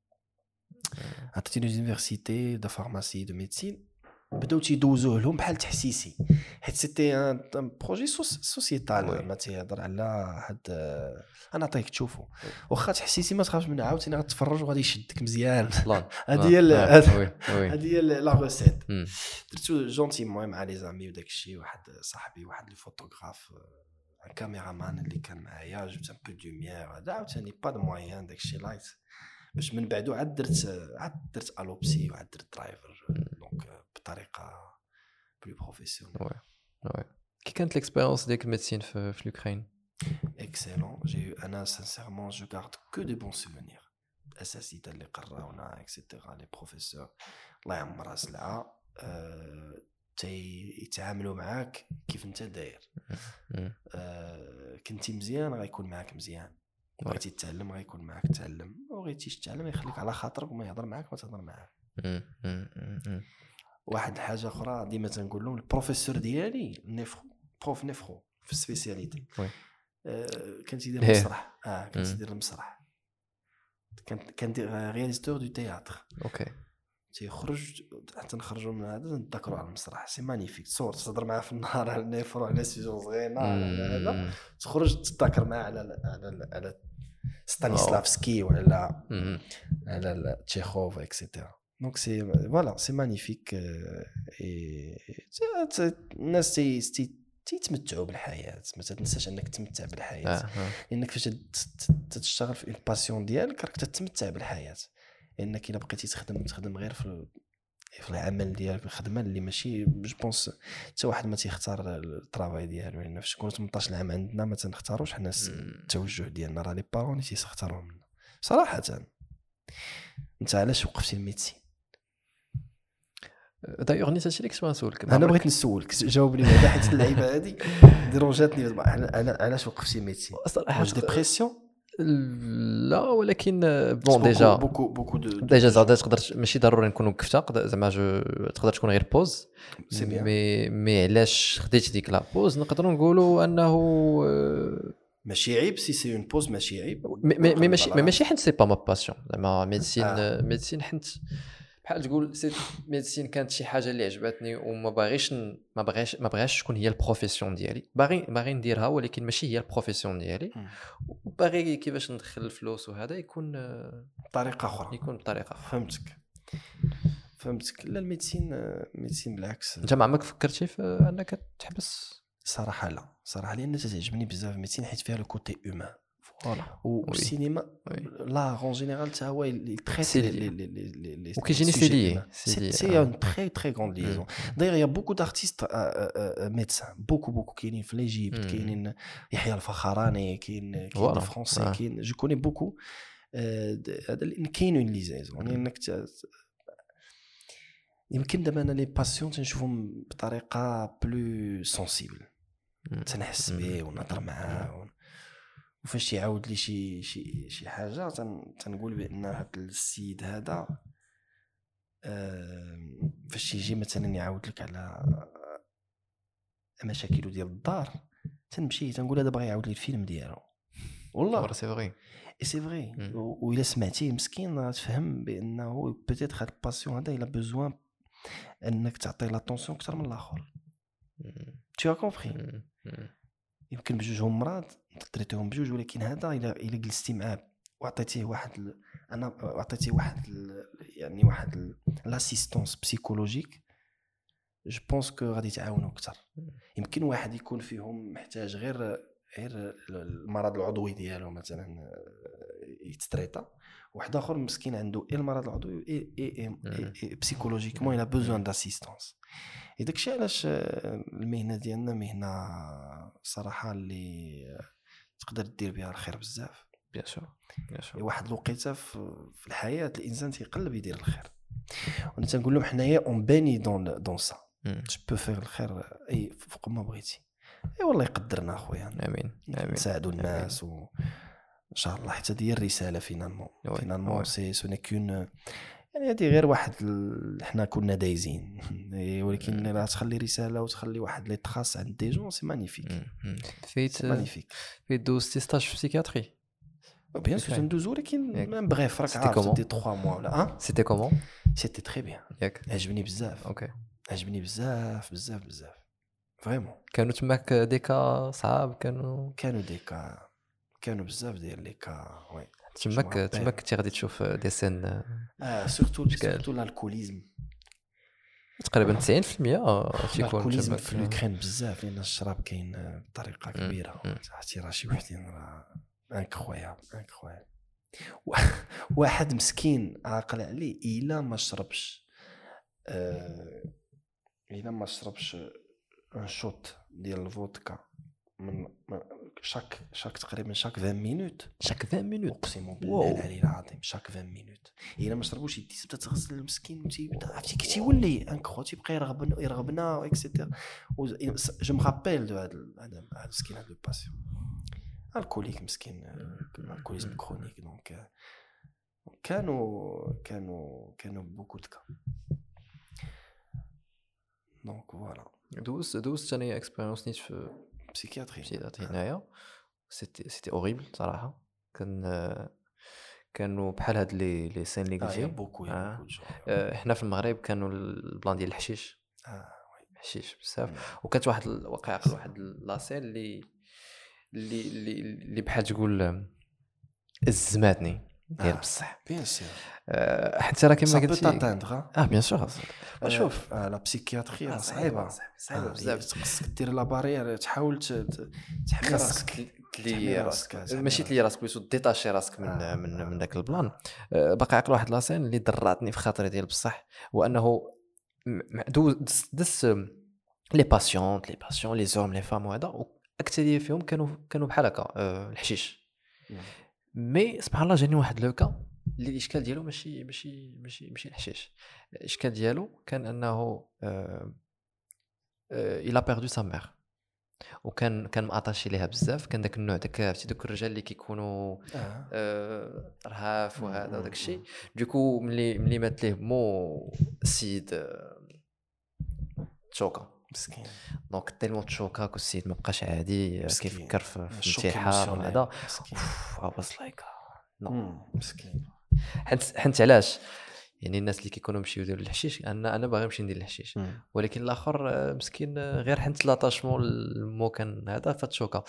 دو فارماسي دو ميديسين بداو تيدوزوه لهم بحال تحسيسي حيت سيتي ان بروجي سوسيتال ما تيهضر على هاد. انا نعطيك تشوفوا واخا تحسيسي ما تخافش منها عاوتاني غتفرج وغادي يشدك مزيان. هذه هي لا روسيت. درتو جونتيمون مع لي زامي وداك الشيء. واحد صاحبي واحد الفوتوغراف كاميرامان اللي كان معايا جبت ان بو دو لوميير هذا عاوتاني با دو موين داك الشيء لايت باش من بعدو عاد درت الوبسي وعاد درت درايفر دونك بطريقه بلو بروفيسيونيل. وي كي كانت ليكسبيريونس ديك الميديسين في لوكرين؟ اكسيلون جي انا سانسيرمون جو غارد كو دي بون سوفونير. الاساتذه اللي قراونا اكسيتيرا لي بروفيسور الله يعمرها سلعه يتعاملوا معاك كيف انت داير. كنتي مزيان غيكون معاك مزيان بغيتي تتعلم غيكون معاك تعلم بغيتيش تتعلم يخليك على خاطرك وما يهضر معاك ما تهضر معاه. واحد الحاجه اخرى ديما تنقول لهم البروفيسور ديالي بروف نيفرو في السبيسياليتي كنت يدير المسرح كنت يدير المسرح كان رياليزاتور دو تياتر. اوكي تيخرج حتى نخرجوا من هذا نتذكروا على المسرح سي مانيفيك. تصور تهضر معاه في النهار على النيفرو على سيجون صغيره على هذا تخرج تتذكر معاه على ستانيسلافسكي وعلى على تشيخوف اكسيتيرا. دونك سي فوالا سي مانيفيك. الناس تيتمتعوا بالحياه ما تنساش انك تتمتع بالحياه لانك فاش تشتغل في الباسيون ديالك راك تتمتع بالحياه. لانك الا بقيتي تخدم غير في العمل ديالك الخدمه اللي ماشي جو بونس حتى واحد ما تيختار الطرافاي ديالو. لان فاش كنت 18 عام عندنا ما تنختاروش حنا التوجه ديالنا راه لي بارون اللي تيختاروه منا صراحه. انت علاش وقفتي الميديسين؟ دايوغ نيت هادشي اللي كنت نسولك. انا بغيت نسولك جاوبني على حيت اللعيبه هذه ديرونجاتني. علاش وقفتي الميديسين؟ واش ديبرسيون؟ لا ولكن بون ديجا ديجا زعما تقدر ماشي ضروري نكون وقفتها زعما تقدر تكون غير بوز مي علاش خديت ديك لا بوز نقدروا نقولوا انه ماشي عيب سي سي اون بوز ماشي عيب ماشي حيت سي با ما باسيون زعما ميديسين حيت بحال تقول سي ميديسين كانت شي حاجه اللي عجبتني وما بغاش تكون هي البروفيسيون ديالي. باغي نديرها ولكن ماشي هي البروفيسيون ديالي. وباغي كيفاش ندخل الفلوس وهذا يكون بطريقه اخرى فهمتك. فهمتك. لا الميديسين بالعكس. انت ما عمرك فكرتي في انك تحبس؟ صراحه لا، صراحه لان تعجبني بزاف الميديسين حيت فيها لو كوتي هومان. فوالا. والسينما لا اون جينيرال تا هو تريت لي وكيجيني سي سي اون تري تري غروند ليزون. داير يا بوكو دارتيست ميدسان بوكو كاينين في ليجيبت، كاينين يحيى الفخراني، كاين دي فرونسي، كاين جو كوني بوكو. هذا كاين اون ليزيزون انك يمكن دابا انا لي باسيون تنشوفهم بطريقه بلو سونسيبل، تنحس به ونهضر معاه وفاش يعاود لي شي حاجه تنقول بان هذا السيد هذا فاش يجي مثلا يعاود لك على مشاكل ديال الدار تنمشي تنقول هذا باغي يعاود لي الفيلم ديالو. والله سي فري سي فري. وإلا سمعتيه مسكين غتفهم بانه بيتيت هاد الباسيون هذا الا بوزوان انك تعطي لاتونسيون اكثر من الاخر. tu as compris. يمكن بجوجهم مرض تريتهم بجوج، ولكن هذا الا جلستي معاه وعطيتيه واحد يعني واحد لاسيستونس بسيكولوجيك، جو بونس كو غادي تعاونوا اكثر. يمكن واحد يكون فيهم محتاج غير المرض العضوي ديالو مثلا يتستريتا، واحد اخر مسكين عنده المرض العضوي اي بسيكولوجيكمون الى بوزوان داسيستونس. داك الشيء علاش المهنه ديالنا مهنه صراحه اللي تقدر دير بها الخير بزاف. بيان سور واحد الوقيته في الحياه الانسان تيقلب يدير الخير، وانا تنقول لهم حنايا اون باني دون سا جو بو فير الخير اي فوق ما بغيتي. اي والله يقدرنا اخويا. امين نساعدوا الناس و ان شاء الله حتى هي الرساله فينالمون سي سو نيكون يعني هذه غير واحد حنا كنا دايزين ولكن لا تخلي رساله وتخلي واحد لي تراس عند دي جون سي مانيفيك. مانيفيك. في دوزتي ستاج في سيكياتري بيان سور ندوزو، ولكن ميم بريف راك عارف دي 3 موا ولا سيتي كومون. سيتي تري بيان، ياك عجبني بزاف. اوكي عجبني بزاف فريمون. كانوا تماك ديكا صعاب؟ كانوا ديكا كانوا بزاف ديال لي كا. وي تماك كنتي غادي تشوف دي سين سورتو الالكوليزم تقريبا 90% تيكون الكوليزم في الأوكران بزاف، لان الشراب كاين بطريقه كبيره. حتى راه شي وحدين راه انكرويابل. واحد مسكين عاقل عليه الا ما شربش ان شوت ديال الفودكا من شاك تقريبا شاك 20 مينوت اقسم بالله العلي العظيم شاك 20 مينوت. الا ما شربوش يدي تبدا تغسل المسكين عرفتي كي تيولي انكرو تيبقى يرغبنا اكسيتيرا. جو مغابيل دو هذا المسكين هذا الباسيون الكوليك مسكين الكوليزم كرونيك. دونك كانوا بوكو دكا. دونك فوالا دوزت ثاني اكسبيريونس نيت في بسيكياتري هنايا. سيتي اوريبل صراحه. كانوا بحال هاد لي سين اللي قلتي بوكو حنا في المغرب كانوا البلان ديال الحشيش. حشيش بزاف. وكانت واحد واحد لاسين اللي بحال تقول الزماتني ديال بصح. بيان سور حتى راه كما قلتي بيان سور. شوف لا بسيكياتري صعيبه بزاف. خصك دير لا بارير، تحاول تحمي راسك تلي راسك، ماشي تلي راسك بليتو ديتاشي راسك من داك البلان. باقي عقل واحد لاسين اللي دراتني في خاطري ديال بصح، وانه دس لي باسيونت لي زوم لي فام وهذا اكثريه فيهم كانوا بحال هكا الحشيش. مي سبحان الله جاني واحد لوكا اللي الاشكال ديالو ماشي الحشيش. الاشكال ديالو كان انه il a perdu sa mère وكان ماطاشي ليها بزاف. كان داك النوع داك عرفتي دوك الرجال اللي كيكونوا رهاف وهذا وداك الشيء. دوكو ملي مات ليه مو السيد تشوكا مسكين. دونك تيلمون تشوكا كو السيد ما بقاش عادي كيفكر في الانتحار وهذا. واز لايك نو مسكين. حنت علاش يعني الناس اللي كيكونوا مشيو يديروا الحشيش انا باغي نمشي ندير الحشيش، ولكن الاخر مسكين غير حنت لاتاشمون المو كان هذا فتشوكا.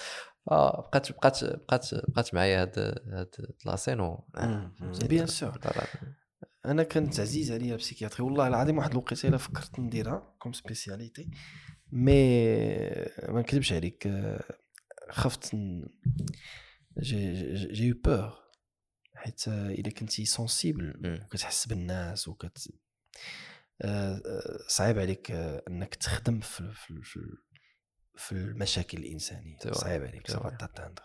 بقات معايا هاد لاسين. بيان سور انا كانت عزيز عليا بسيكياتري والله العظيم. واحد الوقيته الا فكرت نديرها كوم سبيسياليتي مي ما نكذبش عليك خفت جي يو بور حيت الا كنتي سونسيبل وكتحس بالناس صعيب عليك انك تخدم في المشاكل الانسانيه. صعيب عليك سافا تاتاندر.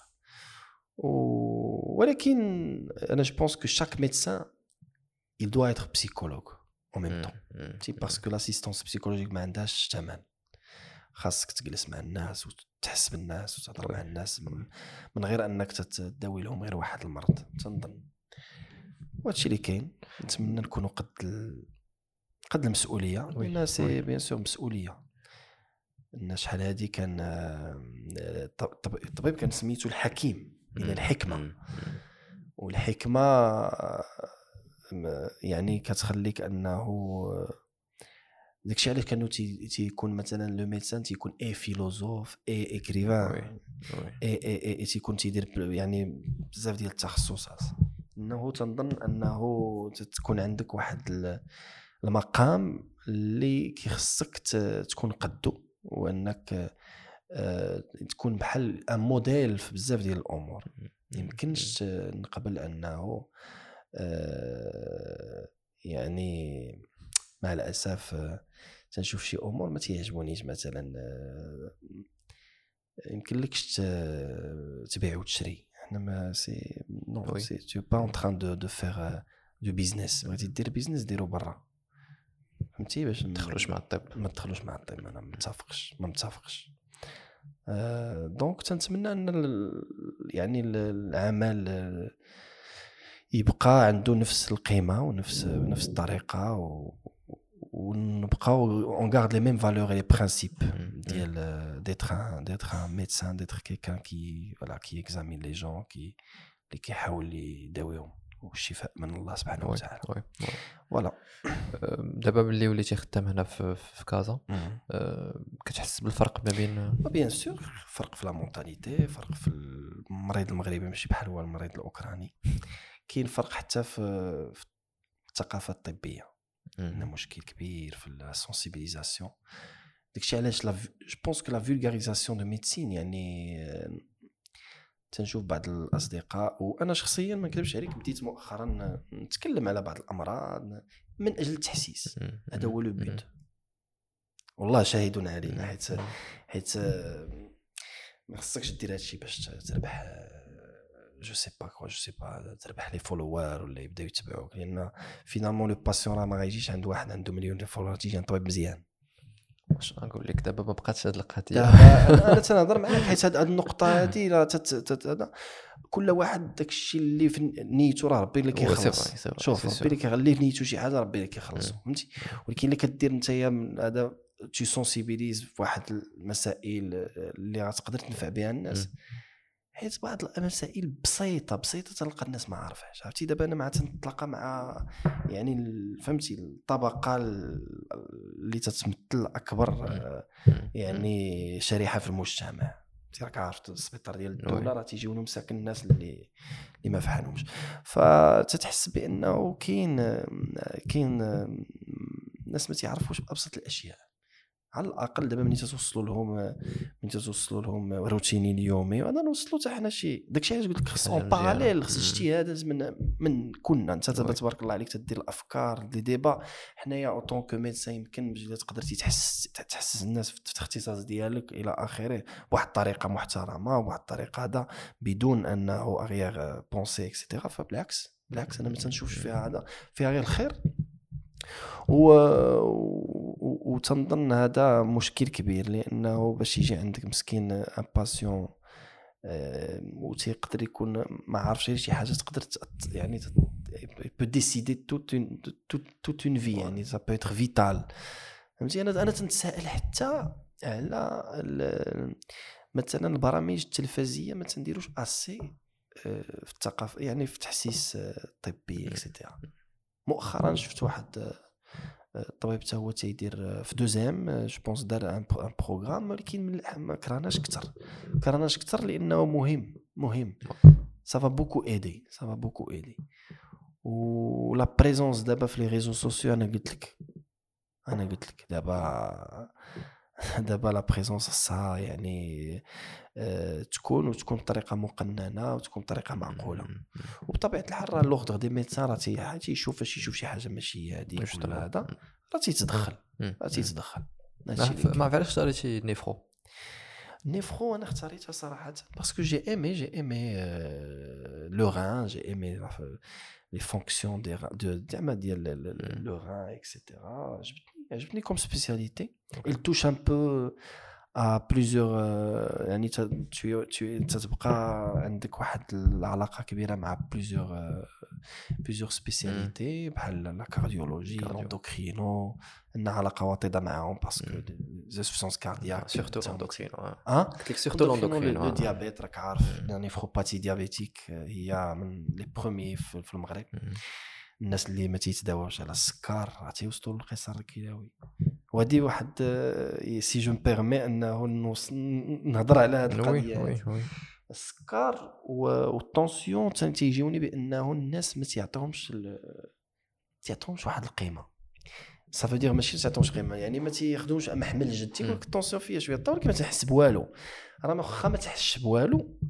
ولكن انا جو بونس كو شاك ميدسان il doit être psychologue en même temps parce que l'assistance psychologique ما عندهاش ثمن. خاصك تجلس مع الناس وتحس بالناس وتهضر مع الناس من غير انك تداوي لهم غير واحد المرض. تنظن وهادشي اللي كاين. نتمنى نكونوا قد المسؤوليه لان سي بيان سور مسؤوليه. الناس شحال هادي كان الطبيب كان سميتو الحكيم الى الحكمه. والحكمه يعني كتخليك انه داكشي علاش كانوا تيكون مثلا لو ميدسان تيكون فيلوزوف اكريفان تيكون تيدير يعني بزاف ديال التخصصات. انه تنظن انه تكون عندك واحد المقام اللي كيخصك تكون قدو وانك تكون بحال ان موديل في بزاف ديال الامور. يمكنش نقبل انه يعني مع الاسف تنشوف شي امور ما تيعجبونيش. مثلا يمكن لكش تبيع وتشري. احنا ما سي نو سي تو با اون تران دو فير دو بيزنس. بغيتي دير بيزنس ديرو برا فهمتي باش ما تدخلوش مع الطب. ما تدخلوش مع الطب. انا ما متفقش. دونك تنتمنى ان يعني العمل يبقى عنده نفس القيمه ونفس الطريقه ونبقاو اون غارد لي ميم فالور لي برينسيپ ديال d'être un médecin, d'être quelqu'un qui examine les gens, qui كيحاول يداويهم والشفاء من الله سبحانه وتعالى. فوالا. دابا ملي وليتي خدام هنا في كازا كتحس بالفرق ما بين بيان سور فرق في لا مونتاليتي، فرق في المريض المغربي ماشي بحال هو المريض الاوكراني. كاين فرق حتى في الثقافه الطبيه. عندنا مشكل كبير في السونسيبيليزاسيون. داكشي علاش جو بونس كو لا فولغاريزاسيون دو ميديسين يعني تنشوف بعض الاصدقاء وانا شخصيا ما نكذبش عليك بديت مؤخرا نتكلم على بعض الامراض من اجل التحسيس. هذا هو لو بوت والله شاهد علينا حيت ما خصكش دير هادشي باش تربح جو سي با تربح لي فولوور ولا يبداو يتبعوك. لان فينالمون لو باسيون راه ما غايجيش عند واحد عنده مليون ديال فولوور تيجي عند طبيب مزيان. واش نقول لك دابا ما بقاتش هاد القضيه. انا تنهضر معاك حيت هاد النقطه هادي راه كل واحد داكشي اللي في نيته راه ربي اللي كيخلص. شوف ربي اللي كيخليه في نيته شي حاجه ربي اللي كيخلصو فهمتي. ولكن اللي كدير نتايا هذا تي سونسيبيليز في واحد المسائل اللي غتقدر تنفع بها الناس. حيت بعض المسائل بسيطه تلقى الناس ما عارفاش. عرفتي دابا انا مع تنتلاقى مع يعني فهمتي الطبقه اللي تتمثل اكبر يعني شريحه في المجتمع. انت راك عارف السبيطار ديال الدوله راه تيجيو لهم ساكن الناس اللي ما فحالهمش. فتتحس بانه كاين ناس ما تعرفوش ابسط الاشياء. على الاقل دابا ملي توصلوا لهم روتيني اليومي وانا نوصلوا حتى حنا شي داكشي علاش قلت لك خص اون باراليل خص اجتهاد من كنا انت تبارك الله عليك تدير الافكار لي ديبا. حنايا او طون كو ميدسان يمكن باش تقدر تحسس الناس في الاختصاص ديالك الى اخره بواحد الطريقه محترمه وبواحد الطريقه هذا بدون انه اغير بونسي اكسيتيرا. فبالعكس انا ما تنشوفش فيها هذا، فيها غير الخير. وتنظن هذا مشكل كبير لانه باش يجي عندك مسكين ان باسيون وتيقدر يكون ما عارفش شي حاجه تقدر يعني بو ديسيدي توت اون في يعني سا بو ايتر فيتال فهمتي. انا تنتسائل حتى على مثلا البرامج التلفزيونيه ما تنديروش اسي في الثقافه يعني في التحسيس الطبي اكسيتيرا. مؤخرا شفت واحد الطبيب حتى هو تيدير في دوزيام جو بونس دار ان بروغرام ولكن ما كرهناش كثر لانه مهم سافا بوكو ايدي ولا بريزونس دابا في لي ريزو سوسيو. انا قلت لك دابا لا بريزونس صا يعني تكون بطريقه مقننه وتكون بطريقه معقوله. وبطبيعه الحال راه لوغ دي ميدسان راه تيشوف شي حاجه ماشي هذيك ولا هذا راه تيتدخل. ما عرفتش شريتي نيفرو. انا اختاريتها صراحه باسكو جي ايمي لو ران، جي ايمي لي فونكسيون ديال لو ران اكسيتيرا. عجبتني كوم سبيسياليتي. il touche un peu à plusieurs يعني تتبقى عندك واحد العلاقه كبيره مع plusieurs spécialités بحال لا كارديولوجي، الاندوكرينو، عندنا علاقه وطيده معاهم باسكو زانسفيسونس كاردياك سورتو الاندوكرينو. قلت لك سورتو الاندوكرينو. لو ديابيت راك عارف نيفروباتي ديابيتيك هي من لي بروميي في المغرب. الناس اللي ما تيتداواوش على السكر راه تيوصلوا للقصر الكلوي. وهذه واحد سي جو مبيرمي انه نهضر على هذه القضيه. السكر والطونسيون تيجيوني بانه الناس ما تيعطيهمش واحد القيمه. صافي دير ماشي تعطيهمش قيمه يعني ما تياخذوش محمل جد. تيقول لك الطونسيون فيها شويه طول كي ما تحس بوالو. راه واخا ما تحسش بوالو،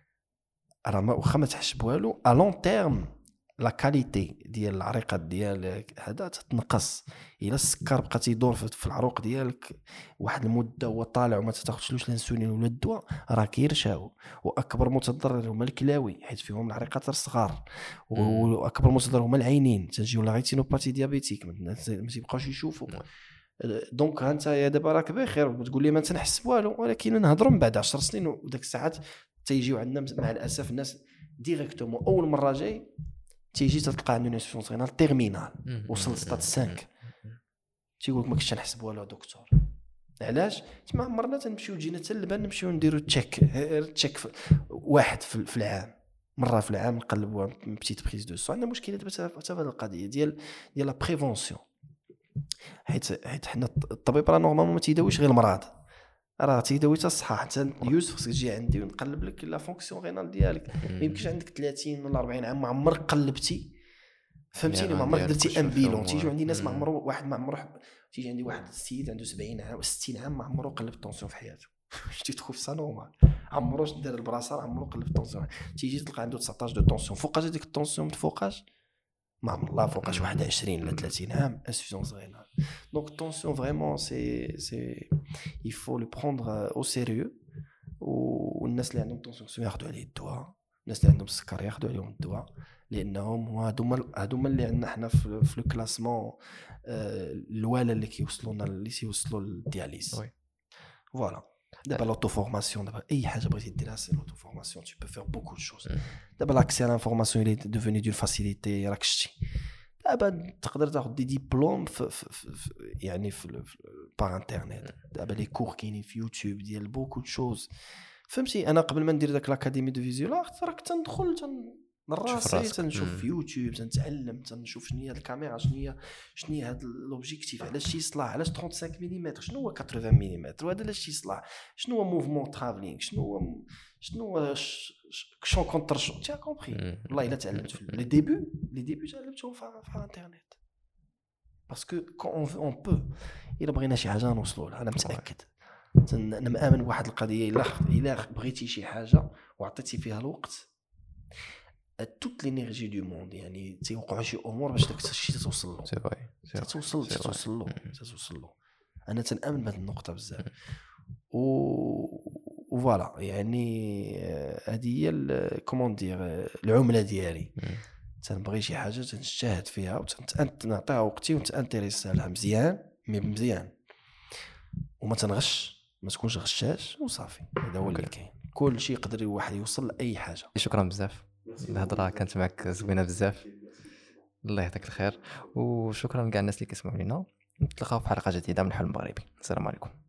ا لون تيرم لا كاليتي ديال العريقات ديالك هذا تتنقص. الا السكر بقى تيدور في العروق ديالك واحد المده هو طالع وما تاخذش الانسولين ولا الدواء راه كيرشاو. واكبر متضرر هما الكلاوي حيت فيهم العريقات الصغار. واكبر متضرر هما العينين تنجيو لا ريتينوباتي ديابيتيك ما تيبقاوش يشوفوا. دونك انت يا دابا راك بخير وتقول لي ما تنحس والو، ولكن نهضروا من بعد 10 سنين وداك الساعات تيجيو عندنا مع الاسف الناس ديريكتومون اول مره جاي تيجي تلقى عنده انسفيسونس رينال تيرمينال وصل ستات 5 تيقول لك ما كنتش نحسب والو دكتور. علاش؟ ما عمرنا تنمشيو جينا حتى للبان نمشيو نديرو تشيك واحد في العام، مره في العام نقلبوا بتيت بريز دو سو. عندنا مشكله دابا حتى في هذه القضيه ديال لا بريفونسيون. حيت حنا الطبيب راه نورمالمون ما تيداويش غير المرض، راه تيداوي حتى الصحه. حتى يوسف خصك تجي عندي ونقلب لك لا فونكسيون رينال ديالك. ما يمكنش عندك 30 ولا 40 عام ما عمرك قلبتي، فهمتيني؟ ما عمرك درتي ان بيلون. تيجيو عندي ناس ما عمره تيجي عندي واحد السيد عنده 70 عام و60 عام ما عمره قلب الطونسيون في حياته. شتي تخوف سا نورمال عمروش دار البراسار عمرو قلب الطونسيون. تيجي تلقى عنده 19 دو طونسيون. فوقاش هذيك الطونسيون فوقاش ما عمر الله فوقاش واحد 20 ولا 30 عام انسفيسيونس رينال. دونك الطونسيون فريمون سي il faut le prendre au sérieux. والناس اللي عندهم طونسيون خصهم ياخذوا عليه الدواء، الناس اللي عندهم السكر ياخذوا عليهم الدواء، لانهم هادوما اللي عندنا حنا في لو كلاسمون الوالا اللي كيوصلونا اللي تيوصلوا للدياليز. فوالا دابا لوتو فورماسيون، دابا اي حاجه بغيتي ديرها سي لوتو فورماسيون. tu peux faire beaucoup de choses. دابا لاكسي على الانفورماسيون اللي devenu d'une facilité. راك شتي دابا تقدر تاخذ دي ديبلوم يعني في بار انترنيت. دابا لي كور كاينين في يوتيوب ديال بوكو شوز. فهمتي؟ انا قبل ما ندير داك لاكاديمي دو فيزيول ارت راك تندخل راسي تنشوف في يوتيوب تنتعلم تنشوف شنو هي الكاميرا شنو هي هذا لوبجيكتيف علاش يصلح علاش 35 ملم شنو هو 80 ملم وهذا علاش يصلح شنو هو موفمون ترافلينغ شنو هو شون كونتر شون. تي كومبري؟ والله الا تعلمت في لي ديبي تعلمتهم في الانترنت باسكو كون اون بو الا بغينا شي حاجه نوصلوا لها. انا متاكد انا مآمن بواحد القضيه الا بغيتي شي حاجه وعطيتي فيها الوقت toute l'énergie du monde يعني تيوقعوا شي امور باش داك الشيء توصل له. سي فري توصل له. انا تنامن بهذه النقطه بزاف. وفوالا يعني هذه هي كومون دير العمله ديالي. تنبغي شي حاجه تنجتهد فيها وتنعطيها وقتي ونتانتريسا لها مزيان وما تنغش، ما تكونش غشاش وصافي. هذا هو اللي كاين. كل شيء يقدر الواحد يوصل لاي حاجه. شكرا بزاف، الهضره كانت معك زوينه بزاف. الله يعطيك الخير وشكرا لكاع الناس اللي كيسمعوا لينا. نتلاقاو في حلقه جديده من الحلم المغربي. السلام عليكم.